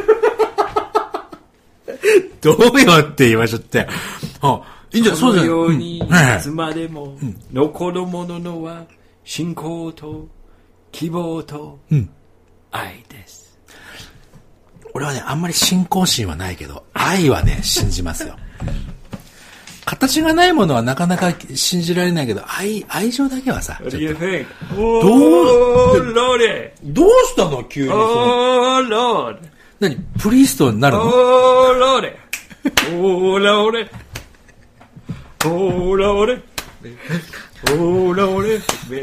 どうよって言いましょって。あ、いいんじゃない、そうじゃない。 このように、いつまでも残るもののは信仰と希望と愛です。 俺はね、あんまり信仰心はないけど、愛はね、信じますよ。形がないものはなかなか信じられないけど、愛、愛情だけはさ。 What do you think? どう、 Lord! どうしたの急に。 Oh, Lord! 何プリーストになるの？ Oh, Lord! Oh, Lord! Oh, Lord! Oh, Lord!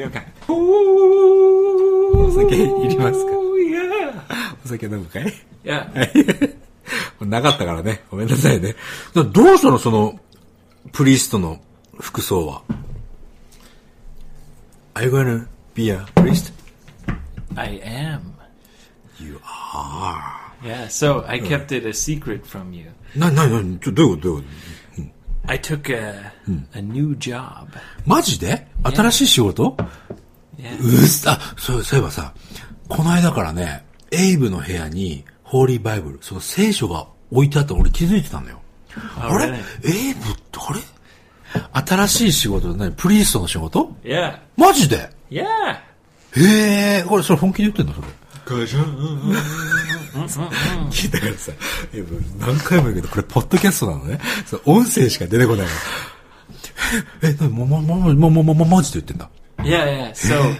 お酒いりますか？ Yeah! お酒飲むかい？ Yeah. なかったからね。ごめんなさいね。どうしたのその、プリーストの服装は。Are you gonna be a priest? I am. You are. Yeah, so I kept it a secret from you. な、な、な、ちょ、どういうことどういうこと、うん、 I took a, a new job. マジで？新しい仕事？ Yeah. うっさ、あ、そう、そういえばさ、この間からね、エイブの部屋に、ホーリーバイブル、その聖書が置いてあったの俺気づいてたのよ。あれ？エイブってあれ？新しい仕事で何？プリーストの仕事？ Yeah. マジで？ Yeah. へえ、これそれ本気で言ってんのそれ。ガジャン。聞いたからさ、何回も言うけど、これポッドキャストなのね。そう音声しか出てこないの。え、なに、も、も、も、も、も、も、も、マジで言ってんだ。 Yeah, yeah. So,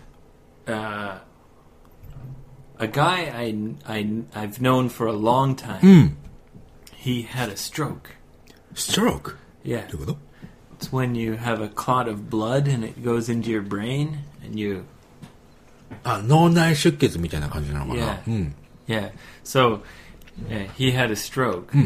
uh, a guy I, I, I've known for a long time, mm. he had a stroke. Stroke? Yeah. どういうこと？ It's when you have a clot of blood and it goes into your brain and you... あ、脳内出血みたいな感じなのかな。 Yeah. うん。Yeah. So, uh, he had a stroke. うん。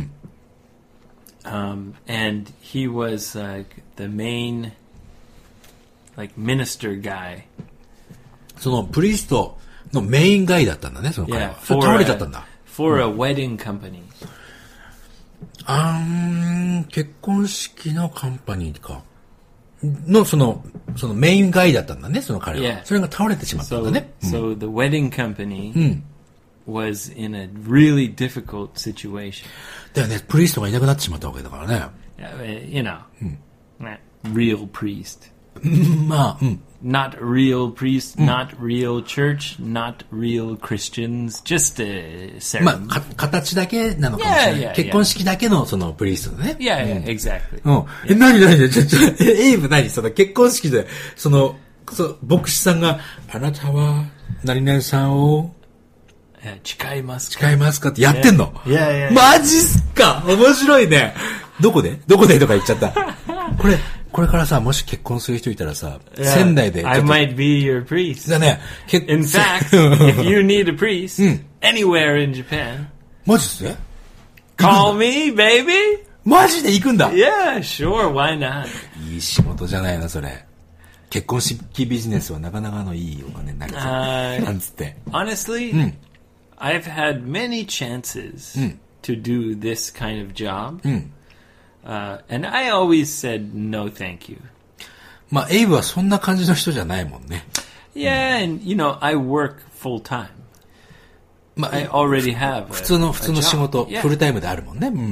Um, and he was like the main, like minister guy. そのプリーストのメインガイだったんだね、その彼は。 Yeah, それ倒れちゃったんだ。 For a wedding company. あーん、結婚式のカンパニーか。の、その、そのメインガイだったんだね、その彼は。 Yeah. それが倒れてしまったんだね。 So, so the wedding company、 うん、 was in a really difficult situation. だよね、プリーストがいなくなってしまったわけだからね。 You know, うん、real priest. まあ、うん。 Not real priest, not real church, not real Christians, just a ceremony. まあ、か、形だけなのかもしれない。Yeah, yeah, 結婚式だけのそのプリーストね。 Yeah, yeah, exactly. うん。え、なになにちょ、ちょ、エイブ何その結婚式で、その、そ牧師さんが、あなたは、何々さんを、 誓いますか誓いますかってやってんの？ Yeah, yeah, yeah. マジっすか？面白いね。どこでどこでとか言っちゃった。これ、これからさ、もし結婚する人いたらさ、yeah, 仙台で。 I might be your priest. だね。 In fact, if you need a priest, うん、anywhere in Japan, マジっすね call me, baby! マジで行くんだ Yeah, sure, why not? いい仕事じゃないの、それ。結婚式ビジネスはなかなかのいいお金になりそう。Uh, なんつって。 Honestly,、うん、I've had many chances、うん、to do this kind of job.、うん、Uh, and I always said no, thank you. まあ、エイブはそんな感じの人じゃないもんね。 Yeah, and you know, I work full time. まあ、 I already have. 普通の普通の仕事、フルタイムであるもんね。うん、 Yeah,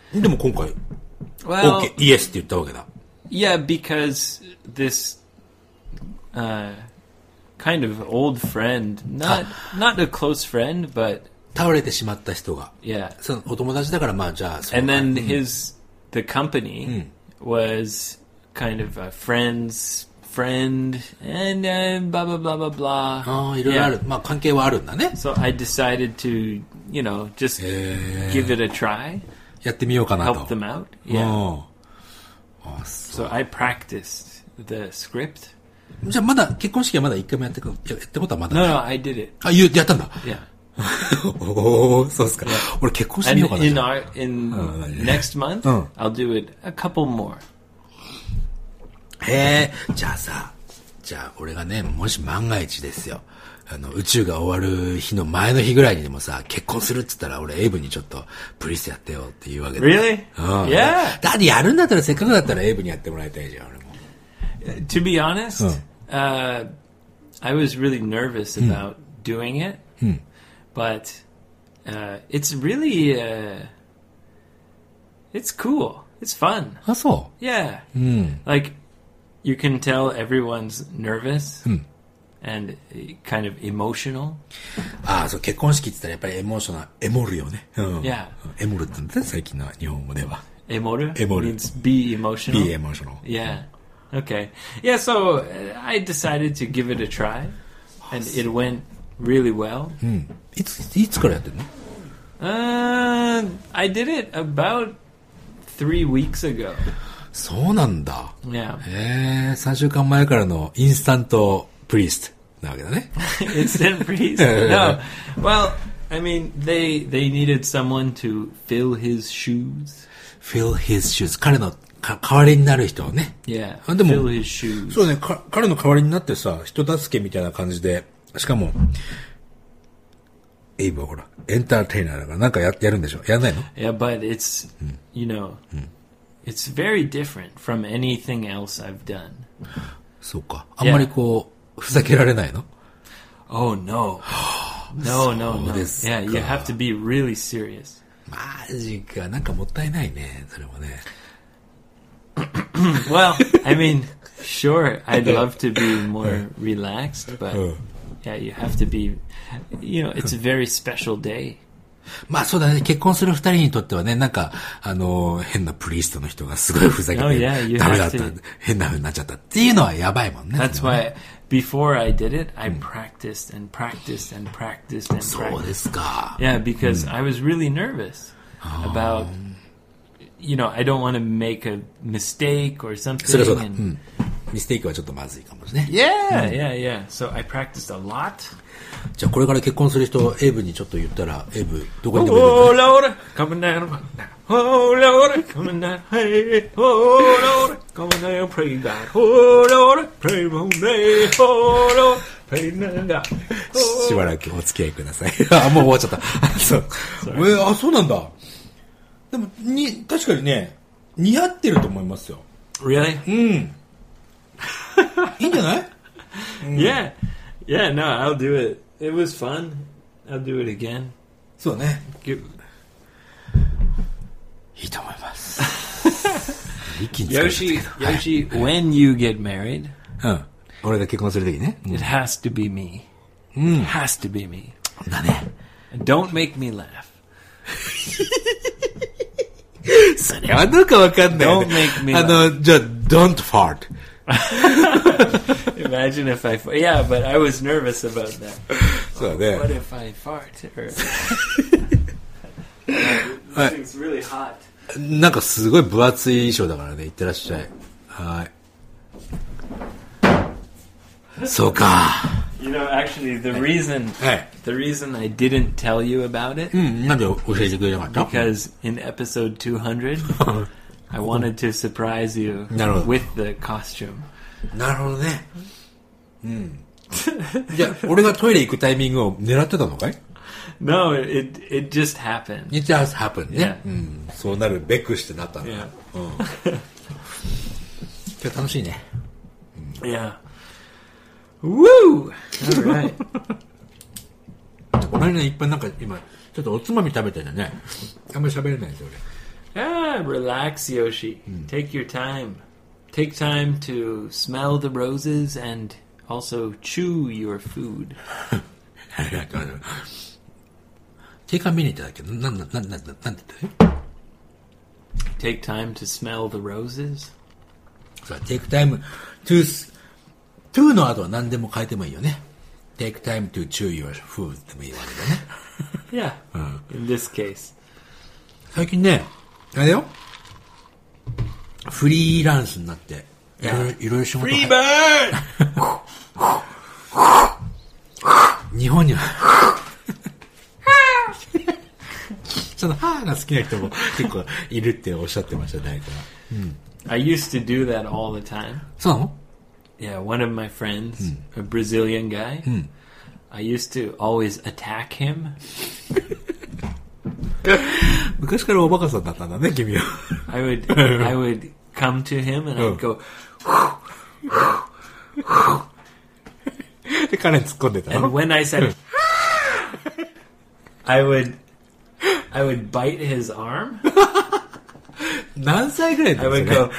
でも今回、 Well, OK、イエスって言ったわけだ。 yeah, because this uh, kind of old friend, not not a close friend, but 倒れてしまった人が。 yeah. そのお友達だからまあじゃあ、 And then his the company was kind of a friend's friend, and uh, blah blah blah blah blah. ああ、いろいろある。まあ関係はあるんだね。 So I decided to, you know, just give it a try, やってみようかなと。 help them out. Yeah. うんあそう So I practiced the script. じゃあまだ、結婚式はまだ一回もやってこ、やったことはまだ No, ない。 no, I did it. あ、言う、やったんだ。 Yeah. おー、そうですか。俺結婚してみ And ようかな。 in じゃあ our in next month, Oh. I'll do it a couple more. へえ、じゃあさ、じゃあ俺がね、もし万が一ですよ。あの、宇宙が終わる日の前の日ぐらいにでもさ、結婚するって言ったら俺エイブにちょっとプリスやってよって言うわけだ。 Really? うん。 Yeah. だってやるんだったらせっかくだったらエイブにやってもらいたいじゃん、俺も。 To be honest, uh, I was really nervous about doing it, but uh, it's really uh, it's cool. It's fun. あ、そ Yeah. う。うん。 Like you can tell everyone's nervous and kind of emotional. ああ、そう、結婚式って言ったらやっぱりエモーショナル、エモるよね。うん。 Yeah. エモるって言うんだね、最近の日本語では。 Emoru Emoru. means be emotional. be emotional. Yeah. Okay. Yeah, so uh, I decided to give it a try, and it went really well. うん。いつ、いつからやってんの Uh, I did it about three weeks ago. そうなんだ。 Yeah. へえ、さんしゅうかんまえからのインスタントプリストなわけだね。 Instant freeze. No. Well, I mean, they they needed someone to fill his shoes. fill his shoes. 彼のか代わりになる人をね。 Yeah. あでも Fill his shoes. そうね、か彼の代わりになってさ、人助けみたいな感じで、しかも、エイブはほら、エンターテイナーだからなんかややるんでしょやんないの Yeah, but it's, you know, it's very different from anything else I've done. そうか。あんまりこう、ふざけられないの Oh, no. No, no, no. そうですか。 Yeah, you have to be really serious. マジか。なんかもったいないね。それもね。 Well, I mean, sure, I'd love to be more relaxed, but yeah, you have to be, you know, it's a very special day. まあそうだね。結婚する二人にとってはね、なんか、あの、変なプリストの人がすごいふざけて、 Oh, yeah, you ダメだった have to.、 変な風になっちゃったっていうのはやばいもんね。 That's それはね why before I did it, I practiced and practiced and practiced and そうで practiced. すか。 Yeah, because I was really nervous about, you know, I don't want to make a mistake or それ something. はそうだ。う And ん。ミステイクはちょっとまずいかもしれない。 yeah, yeah, yeah. So I practiced a lot. じゃあこれから結婚する人、エイブにちょっと言ったら、エイブ、どこにでも Oh いるの Lord, coming down, oh Lord, coming down, hey, oh Lord, coming down, pray God, oh Lord, pray for me, oh Lord, pray God. しばらくお付き合いください。あ、もう終わっちゃった。そう。えー、あ、そうなんだ。でも、に、確かにね、似合ってると思いますよ。 Really? うん。いいんじゃない Yeah, yeah. No, I'll do it. It was fun. I'll do it again. そうね。 Give- いいと思います。一気に疲れちゃ Yoshi, ったけど。はい Yoshi, when you get married, うん。俺が結婚するときね。 it has to be me. It has to be me. だね。 And don't make me laugh. それはどうかわかんないよ Don't ね。 make me あの、じゃあ、don't fart. Imagine if I, fa- yeah, but I was nervous about that. そうだ What ね。 if I fart? Or, はい it's really hot. なんかすごい分厚い衣装だからね。いってらっしゃい。はい。そうか。 You know, actually, the reason, はい。 the reason I didn't tell you about it, うん、なんで教えてくれなかった because in episode two hundred, I wanted to surprise you なるほど。 with the costume. なるほどね。うん。じゃあ、俺がトイレ行くタイミングを狙ってたのかい No, it it just happened. It just happened ね。 Yeah. うん。そうなるべくしてなったんだ。 Yeah. うん。今日楽しいね。 Yeah. Woo! All right. 俺ね、いっぱいなんか今、ちょっとおつまみ食べててね。あんまり喋れないんですよ、 Ah, relax, Yoshi. Take your time. Take time to smell the roses and also chew your food. 定款メニューってだっけど、なんなんなんなんなんて言ったの Take time to smell the roses. そう、take time to, to の後は何でも変えてもいいよね。take time to chew your food でもいいわけだね。 Yeah, in this case. 最近ね、あれだよ。フリーランスになって、いろいろ、いろいろ仕事 Free bird! 日本には、その、はーが好きな人も結構いるっておっしゃってました、誰かが。うん。 I used to do that all the time. そうなの Yeah, one of my friends, a Brazilian guy, I used to always attack him. 昔からおバカさんだったんだね、君は。 I would, I would come to him and I'd go, で、彼に突っ込んでた and の when I said, I would, I would bite his arm. 何歳ぐらいだ I った would go,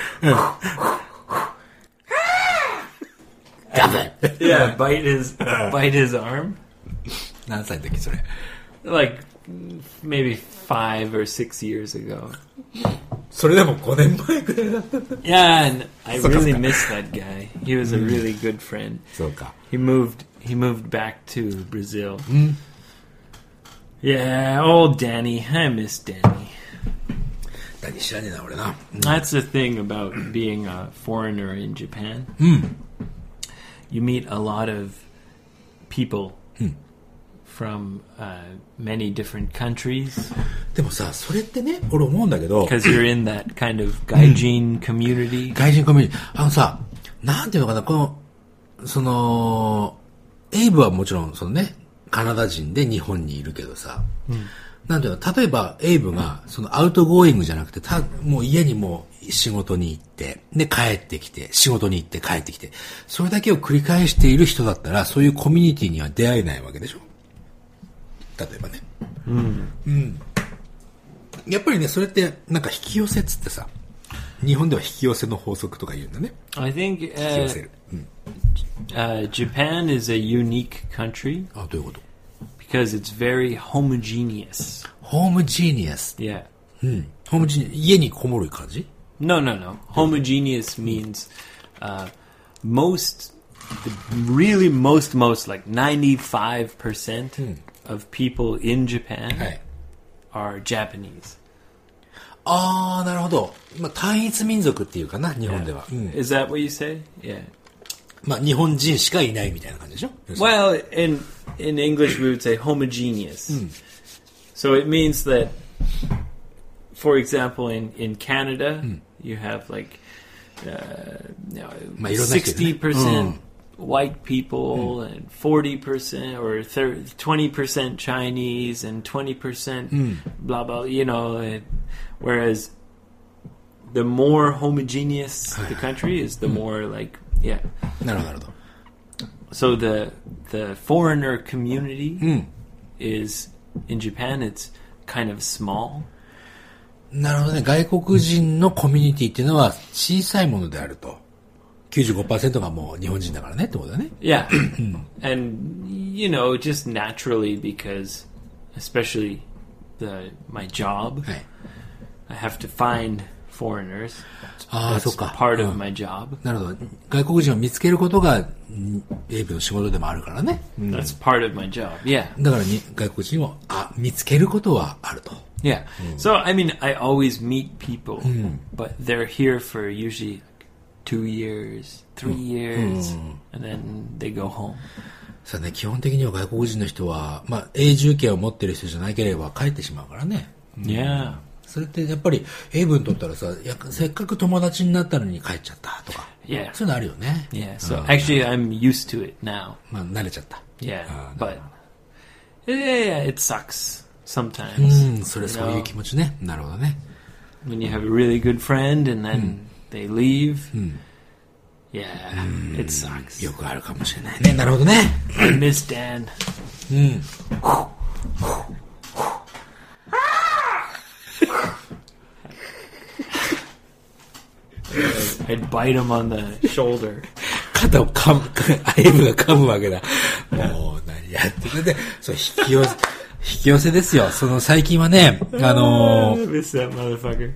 yeah, bite his, bite his arm. 何歳の時それ。 Like maybe five or six years ago. それでもごねんまえぐらいだったんだ。 Yeah, and I really miss that guy. He was a really good friend. そうか。 He moved, he moved back to Brazil. Yeah, old Danny. I miss Danny. 何知らねえな、俺な。 That's the thing about being a foreigner in Japan. You meet a lot of people from uh, many different countries でもさ、それってね、俺思うんだけど、 because you're in that kind of gaijin community. 外人コミュニティ、あのさ、なんていうのかな、この、その、エイブはもちろん、そのね、カナダ人で日本にいるけどさ、なんていうの、例えばエイブが、そのアウトゴーイングじゃなくて、たもう家にもう仕事に行って、で帰ってきて、仕事に行って帰ってきて、それだけを繰り返している人だったら、そういうコミュニティには出会えないわけでしょ。例えばね。うん。うん。やっぱりね、それって、なんか引き寄せっつってさ、日本では引き寄せの法則とか言うんだね。 I think 引き寄せ uh, る。うん。 uh, Japan is a unique country あ、どういうこと because it's very homogeneous. ホームジーニアス。 Yeah. うん。ホームジーニアス。家にこもる感じ No, no, no. Homogeneous means uh, most, the really most, most like ninety-five percent of people in Japan はい。 are Japanese. あー、なるほど。まあ、単一民族っていうかな、日本では。うん。 Is that what you say? Yeah. まあ、日本人しかいないみたいな感じでしょ Well, in in English we would say homogeneous. So it means that, for example, in in Canada, you have like uh, you know, まあ、いろんな人いるね。 sixty percent white people and forty percent or twenty percent Chinese and twenty percent blah blah. You know, and, whereas the more homogeneous the country is, the more like yeah. なるほど、なるほど。 So the the foreigner community is in Japan. It's kind of small. なるほどね。外国人のコミュニティっていうのは小さいものであると。きゅうじゅうごパーセント がもう日本人だからねってことだね。 Yeah, and you know, just naturally because, especially the my job, はい。 I have to find foreigners. ああ、 That's そっか。 part う of ん my job. なるほど。外国人を見つけることが、んエイブの仕事でもあるからね。うん That's part of my job. Yeah, だからに外国人をあ見つけることはあると。 yeah. So I mean, I always meet people, but they're here for usually two years, three years, and then they go home. さあね、基本的には外国人の人は、まあ、永住権を持ってる人じゃなければ帰ってしまうからね。 Yeah. それってやっぱり、エイブにとったらさ、やせっかく友達になったのに帰っちゃったとか。 Yeah. そういうのあるよね。 Yeah. So actually, I'm used to it now. まあ、慣れちゃった。 Yeah, Ah, but yeah, yeah, it sucks う sometimes. ん、それ You そういう know, 気持ちね。なるほどね。 when you have a really good friend and then they leave. Yeah, it sucks. よくあるかもしれないね。なるほどね。 I miss Dan. うん。 I'd bite him on the shoulder. 肩を噛む、エイブが噛むわけだ。もう、何やってるで、そう、引き寄せ、引き寄せですよ。その最近はね、あのー、 Miss that motherfucker.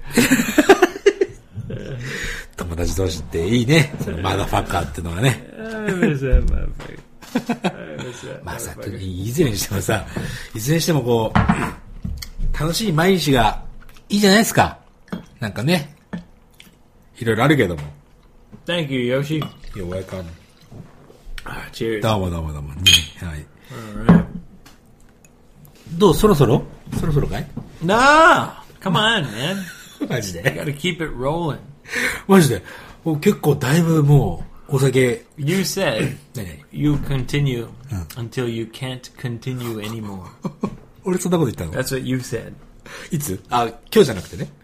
友達同士っていいね。そのマダファッカーってのはね。 Miss that motherfucker. Miss that まあさ、 motherfucker. いずれにしてもさ、いずれにしてもこう、楽しい毎日がいいじゃないですか。なんかね、いろいろあるけども。 Thank you, Yoshi. You're welcome. Ah, cheers. どうもどうもどうも。ね、はい。 Alright. どうそろそろそろそろかい No! Come on, man. マジ I で gotta keep it rolling. マジでもう結構だいぶもう、お酒、 You said 何々 you continue until you can't continue anymore. 俺そんなこと言ったの That's what you said. いつあ、今日じゃなくてね。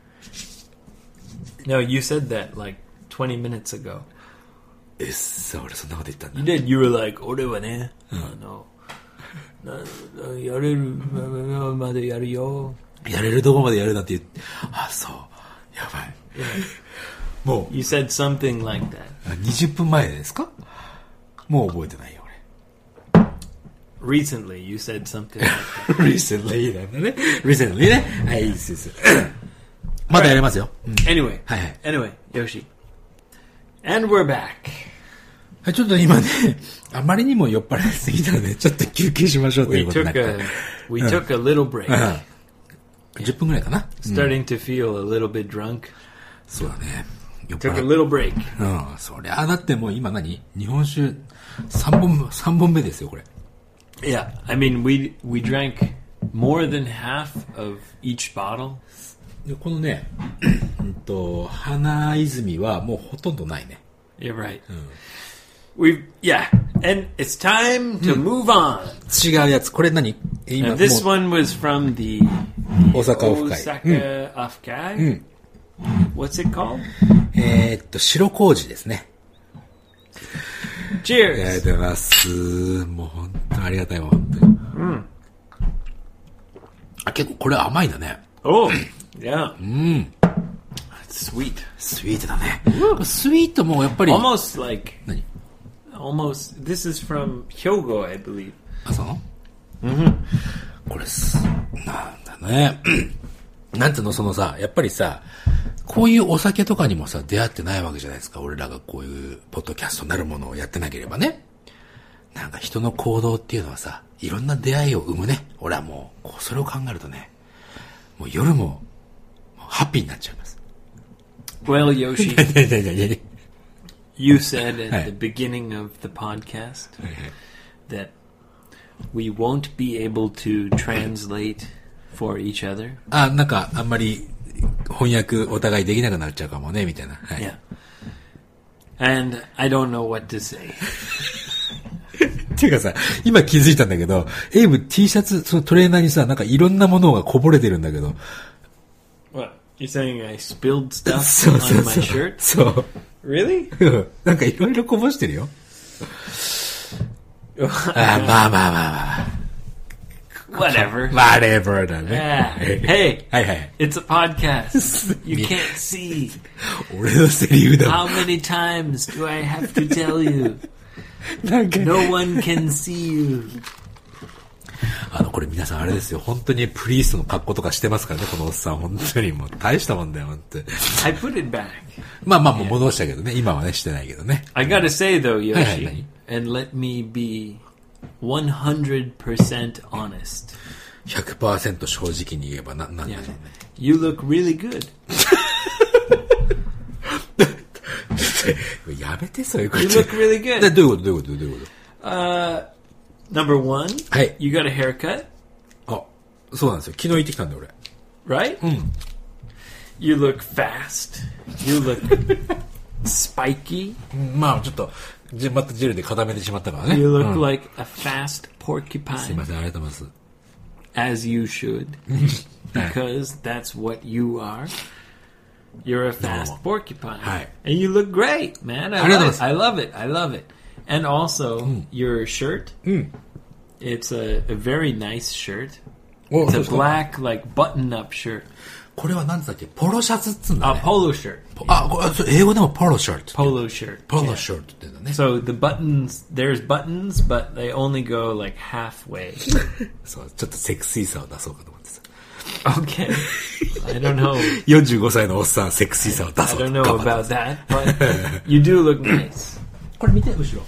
No, you said that like twenty minutes ago. えっさ、俺そんなこと言ったんだ You。did. You were like, 俺はね、あの、なやれるまでやるよ。 やれるとこまでやるなんて言って、あ、そう。やばい。もう、 You said something like that. にじゅっぷんまえですかもう覚えてないよ、俺。 Recently, you said something like that. recently なんだね。recently ね。はい、いいです。まだやれますよ。うん、 Anyway, はいはい。 anyway, Yoshi. And we're back. はい、ちょっと今ね、あまりにも酔っ払いすぎたので、ちょっと休憩しましょうとい We うことにな took って a we took a little break. うん、じゅっぷんぐらいかな。 Starting to feel a little bit drunk. そうだね。酔っ Took a 払い。 little break. うん、そりゃ、だってもう今何日本酒さんぼん、さんぼんめですよ、これ。 Yeah, I mean we we drank more than half of each bottle. でこのね、うんと、花泉はもうほとんどないね。 You're right. We've yeah, and it's time to move on. 違うやつ、これ何今 And this もう one was from the 大阪オフ会。 Osaka Offkai. What's it called? えーっと、白麹ですね。ありが Cheers. とうございます。もう本当にありがたいわ、本当に。あ、結構これ甘いんだね。 Oh, yeah. うん。 It's sweet. スイートだね。スイートもやっぱり。 Almost like 何 almost this is from Hyogo, I believe. あ、そうこれす、なんだね。なんていうの、そのさ、やっぱりさ、こういうお酒とかにもさ、出会ってないわけじゃないですか。俺らがこういうポッドキャストなるものをやってなければね。なんか人の行動っていうのはさ、いろんな出会いを生むね。俺はもう、こうそれを考えるとね、もう夜も、もうハッピーになっちゃいます。 Well, Yoshi, いやいやいやいや you said at Hey. the beginning of the podcast that we won't be able to translate for each other. あ、なんかあんまり翻訳お互いできなくなっちゃうかもね、みたいな。はい。 Yeah. And I don't know what to say. っていうかさ、今気づいたんだけど、エイブ T シャツ、そのトレーナーにさ、なんかいろんなものがこぼれてるんだけど。 What? You're saying I spilled stuff そうそう on そ my う。 shirt? そう。 Really? うんなんかいろいろこぼしてるよ。あ、まあまあまあまあ。 Whatever. whatever だ Ah, ね。 hey, はいはい。 it's a podcast. You can't see. 俺のセリフだ How many times do I have to tell you? なんか、 No one can see you. あの、これ皆さんあれですよ。本当にプリーストの格好とかしてますからね、このおっさん。本当にもう大したもんだよ、本当に。 I put it back. まあまあもう戻したけどね。今はね、してないけどね。 I gotta say though, Hey, hey, Yoshi, hey. and let me be one hundred percent honest. ひゃくパーセント 正直に言えばな、なんだろう Yeah. ね。 You look really good. やめて、そういうこと You。look really で good. どういうことどういうことどういうこ Uh, number one, Hey. you got a haircut, とあ、そうなんですよ。昨日行ってきたんだよ、 right? 俺。うん。 You look fast. You look spiky. まあちょっと、じまたジェルで固めてしまったからね。 You う look ん like a fast すい porcupine, ません、ありがとうございます。 as you should, because that's what you are. You're a fast No. porcupine, Hi. and you look great, man. I Arigatou love it. gozaimasu. I love it. I love it. And also, your shirt. It's a, a very nice shirt. お It's そう a ですか black, like button-up shirt. これは何だっけポロシャツっつうんだ A ね。 polo shirt. あ、これそれ英語でもポロシャツ。 Polo shirt. ポロ Yeah. シャツって言うんだね。 So the buttons, there's buttons, but they only go like halfway. そう、ちょっとセクシーさを出そうかと思ってさ。 Okay. I don't know. よんじゅうごさいのおっさん、セクシーさを出 I そうと don't know 頑張って about that, but you do look nice. これ見て、後ろ。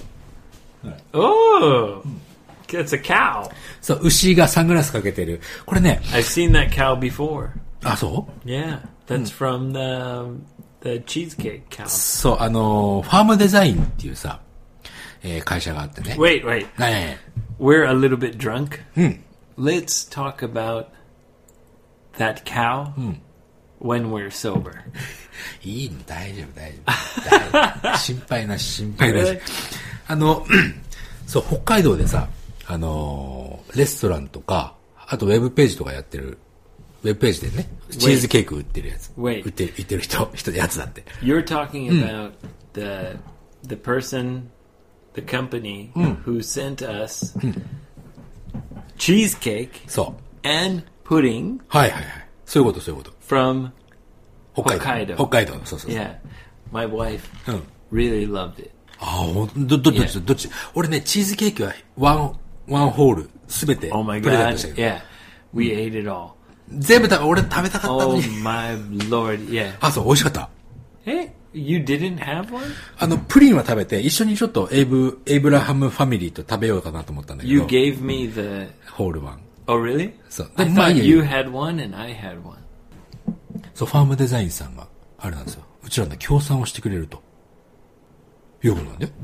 Oh, it's a cow. そう、牛がサングラスかけてる。これね、 I've seen that cow before. あ、そう Yeah, that's from the the cheesecake cow. そう、あのー、ファームデザインっていうさ、えー会社があってね。 Wait, wait. ね We're a little bit drunk. Let's talk about that cow when we're sober. いいの、大丈夫、大丈夫。大丈夫心配なし、心配なし Really?。 あの、そう、北海道でさ、あのー、レストランとか、あとウェブページとかやってる、ウェブページでね、チーズケーキ売ってるやつ。 Wait. 売ってる、売ってる人、人やつだって。 You're talking about the the person, the company who sent us cheesecake そう。 and pudding はいはいはい。そういうこと、そういうこと。 from 北海道。 北北海道。そうそうそう。 yeah. My wife うん。 really loved it. ああ、ほんど、ど、どっち、どっち。俺ね、チーズケーキはワン、ワンホール、すべて Oh my プレゼン god. トしたけど。 Yeah. We ate it all. 全部食べ、俺食べたかったの Oh に。 my lord. Yeah. あ、そう、美味しかった。 Hey, you didn't have one? あの、プリンは食べて、一緒にちょっとエイブ、エイブラハムファミリーと食べようかなと思ったんだけ You ど。 gave me the ホールワン。 Oh really? そう。 I でまあ thought いいや you had one and I had one. そう、ファームデザインさんが、あれなんですよ。うちらの協賛をしてくれると。いうことなんだよ。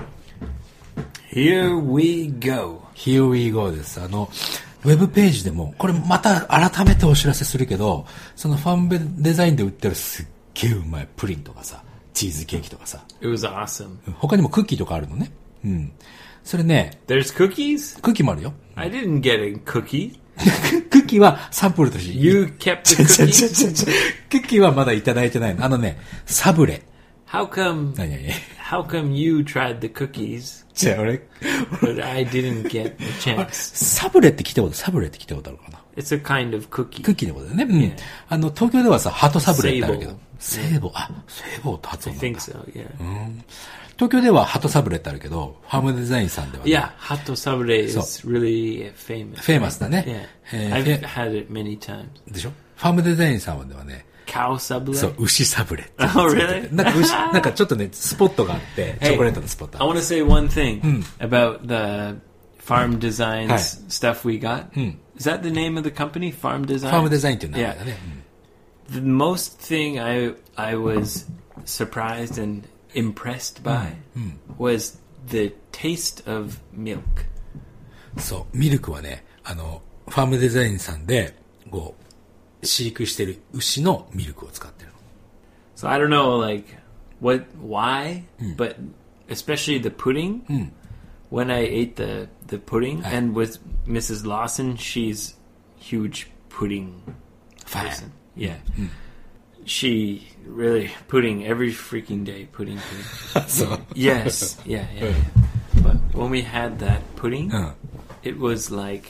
Here we go. Here we go です。あの、ウェブページでも、これまた改めてお知らせするけど、そのファームデザインで売ってるすっげえうまいプリンとかさ、チーズケーキとかさ、 It was awesome. 他にもクッキーとかあるのね。うん。それね、 There's cookies? クッキーもあるよ。 I didn't get a cookie. クッキーはサンプルとして。 You kept the ちょちょ cookies? ちょちょクッキーはまだいただいてないの。あのね、サブレ。 How come 何々 how come you tried the cookies じゃあ俺、 but I didn't get the chance? サブレって聞いたこと、サブレって聞いたことあるかな。 It's a kind of cookie. クッキーのことだよね。うん。あの、東京ではさ、ハトサブレってあるけど。 セセーボー。あ、セーボーと発 I 音なん think だ。 so, yeah. 東京ではハトサブレってあるけど、ファームデザインさんではね、 Yeah, Hato Sabre is really famous. フェイマスだね。 Yeah. えー I've フェ had it many times. でしょファームデザインさんではね、 Cow Sabre? そう、牛サブレって。 Oh, really? なんか牛、なんかちょっとね、スポットがあって、チ Hey, ョコレートのスポット I あっ want て。 to say one thing about the farm designs Hi. stuff we got. Is that the name of the company? Farm Design? ファームデザインっていう名前 Yeah. だね。 The most thing I I was surprised and impressed by was the taste of milk. うんそう、ミルクはね、あの、ファームデザインさんで、こう、飼育してる牛のミルクを使ってるの。 So I don't know, like, what, why, but especially the pudding. When I ate the the pudding, Hi. and with Missus Lawson, she's huge pudding Fan. person. Yeah, she really pudding every freaking day. Pudding, pudding. そう。 Yes, yeah, yeah, yeah. But when we had that pudding, うん。 it was like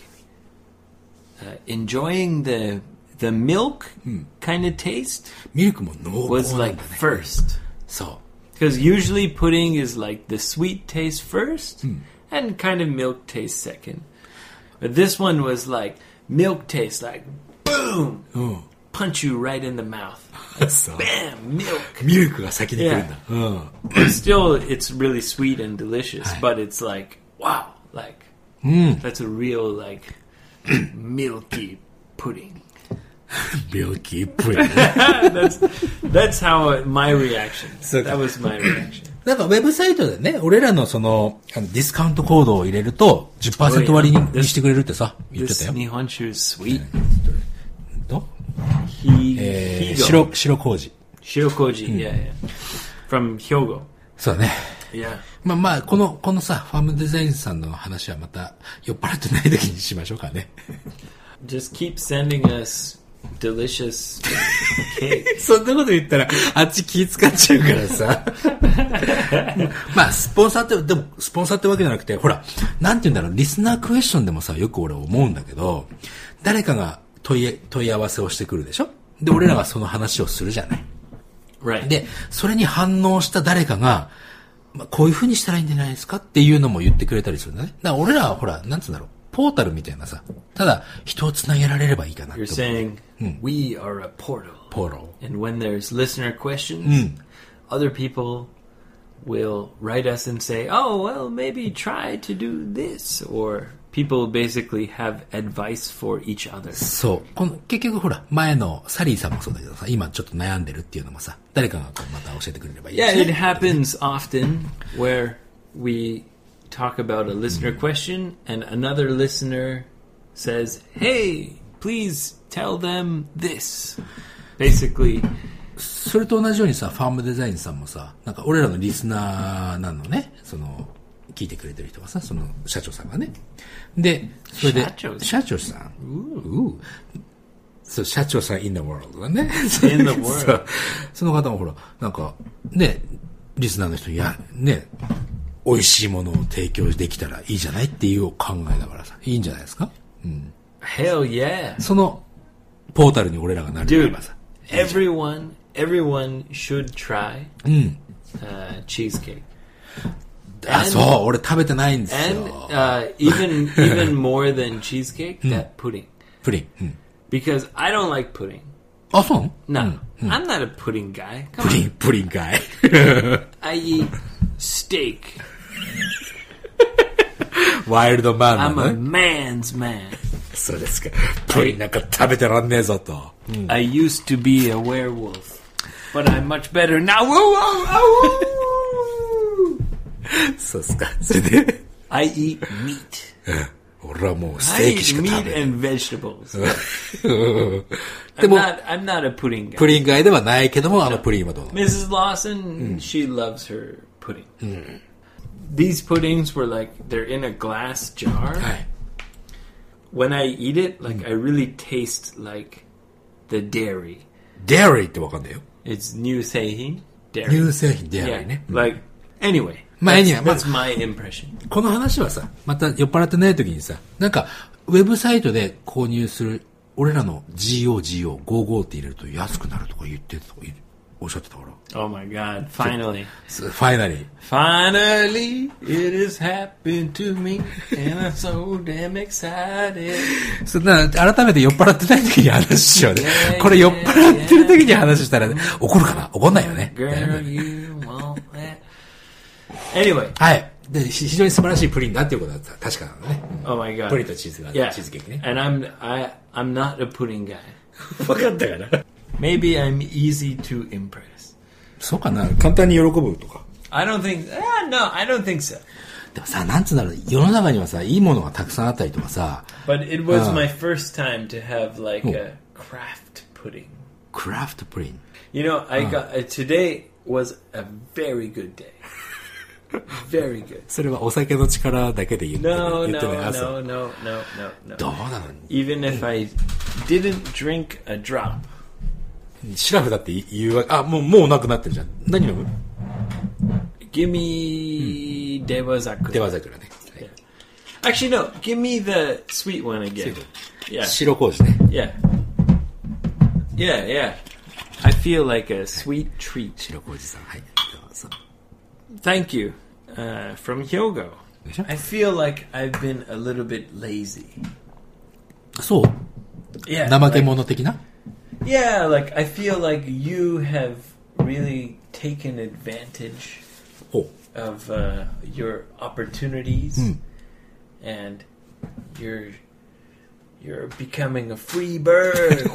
uh, enjoying the the milk kind of taste ミルクも濃 was 厚なん like だね。 first. そ Because usually pudding is like the sweet taste first and kind of milk taste second. But this one was like milk taste, like boom, う。うん。 punch you right in the mouth. そう。 Bam, milk. ミルクが先に来るんだ。うん。 But still, it's really sweet and delicious. But it's like, wow, like that's a real like milky pudding. 病気プリン。 that's that's how my reaction. So- that was my reaction. なんかウェブサイトでね、俺らのその、あのディスカウントコードを入れると、じゅっパーセント 割に This- にしてくれるってさ、言ってた This よ。 Nihonshu is sweet. と He, えー、 Higo. 白、白麹。 Shirokoji, yeah, yeah. From Hyogo. そうだね。 Yeah. まあまあ、この、このさ、ファームデザインさんの話はまた、酔っ払ってない時にしましょうかね。 Just keep sending us delicious cake. そんなこと言ったら、あっち気使っちゃうからさ。まあ、スポンサーって、でも、スポンサーってわけじゃなくて、ほら、なんて言うんだろう、リスナークエスチョンでもさ、よく俺思うんだけど、誰かが問い、問い合わせをしてくるでしょで、俺らがその話をするじゃない。 Right. で、それに反応した誰かが、まあ、こういう風にしたらいいんじゃないですかっていうのも言ってくれたりするんだね。だから俺らはほら、なんつうんだろう、ポータルみたいなさ、ただ人をつなげられればいいかなって。 You're saying、うん、we are a portal. Portal. And when there's listener questions,、うん、other people will write us and say, oh, well, maybe try to do this. Or people basically have advice for each other. そう。この結局ほら、前のサリーさんもそうだけどさ、今ちょっと悩んでるっていうのもさ、誰かがこうまた教えてくれればいいし、ね。 Yeah, it happens often where we talk about a listener question and another listener says, hey, please tell them this. Basically, それと同じようにさ、ファームデザインさんもさ、なんか俺らのリスナーなのね、その、聞いてくれてる人がさ、その社長さんがね。で、それで、 社長さん。 社長さん。ううそう、社長さん in the world だね。 in the world. その方もほら、なんか、ね、リスナーの人に、や、ね、美味しいものを提供できたらいいじゃないっていう考えだからさ、いいんじゃないですか？うん。 Hell yeah. その、ポータルに俺らがなれればさ。 Everyone, everyone should try、うん uh, cheesecake. あ、そう、俺食べてないんですよ。 And、uh, even, even more than cheesecake, that pudding. プリン。うん。 Because I don't like pudding. あ、そう No, うんうん、 I'm not a pudding guy. Come プリン、プリンかい。 I eat steak. ワイルドマンな I'm の a ね。 man's man. そうですか。プリンなんか食べてらんねえぞと。 うん、I used to be a werewolf, but I'm much better now. Woo, woo, woo. そうですか。それで I eat meat. 俺はもうステーキしか食べない。 I eat meat and vegetables. I'm not, I'm not a pudding guy. プリン街ではないけども、あのプリンはどうなの？ Missus Lawson, she loves her pudding. These puddings were like, they're in a glass jar. はい。 When I eat it, like I really taste like the dairy. Dairy ってわかんないよ。 It's 乳製品 dairy. 乳製品 dairy ね。 Like, anyway. まあ、anyway, that's my impression. この話はさ、また酔っ払ってない時にさ、なんか、ウェブサイトで購入する、俺らの ジーオージーオーごじゅうご って入れると安くなるとか言ってたとかおっしゃってたから。 Oh my god, finally. Finally. Finally, it has happened to me, and I'm so damn excited. そんな、改めて酔っ払ってない時に話しようね。これ酔っ払ってる時に話したら、ね、怒るかな？怒んないよね。 Girl, you want that. Anyway. はい。で、非常に素晴らしいプリンだっていうことは確かなのね。 Oh my god. プリンとチーズが、 yeah. チーズケーキね。 And I'm, I, I'm not a pudding guy. わかったかな？ Maybe I'm easy to impress. そうかな？簡単に喜ぶとか。 I don't think, ah, no, I don't think so. でもさ、なんつうんだろう、世の中にはさ、いいものがたくさんあったりとかさ。 But it was、uh, my first time to have like、oh. a craft pudding. Craft pudding? You know, I、uh. got, uh, today was a very good day. Very good. それはお酒の力だけで言ってない。 No, 言ってない no, 朝。 no, no, no, no, no. どうなの？ Even if I didn't drink a drop. シラフだって言うわけ。あ、もう、もうなくなってるじゃん。何飲む？ Give me、うん、デワザクラ。 デワザクラね。 はい、Actually, no. Give me the sweet one again. Yeah. 白麹ね。 Yeah. Yeah, yeah. I feel like a sweet treat. 白麹さん。はい。どうぞ。 Thank you. Uh, from Hyogo. I feel like I've been a little bit lazy. そう？ Yeah. 怠け者的な？ Yeah, like I feel like you have really taken advantage oh. of uh, your opportunities, mm. and you're you're becoming a free bird.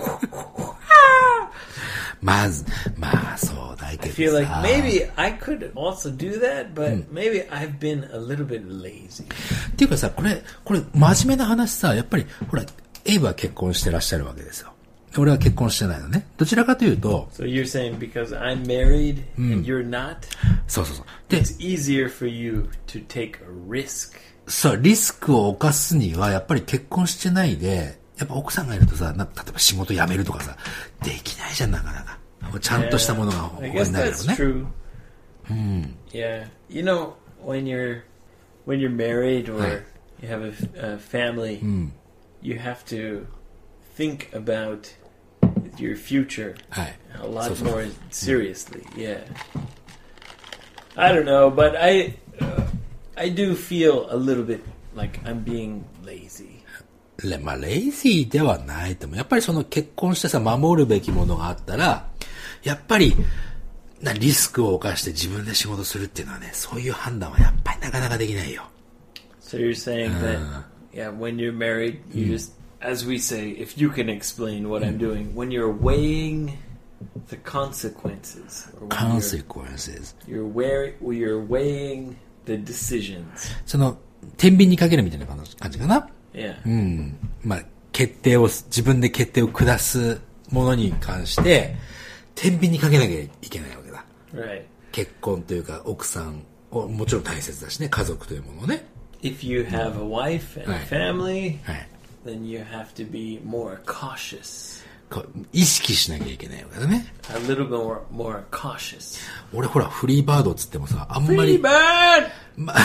まず、まあそうだけどさ。 I feel like maybe I could also do that, but、うん、maybe I've been a little bit lazy. っていうかさ、これこれ真面目な話さ、やっぱりほら、エイブは結婚してらっしゃるわけですよ。俺は結婚してないのね。どちらかというと。 So you're saying because I'm married、うん、and you're not? そうそうそう。 で、It's easier for you to take a risk. そう、リスクを犯すにはやっぱり結婚してないで、やっぱ奥さんがいるとさ、な例えば仕事辞めるとかさ、できないじゃん、なかなか。ちゃんとしたものが他になるよね。 I guess that's true. うん。 Yeah. You know, when you're, when you're married or you have a, a family, うん、 you have to think about your future はい。 a lot そうそう。 more seriously. Yeah. I don't know, but I uh, I do feel a little bit like I'm being lazy. レまあ、レイジーではないと思う。やっぱりその結婚してさ、守るべきものがあったら、やっぱり、なリスクを冒して自分で仕事するっていうのはね、そういう判断はやっぱりなかなかできないよ。 So you're saying that, yeah, when you're married, you just, as we say, if you can explain what I'm doing, when you're weighing the consequences, or when consequences. You're, you're, wear, you're weighing the decisions. その、天秤にかけるみたいな感じかな。 Yeah. うん。まあ、決定を、自分で決定を下すものに関して、天秤にかけなきゃいけないわけだ。 Right. 結婚というか、奥さんをもちろん大切だしね、家族というものをね。 If you have a wife and a family, はい。 then you have to be more cautious. 意識しなきゃいけないわけだね。 A little bit more, more cautious. 俺ほら、フリーバードっつってもさ、あんまり。 フリーバードま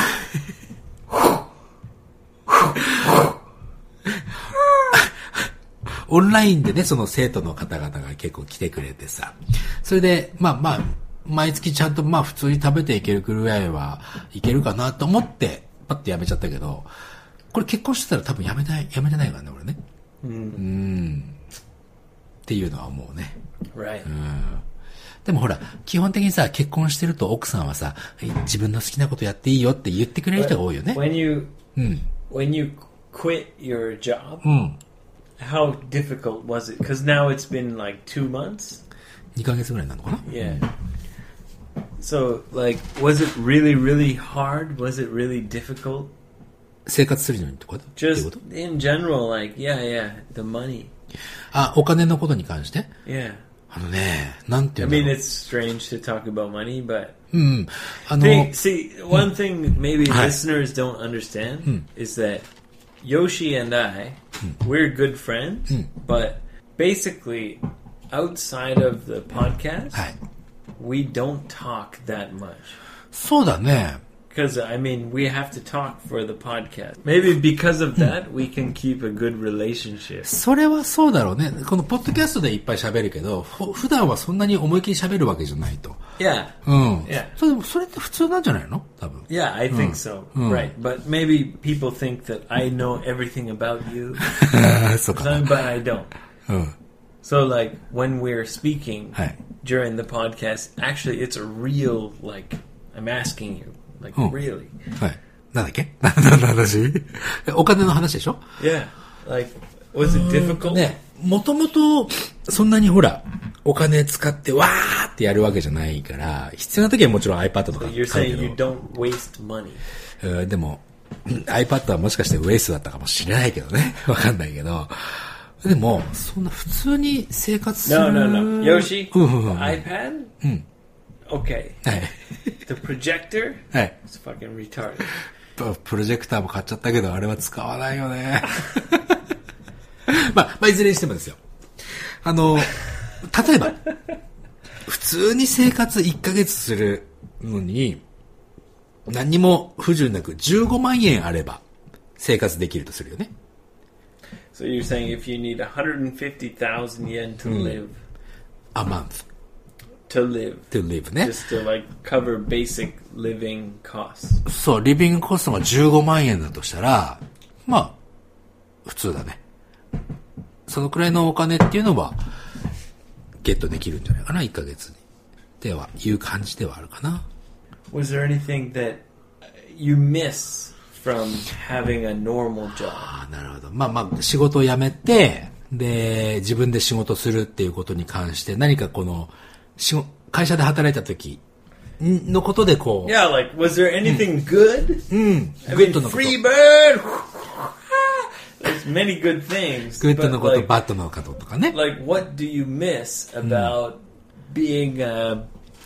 オンラインでね、その生徒の方々が結構来てくれてさ。それで、まあまあ、毎月ちゃんとまあ普通に食べていけるくらいはいけるかなと思って、パッとやめちゃったけど、これ結婚してたら多分やめない、やめてないからね、俺ね。うん。うんっていうのは思うね。 Right. うん。でもほら、基本的にさ、結婚してると奥さんはさ、自分の好きなことやっていいよって言ってくれる人が多いよね。 When you, うん。 when you quit your job, うん。 how difficult was it? Because now it's been like two months. にかげつぐらいなのかな Yeah. So, like, was it really, really hard? Was it really difficult? 生活するのにとか Just in general, like, yeah, yeah, the money. あ、お金のことに関して Yeah. あのね、なんてい I うんだろう。 mean, it's strange to talk about money, but うん。あの、 Think, see, one thing maybe はい。 listeners don't understand is that Yoshi and I, we're good friends, but basically, outside of the podcast, はい。 we don't talk that much. そうだね。 Because, I mean, we have to talk for the podcast. Maybe because of that, we can keep a good relationship. それはそうだろうね。このポッドキャストでいっぱい喋るけど、ふ普段はそんなに思いっきり喋るわけじゃないと。 Yeah. うん。 Yeah. それ、それって普通なんじゃないの多分。 Yeah, I think so. Right. But maybe people think that I know everything about you. そうかな。 But I don't. うん。 So, like, when we're speaking はい。 during the podcast, actually, it's a real, like, I'm asking you, like, really. はい。なんだっけ何の話お金の話でしょ Yeah. Like, was it difficult? ね、もともと、そんなにほら、お金使ってわーってやるわけじゃないから、必要な時はもちろん iPad とか So you're 買う saying け you ど。 don't waste money. うん、でも、iPad はもしかしてウェイスだったかもしれないけどね。わかんないけど。でも、そんな普通に生活する。 No, no, no. Yoshi, うんうんうん iPad? うん。 Okay. はい。 The projector? はい。 It's fucking retarded. ププロジェクターも買っちゃったけど、あれは使わないよね。まあ、まあ、いずれにしてもですよ。あの、例えば、普通に生活いっかげつするのに、何にも不自由なくじゅうごまんえんあれば生活できるとするよね。 So you're saying if you need one hundred fifty thousand yen to live, a month to live, to live ね。 just to like cover basic living costs. そう、リビングコストがじゅうごまんえんだとしたら、まあ、普通だね。そのくらいのお金っていうのは、ゲットできるんじゃないかな、いっかげつに。では、いう感じではあるかな。 Was there anything that you miss from having a normal job? ああ、なるほど。まあまあ、仕事を辞めて、で、自分で仕事するっていうことに関して、何かこの、仕会社で働いた時のことでこう。 Yeah, like, was there anything good? うん。 I グッ mean, ドのこと。 free bird! There's many good things. グッドのこと、 like, バッドのこととかね。 like, what do you miss about being a,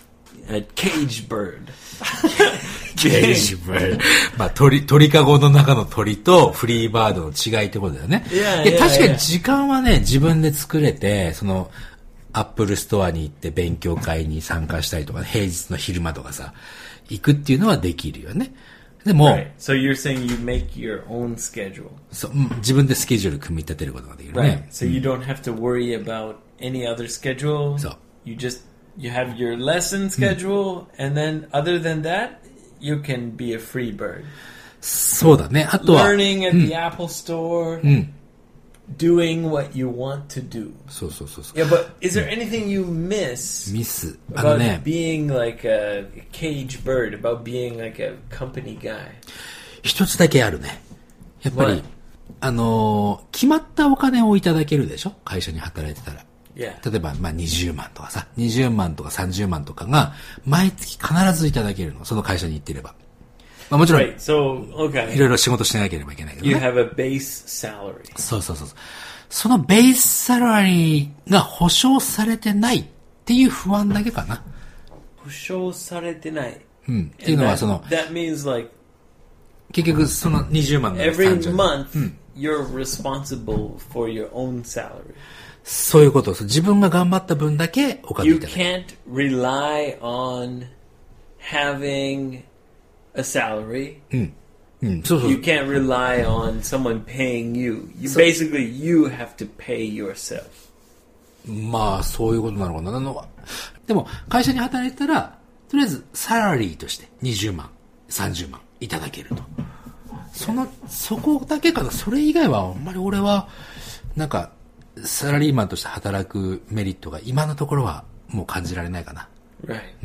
a cage bird? ケージバード。まあ、鳥、鳥かごの中の鳥とフリーバードの違いってことだよね。 いやいや、確かに時間はね、自分で作れて、その、アップルストアに行って勉強会に参加したりとか、平日の昼間とかさ、行くっていうのはできるよね。でも、 Right. So you're saying you make your own schedule. そう、うん自分でスケジュール組み立てることができるね。 Right. So you don't have to worry about any other schedule. So. You just you have your lesson schedule, mm. and then other than that, you can be a free bird. そうだね。あとは learning at the Apple Store, うん。 doing what you want to do. そうそうそうそう。 Yeah, but is there anything you miss ミス。あの about ね、 being like a cage bird, about being like a company guy? 一つだけあるね。やっぱり、 What? あのー、決まったお金をいただけるでしょ？会社に働いてたら。 Yeah. 例えば、まあ、にじゅうまんとかさ、にじゅうまんとかさんじゅうまんとかが、毎月必ずいただけるの。その会社に行ってれば。まあ、もちろん、 Right, so, okay. いろいろ仕事しなければいけないけどね。 You have a base salary. そうそうそう。そのベースサラリーが保証されてないっていう不安だけかな。 保証されてない。 うん。っていうのは、その、 that means like, 結局、そのにじゅうまんの every month,、うん、you're responsible for your own salary. そういうことです。自分が頑張った分だけお金いただく。 You can't rely on having a salary. うん。うん、そうそう。 You can't rely on someone paying you. You basically, you have to pay yourself. まあ、そういうことなのかな。あの、でも、会社に働いてたら、とりあえず、サラリーとしてにじゅうまん、さんじゅうまんいただけると。その、そこだけかな。それ以外は、あんまり俺は、なんか、サラリーマンとして働くメリットが今のところはもう感じられないかな。 Right. うん。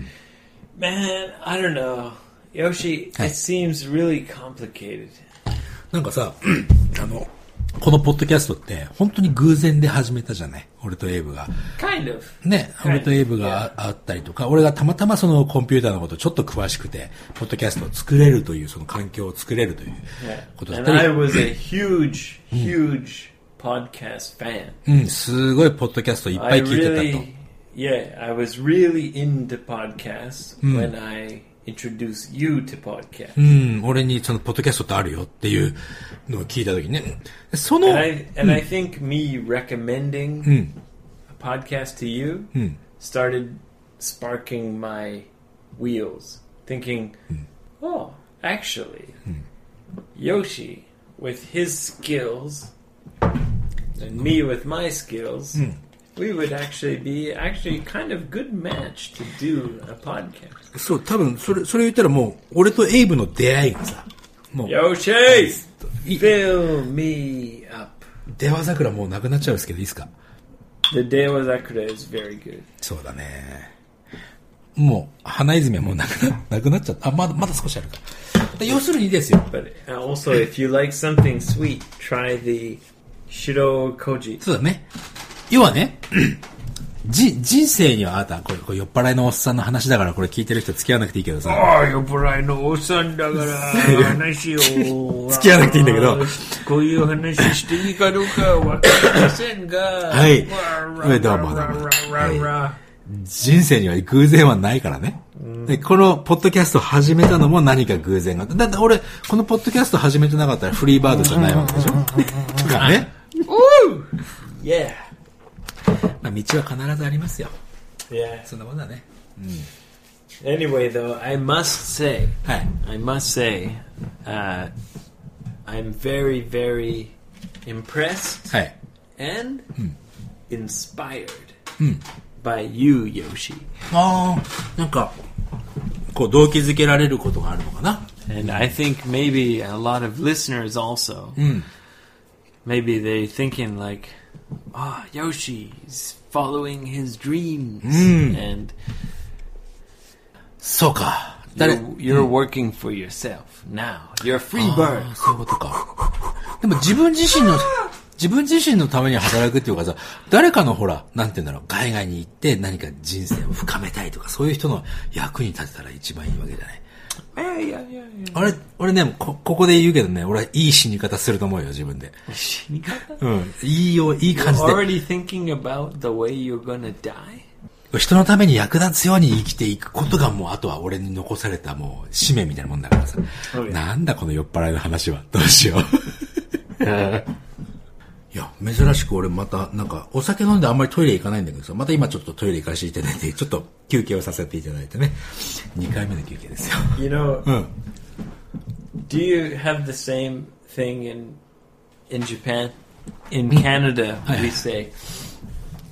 Man, I don't know. Yoshi, it seems really complicated. なんかさ、あの、このポッドキャストって本当に偶然で始めたじゃない？俺とエイブが。 Kind of. ね、俺とエイブがあったりとか、俺がたまたまそのコンピューターのことちょっと詳しくて、ポッドキャストを作れるという、その環境を作れるということだったり。 And I was a huge, huge podcast fan. うん、すごいポッドキャストいっぱい聞いてたと。 I really, yeah, I was really into podcasts、うん、when I introduced you to podcasts. うん、俺にそのポッドキャストってあるよっていうのを聞いたときね。その、 and I, and I think me recommending、うん、a podcast to you、うん、started sparking my wheels, thinking, うん、oh, actually,、うん、Yoshi with his skills.And me with my skills, mm. we would actually be actually kind of good match to do a podcast. そう、多分それそれ言ったらもう俺とエイブの出会いがさ、もう Yoshi, fill me up. 出羽桜もうなくなっちゃうんですけどいいですか？ The 出羽桜 is very good. そうだね。もう花泉はもうなくななくなっちゃった。あ、まだまだ少しあるか。要するにですよ。 But also, if you like something sweet, try the Shiro Koji。 そうだね。要はね、じ、人生にはあなた、これ、これ酔っ払いのおっさんの話だからこれ聞いてる人付き合わなくていいけどさ。 ああ、酔っ払いのおっさんだから話を。 付き合わなくていいんだけど。 こういう話していいかどうかわかりませんが。 はい。どうもどうも。はい、人生には偶然はないからね。で、このポッドキャスト始めたのも何か偶然があった。だって俺、このポッドキャスト始めてなかったらフリーバードじゃないわけでしょ。とかね。 Ooh! Yeah. まあ、道は必ずありますよ。 Yeah. そんなもんだね。うん。 Anyway, though, I must say, はい。 I must say, uh, I'm very, very impressed はい。 and、うん、inspired、 うん、 by you, Yoshi. ああ、なんか、こう動機づけられることがあるのかな。 And I think maybe a lot of listeners also. うん。 Maybe they're thinking like, ah, oh, Yoshi's following his dreams, mm. and そうか。 You're, you're working for yourself now. You're a free bird. そういうことか。でも自分自身の自分自身のために働くっていうかさ、誰かのほら、なんて言うんだろう、海外に行って何か人生を深めたいとか、そういう人の役に立てたら一番いいわけじゃない。 いやいやいや。 俺、俺ね、こ、ここで言うけどね、俺はいい死に方すると思うよ、自分で。 死に方？ うん。いいよ、いい感じで。 You're already thinking about the way you're gonna die? 人のために役立つように生きていくことがもう、あとは俺に残されたもう、使命みたいなもんだからさ。Okay. なんだこの酔っ払いの話は。どうしよう。いや、珍しく俺また、なんか、お酒飲んであんまりトイレ行かないんだけどさ、また今ちょっとトイレ行かせていただいて、ちょっと休憩をさせていただいてね。にかいめの休憩ですよ。 You know, うん。 Do you have the same thing in, in Japan? In Canada, we say,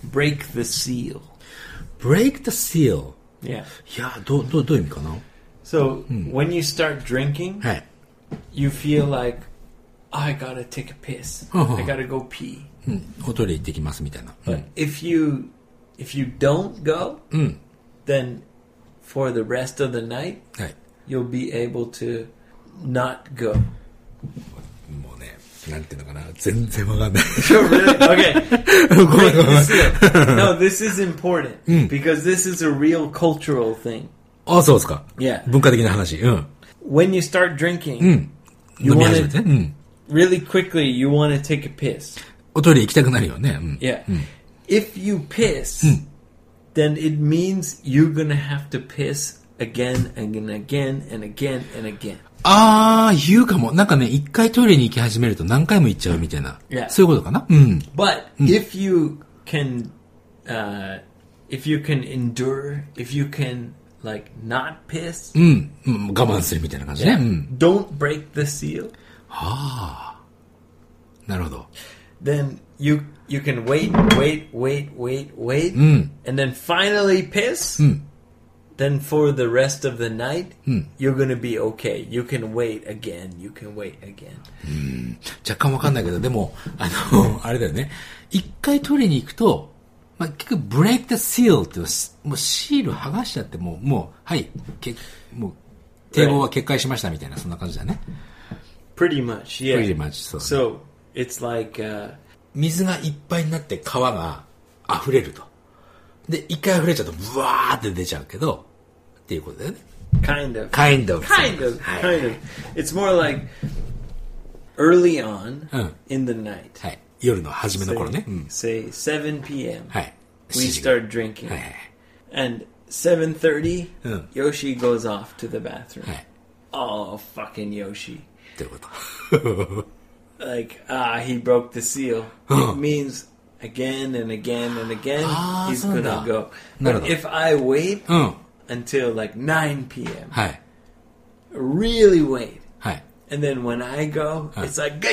break the seal. break the seal. Yeah. いや、どう、どう、どういう意味かな So, when you start drinking, はい。 you feel like, I gotta take a piss. Uh-huh. I gotta go pee. うん。おトイレ行ってきますみたいな。う But ん。 if you if you don't go, うん。 then for the rest of the night, はい。 you'll be able to not go. もうね、なんていうのかな。全然わかんない。 Really? Okay. ごめんごめん。 This is- no, this is important because this is a real cultural thing. あ、そうですか。 Yeah. 文化的な話。うん。 When you start drinking, うん。 you 飲み want 始めて to ね。うん。 really quickly. You want to take a piss. おトイレ行きたくなるよね。うん。 Yeah. If you piss, then it means you're gonna have to piss again and again and again and again. あー、言うかも。なんかね、一回トイレに行き始めると何回も行っちゃうみたいな。 Yeah. そういうことかな。うん。 But if you can, uh, if you can endure, if you can like not piss, うん。うん、我慢するみたいな感じね。う yeah, ん。 don't break the seal, なるほど。 then you you can wait, wait, wait, wait, wait, うん。 and then finally piss. うん。 Then for the rest of the night, you're gonna be okay. You can wait again. You can wait again. 若干わかんないけど、でも、あの、あれだよね。一回トイレに行くと、まあ、結局、break the seal っていう、もうシール剥がしちゃって、もう、もう、はい、けもう、堤防は決壊しましたみたいな、そんな感じだね。 Pretty much, yeah. Pretty much, そう。 So it's like, uh, 水がいっぱいになって川が溢れると。で、一回溢れちゃうと、ブワーって出ちゃうけど、っていうことだよね。 kind of, kind of. kind of, はい kind of. It's more like early on うん。 in the night. はい。夜の初めの頃ね。うん。 Say seven p.m. はい。 We start drinking, はいはい and seven thirty, うん。 Yoshi goes off to the bathroom. はい。 Oh, fucking Yoshi! ということ。 Like, ah, he broke the seal. Huh. It means again and again and again Ah, he's そうなんだ。 gonna go. なる But ほど。 if I wait うん。 until like nine p.m., はい。 really wait, はい。 and then when I go, Huh. it's like,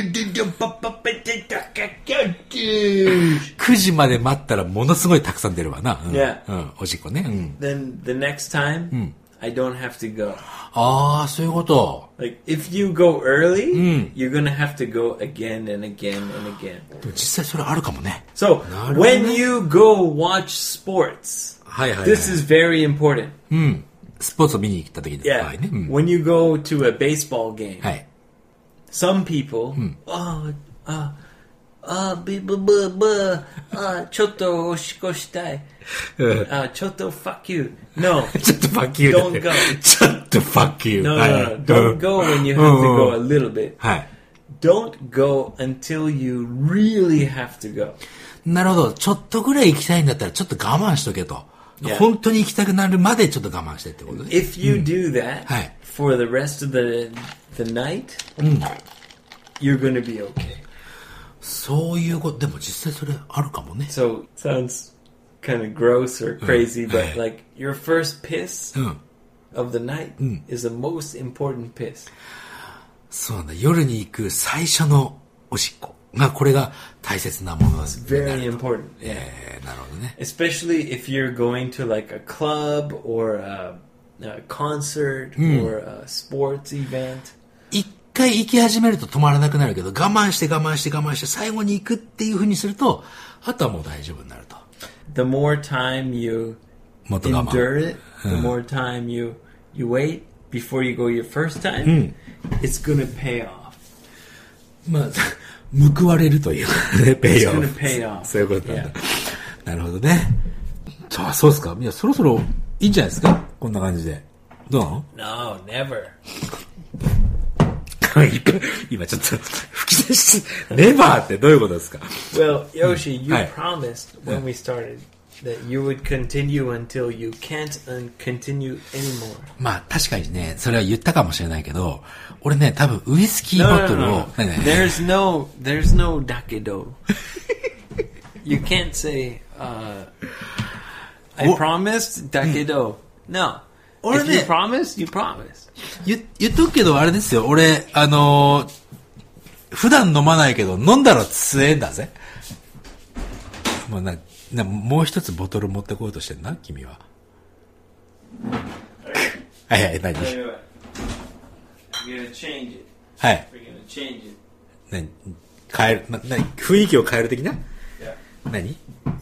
くじまで待ったらものすごいたくさん出るわな。うん。 Yeah. うん。おしっこね。うん。 then the next time I don't have to go. ああ、そういうこと。 Like if you go early, Mm. you're gonna have to go again and again and again. でも実際それあるかもね。 So なるほどね。 when you go watch sports, はいはいはい。 this is very important. うん。スポーツを見に行った時の場 Yeah. 合ね。うん。 When you go to a baseball game, はい。 some people, oh, uh, uh, b b b b, uh, ちょっとおしっこしたい。Uh, ちょっと fuck you. No. ちょっと fuck you だね Don't go. ちょっと fuck you. No, はい no, はい no. Don't go when you have to go a little bit. はい。 Don't go until you really have to go. なるほど。ちょっとぐらい行きたいんだったらちょっと我慢しとけと。 Yeah. 本当に行きたくなるまでちょっと我慢してってことね。 If you do that Hi. for the rest of the the night, you're gonna be okay. そういうこと、でも実際それあるかもね。 So sounds kind of gross or crazy, but Hi. like your first piss うん。 of the night is the most important piss. そうなんだ。夜に行く最初のおしっこが、これが大切なものにな Very ると。 important. Yeah. えー、なるほどね。 Especially if you're going to like a club or a, a concert or a sports event. 一回行き始めると止まらなくなるけど、我慢して我慢して我慢して最後に行くっていう風にすると、あとはもう大丈夫になると。 The more time you もっと我慢。 endure it, the more time you you wait before you go your first time, it's gonna pay off. まあ、報われるというかね、ペイオ It's フ gonna。pay off. そういうことなんだ。なるほどね。あ、そうですか。いや、そろそろいいんじゃないですか、こんな感じで。どうなの No, never. 今ちょっと吹き出し、ネバーってどういうことですか Well, Yoshi, you Hi. promised when we started that you would continue until you can't un- continue anymore. まあ確かにね、それは言ったかもしれないけど、俺ね、多分ウイスキー No, ボ no, ト no, ルを no.、 ねね There's no, there's no dakedo. You can't say, uh, I Wha- promised dakedo. No. Or If you the- promise, you promise. 言言っとくけど、あれですよ、俺、あのー普段飲まないけど、飲んだら強えんだぜ。 もうな、な、もう一つボトル持ってこうとしてんな、君は。はいはい、何 I'm gonna change it. はい。 We're gonna change it. 何変える、な、何雰囲気を変える的な Yeah. 何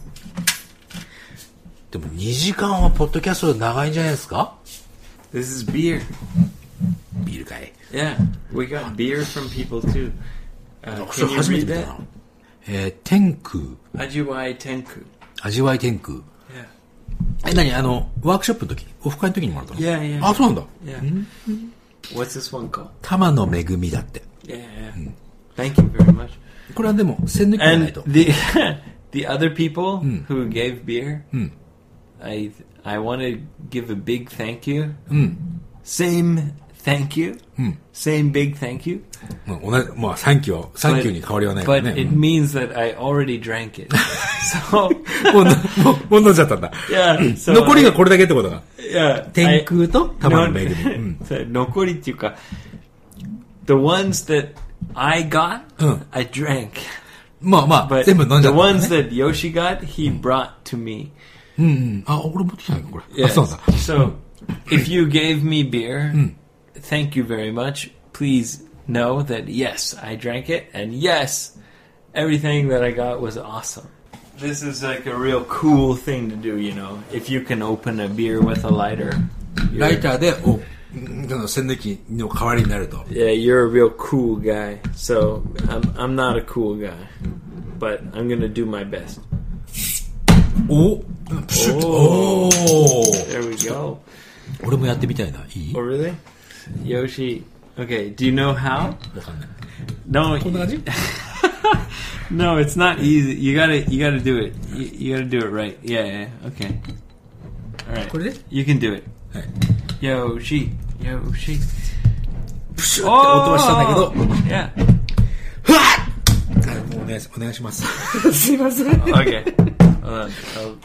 でもにじかんはポッドキャストで長いんじゃないですか？ This is beer. ビールかい。 Yeah, we got beer from people too. Uh, それ can you 初めて read 見た that? な。えー、天空。 Ajiwai Tenku. 味わい天空。 Yeah. え、何あの、ワークショップの時オフ会の時にもらったの？ Yeah, yeah. あ、そうなんだ。 Yeah. What's this one called? 玉の恵みだって。 Yeah, yeah. Thank you very much. これはでも、栓抜きじゃない And と。 the the other people who gave beer, I I want to give a big thank you. Same thank you. Same big thank you. もう同じ、まあ、サンキューは、サンキューに変わりはないから But ね。 it means that I already drank it. So もう、もう、もう飲んじゃったんだ。 yeah. So 残りがこれだけってことが。 yeah. 天空と玉の恵み。 Nokori っていうか the ones that I got, I drank. まあまあ、 But 全部飲んじ the ゃったんだ ones ね。 that Yoshi got, he brought to me. うんうん。あ、俺持ってきたのこれ。 Yes. あ、そうなんだ。 So, if you gave me beer, thank you very much. Please know that yes, I drank it, and yes, everything that I got was awesome. This is like a real cool thing to do, you know. If you can open a beer with a lighter, ラ you're, イターで、お、その栓抜きの代わりになると。 yeah, you're a real cool guy. So I'm I'm not a cool guy, but I'm gonna do my best. おプシュッと。おー There we go. 俺もやってみたいな。いい Oh really? Yoshi. Okay. Do you know how? わかんない。 No. こんな感じ No, it's not easy. You gotta, you gotta do it. You, you gotta do it right. Yeah, yeah. Okay. All right. これで You can do it. はい。 Yoshi, Yoshi. プシュッって音はしたんだけど。 Yeah. ふわっはい、もうお願いし、お願いします。すいません。 Okay. Hold on. I'll-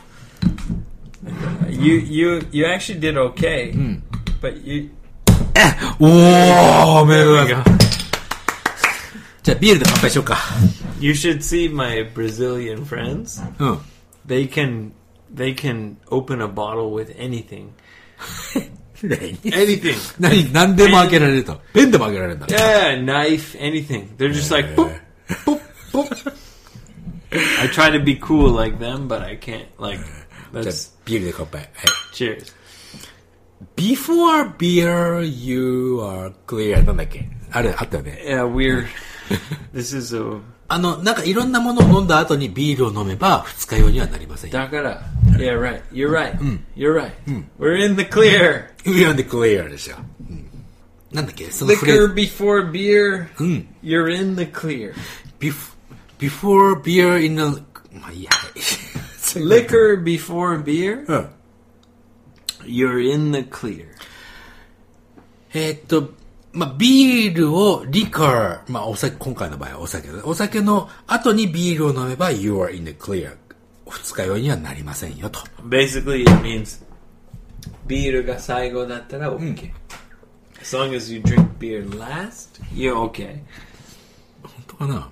You, you, you actually did okay. But you. おー、メールが。じゃあ、ビールで乾杯しようか。 You should see my Brazilian friends. うん。 They can, they can open a bottle with anything. 何 Anything. 何何でも開けられると。ペンでも開けられるんだ。 Yeah, knife, anything. They're just like boop, boop, boop. I try to be cool like them, but I can't. Like, じゃあ that's ビールで乾杯。はい。 cheers. Before beer, you are clear. なんだっけあれ、あったよね。 Yeah, we're. This is a あの、なんかいろんなものを飲んだ後にビールを飲めば二日酔いにはなりませんよ。 dakara. Yeah, right. You're right. You're right. We're in the clear. You're in the clear でしょ。うん、なんだっけそのフレー Liquor ズ。 before beer. You're in the clear. Bef- before beer in the... まあいいや。 Liquor before beer. うん。 You're in the clear. えーっと、まあ、ビールを、リカー、まあ、お酒、今回の場合はお酒だね。お酒の後にビールを飲めば、you are in the clear. 二日酔いにはなりませんよと。 Basically, it means beer ga saigo dattara okay. As long as you drink beer last, you're okay. 本当かな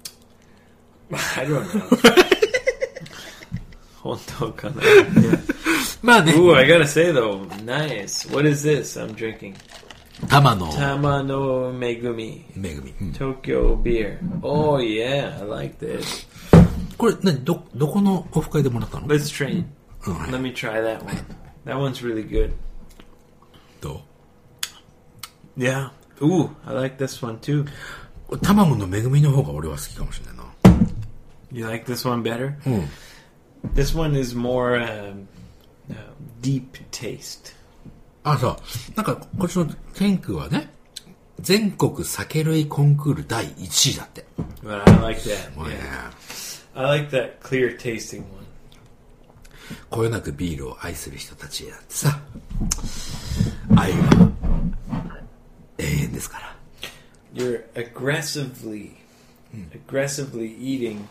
I don't know. 本当かな Yeah. まあね。 Ooh, I gotta say though, nice. What is this I'm drinking? 玉の Tama no Megumi 恵み。うん Tokyo beer. Oh yeah, I like this. これ、何ど、どこのオフ会でもらったの Let's trade. Alright. Let me try that one. That one's really good. ど Yeah. Ooh, I like this one too. う卵の恵みの方が俺は好きかもしれないな。 You like this one better? うん。 This one is more um, uh, deep taste. あ、そう。なんか、こっちの天空はね、全国酒類コンクールだいいちいだって。 But I like that. もうね Yeah. I like that clear tasting one. こよなくビールを愛する人たちだってさ、愛は永遠ですから。 You're aggressively, aggressively eating.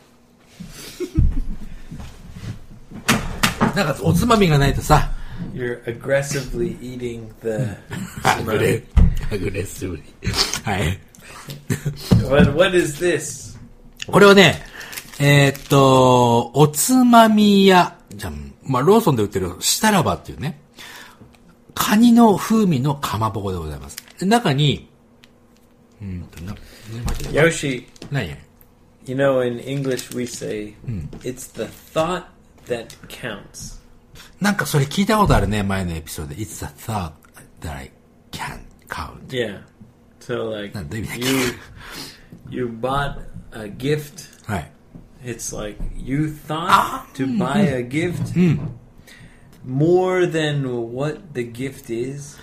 なんかおつまみがないとさ、 You're aggressively eating the. アグレ、アグレッシブに。はい。 What? What is this? これはね、 えーっと、おつまみ屋、じゃあ、まあ、ローソンで売ってるシタラバっていうね、カニの風味のかまぼこでございます。中に、うんと、な、 Yoshi, 何 you know, in English we say, it's the thought that counts. なんかそれ聞いたことあるね、前のエピソードで。It's a thought that I can't count. Yeah. So, like, なんだ意味だっけ you, you bought a gift. はい。 It's like you thought to buy a gift more than what the gift is.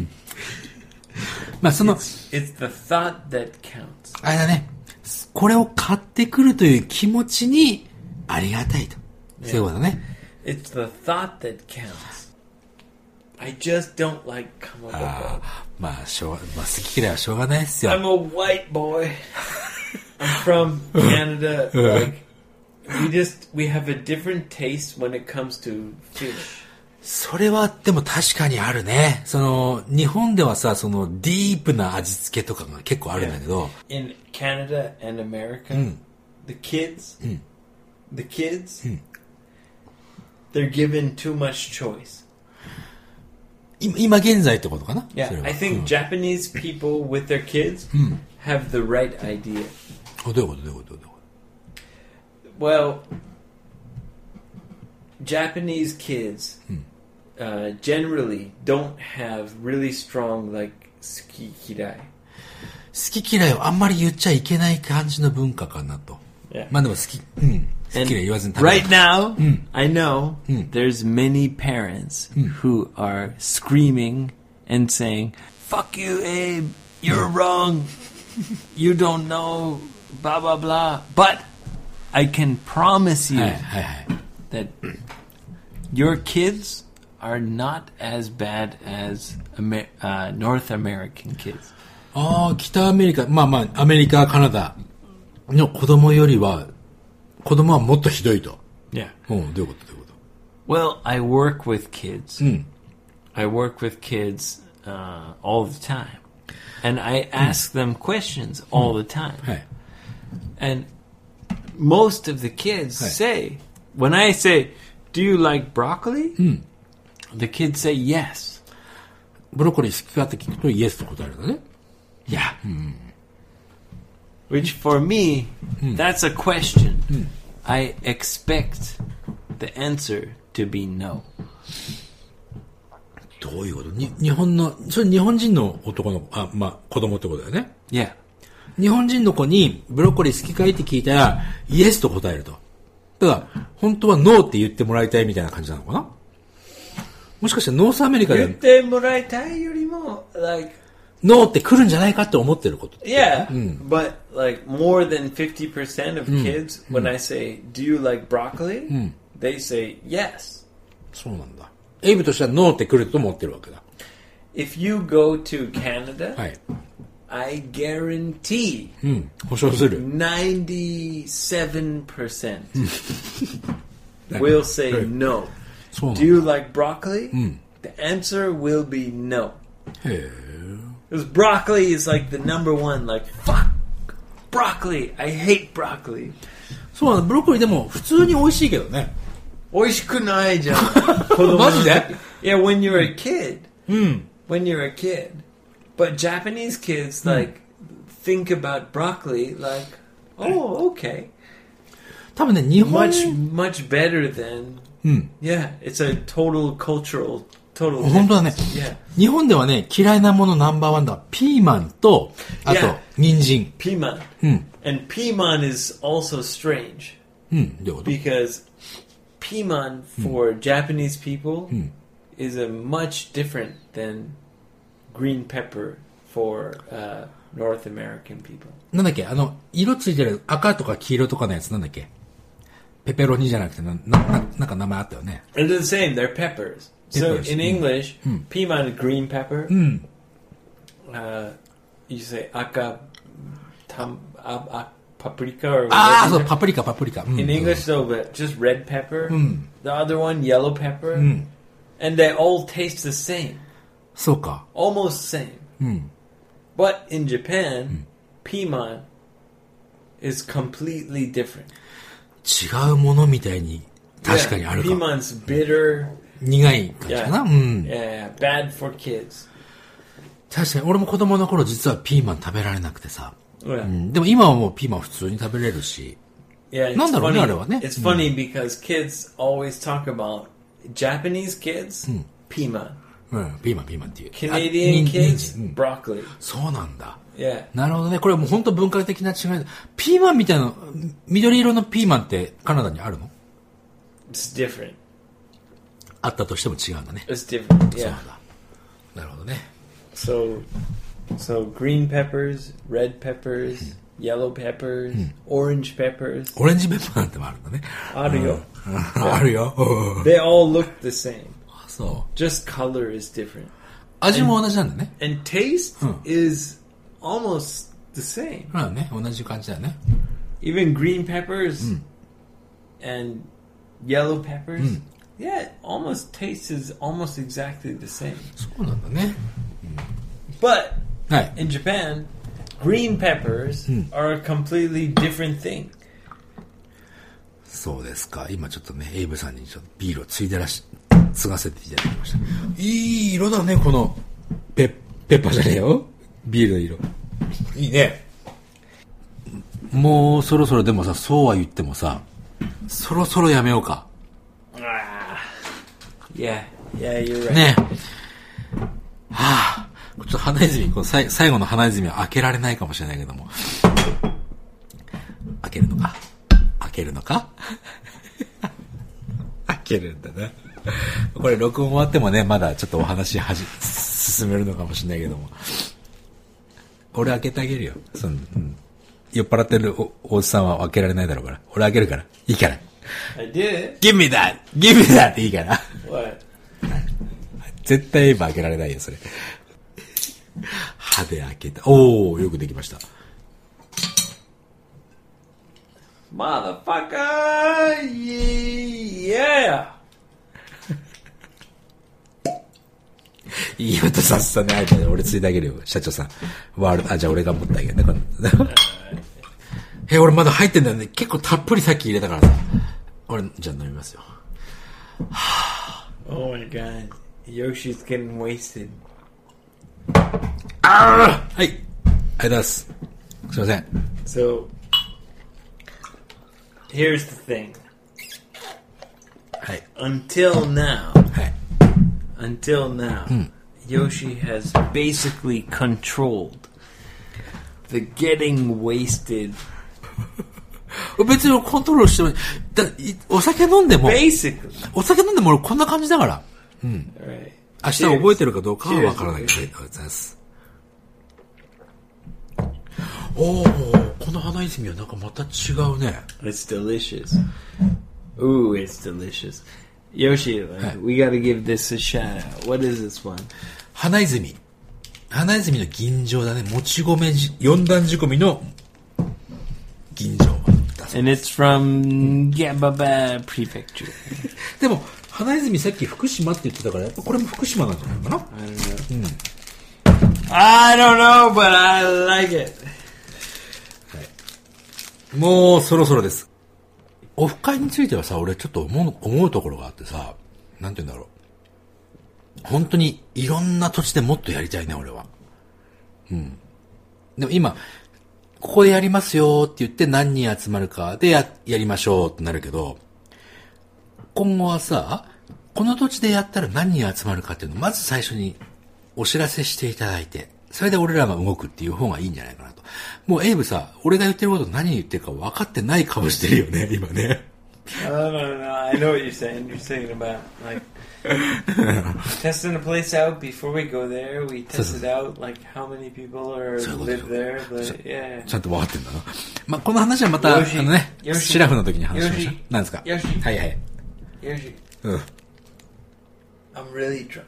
まあその、 It's, it's the thought that counts. あれだね、これを買ってくるという気持ちにありがたいと。そういうことだね。 It's the thought that counts. I just don't like かまぼこ。 あまあ、しょうが、まあ、好き嫌いはしょうがないですよ。 I'm a white boy. I'm from Canada. Like, we just, we have a different taste when it comes to fish. それはでも確かにあるね。その、日本ではさ、その、ディープな味付けとかが結構あるんだけど。 In Canada and America, the kids, the kids, they're given too much choice. 今今現在ってことかな Yeah, それは I think Japanese people with their kids have the right idea. あどういうことどういうことどういうこ Well, Japanese kids uh, generally don't have really strong like sukikirai. 好き嫌いをあんまり言っちゃいけない感じの文化かなと。 Yeah. まあでも好き、うん。好 And き嫌い言わずに食べる right now, I know there's many parents who are screaming and saying, "Fuck you, Abe! You're wrong. You don't know, blah blah blah." But I can promise you はいはいはい。 that your kids are not as bad as Amer- uh, North American kids. ああ、北アメリカ、まあまあ、アメリカ、カナダの子供よりは、子供はもっとひどいと。 Yeah. うん、どういうことどういうこ Well, I work with kids. とうん。 I work with kids uh, all the time. And I ask them questions all the time. はい。 And most of the kids Right. say, when I say, "Do you like broccoli?" The kids say yes. ブロッコリー好きかって聞くとイエスと答えるんだね。 Yeah. Which for me, that's a question. I expect the answer to be no. どういうことに日本の、それ日本人の男の子、あ、まあ、子供ってことだよね。 Yeah. 日本人の子にブロッコリー好きかいって聞いたら、イエスと答えると。ただ、本当はノーって言ってもらいたいみたいな感じなのかなもしかしてノースアメリカで言ってもらいたいよりも like ノーって来るんじゃないかって思ってること。 yeah, but like more than fifty percent of kids when I say, "Do you like broccoli?" they say yes. そうなんだ。エイブとしてはノーって来ると思ってるわけだ。 If you go to Canada, はい。 I guarantee うん。保証する。 ninety-seven percent will say no. そうなん Do だ。 you like broccoli? The answer will be no. へえ。 Because broccoli is like the number one, like, fuck broccoli. I hate broccoli. そうなんだ。ブロッコリーでも普通に美味しいけどね。 美味しくないじゃん。 マジで? Yeah, when you're a kid. When you're a kid. But Japanese kids, like, think about broccoli like, oh, okay. 多分ね、日本 Much, much better than... Yeah, it's a total cultural, total... 本当だね。 Yeah. 日本ではね、嫌いなものナンバーワンだ。ピーマンと、あと Yeah.、 人参。 Piman. And piman is also strange. うん、どういうこと Because piman for Japanese people is a much different than green pepper for uh, North American people. なんだっけあの、色ついてる赤とか黄色とかのやつなんだっけペペロニじゃなくてな、な、ななんか名前あったよね。 They're the same. They're peppers. So Peppers, in mm. English, piman is green pepper. Uh, you say aka tam, ab, ab, paprika or ああ、 whatever. そう、パプリカ、パプリカ。うん In English, though, but just red pepper. The other one, yellow pepper. And they all taste the same. そうか。 Almost same. But in Japan, piman is completely different. 違うものみたいに確かにあるか。 Yeah, piman's bitter. 苦い感じかな。 Yeah. うん。 Yeah, bad for kids. 確かに俺も子供の頃実はピーマン食べられなくてさ。 Yeah. うん、でも今はもうピーマン普通に食べれるし。 Yeah, なんだろうね、 funny. あれはね。 It's funny、うん、because kids always talk about Japanese kids、うん、piman。 うん、ピーマンピーマンっていう。 Canadian kids、うん、broccoli。 そうなんだ。 Yeah. なるほどね。これはもう本当文化的な違いだ。ピーマンみたいな、緑色のピーマンってカナダにあるの？ It's different. あったとしても違うんだね。 It's different. そう Yeah. なんだ。なるほどね。 So, so green peppers, red peppers, yellow peppers, orange peppers. オレンジペッパーなんてもあるんだね。 あるよ。 あるよ。 They all look the same. そう。 Just color is different. 味も同じなんだね。 And taste is almost the same. まあね、同じ感じだよね。 Even green peppers and yellow peppers, yeah, it almost tastes is almost exactly the same. そうなんだね。 But はい。 in Japan, green peppers are a completely different thing. そうですか。今ちょっとね、エイブさんにちょっとビールをついでらし、継がせていただきました。いい色だね、この、ペ、ペッパーじゃねえよ。ビールの色。いいね。もうそろそろでもさ、そうは言ってもさ、そろそろやめようか。 Ah, yeah, yeah, you're right. ねえ。はあ、ちょっと花泉、この最最後の花泉は開けられないかもしれないけども。開けるのか開けるのか開けるんだな。これ録音終わってもね、まだちょっとお話はじ進めるのかもしれないけども。俺開けてあげるよ。その、うん、酔っ払ってる お, おじさんは開けられないだろうから。俺開けるから。いいから。 I did. Give me that! Give me that! っていいから。 What? 絶対今開けられないよ、それ。歯で開けた。おー、よくできました。 Motherfucker! Yeah! いい音させたね、あいつ。俺ついてあげるよ、社長さん。ワールド、あ、じゃあ俺が持ってあげるね、この。え、俺まだ入ってんだよね。結構たっぷりさっき入れたからさ。俺、じゃあ飲みますよ。 Oh my god. Yoshi's getting wasted. あーはい。ありがとうございます。すいません。 So, here's the thing. はい。 Until now, はい。 until now, Yoshi has basically controlled the getting wasted. 別にコントロールしてもだいお酒飲んでも Basically. お酒飲んでも俺こんな感じだから。うん。 Right. 明日覚えてるかどうかはわからないけど、ありがとうございます。おー、この花泉はなんかまた違うね。 It's delicious. Ooh, it's delicious. Yoshi, like, we gotta give this a shout out. What is this one? 花泉。花泉の吟醸だね。もち米じ、四段仕込みの吟醸だそう。 And it's from Gababa Prefecture. でも、花泉さっき福島って言ってたから、やっぱこれも福島なんじゃないかな。 I don't know. I don't know, but I like it. もうそろそろです。オフ会についてはさ、俺ちょっと思う、思うところがあってさ、なんて言うんだろう。本当にいろんな土地でもっとやりたいね、俺は。うん。でも今、ここでやりますよって言って何人集まるかでや、やりましょうってなるけど、今後はさ、この土地でやったら何人集まるかっていうのをまず最初にお知らせしていただいて、それで俺らが動くっていう方がいいんじゃないかなと。もうエイブさ、俺が言ってること何言ってるか分かってない顔してるよね、今ね。 I don't know. I know what you're saying. You're saying about, like, testing the place out before we go there. We test it out, like, how many people are live there. But, yeah. ちゃんと分かってんだな。まあ、この話はまた、あのね、シラフの時に話しましょう。何ですか？ よし。 はいはい。 Yoshi. うん。 I'm really drunk.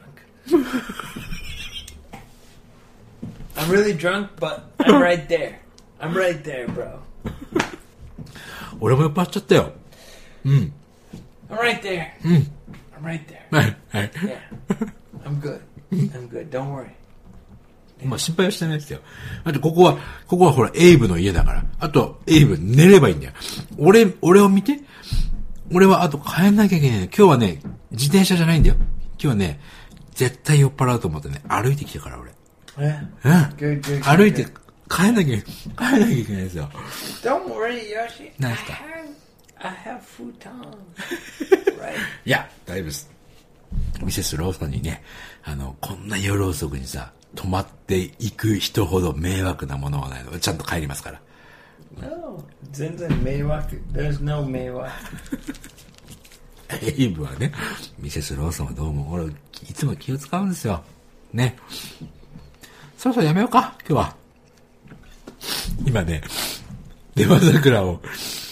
I'm really drunk, but I'm right there. I'm right there, bro. 俺も酔っ払っちゃったよ。うん。 I'm right there. うん。 I'm right there. はい、はい。 Yeah. I'm good. I'm good. Don't worry. まあ心配はしてないですよ。あとここは、ここはほら、エイブの家だから。あと、エイブ寝ればいいんだよ。俺、俺を見て。俺はあと帰んなきゃいけない。今日はね、自転車じゃないんだよ。今日はね、絶対酔っ払うと思ってね、歩いてきたから俺。 えうん。 good, good, good, 歩いて、帰んなきゃ、帰んなきゃいけないですよ。 Don't worry, Yoshi. 何ですか I have futon. Right. いや、大丈夫です。ミセスローソンにね、あの、こんな夜遅くにさ、泊まっていく人ほど迷惑なものはないので、ちゃんと帰りますから。 No, 全然迷惑。There's no 迷惑。 エイブはね、ミセスローソンはどうも、俺、いつも気を使うんですよ。ね。そろそろやめようか、今日は。今ね、出羽桜を、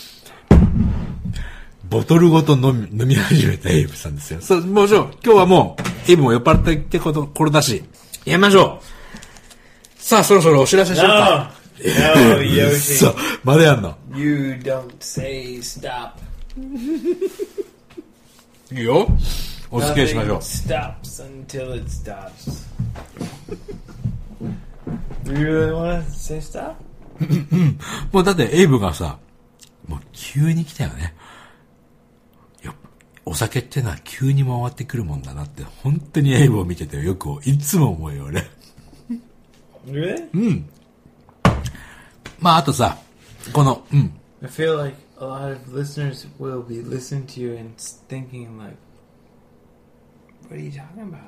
ボトルごと飲み、飲み始めたエイブさんですよ。そう、もちろん、今日はもう、エイブも酔っ払ってってこと、これだし、やめましょう。さあ、そろそろお知らせしようか。 No, Yoshi. そう、まだやんの。 You don't say stop. いいよ。お付き合いしましょう。 Nothing stops until it stops. You really want to say stop? もうだってエイブがさ、もう急に来たよね。よ、お酒ってのは急に回ってくるもんだなって、本当にエイブを見ててよくいつも思うよ俺。 Really? うん。まああとさ、この、うん。 I feel like a lot of listeners will be listening to you and thinking like, what are you talking about?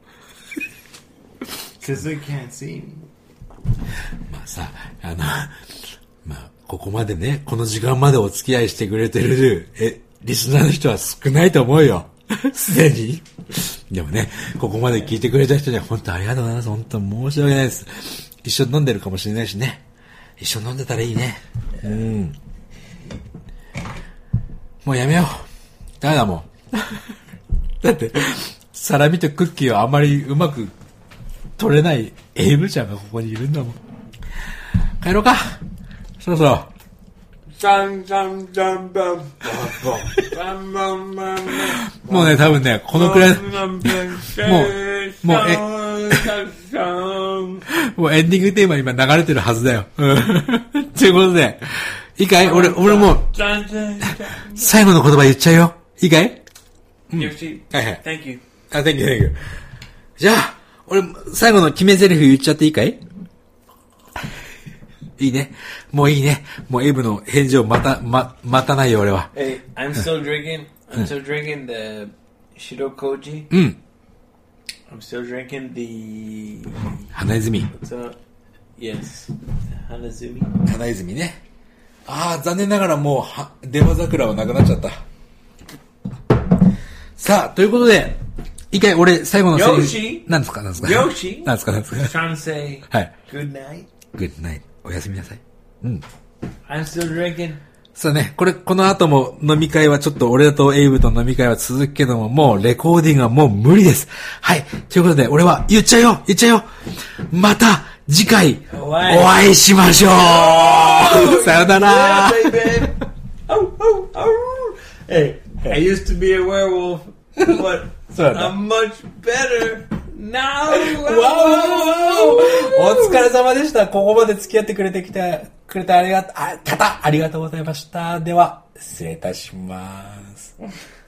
Because they can't see me. まあさ、あの、まあ、ここまでね、この時間までお付き合いしてくれてる、え、リスナーの人は少ないと思うよ。すでに。でもね、ここまで聞いてくれた人には本当ありがとうございます。本当申し訳ないです。一緒に飲んでるかもしれないしね。一緒に飲んでたらいいね。うん。もうやめよう。ダメだもん。だって、サラミとクッキーをあまりうまく取れないエイブちゃんがここにいるんだもん。帰ろうか。そろそろ。もうね、多分ね、このくらい、もう、もう、え、もうエンディングテーマ今流れてるはずだよ。ということで、いいかい？俺、俺もう、最後の言葉言っちゃうよ。いいかい？うん。はいはい。 Thank you. あ、thank you, thank you. じゃあ、俺、最後の決め台詞言っちゃっていいかい？いいね。もういいね。もうエイブの返事をまた、ま、待たないよ、俺は。 Hey, I'm still drinking, I'm still drinking the Shirokoji. うん。 I'm still drinking the... 花泉。 What's up? Yes. Hanazumi. 花泉ね。ああ、残念ながらもう、は、出羽桜はなくなっちゃった。さあ、ということで、一回俺、最後のセリフ。 Yoshi? 何ですか何ですか Yoshi? 何ですか何ですか Trying to say はい。 good night. Good night. おやすみなさい。うん。 I'm still drinking. さあね、これ、この後も飲み会はちょっと俺とエイブと飲み会は続くけども、もうレコーディングはもう無理です。はい。ということで、俺は言っちゃうよ言っちゃうよまた次回お会いしましょうさよなら Yeah, baby. Oh, oh, oh. Hey, I used to be a werewolf, but I'm much better now. お疲れ様でした。ここまで付き合ってくれてきてくれてありがとう、あ、方ありがとうございました。では、失礼いたします。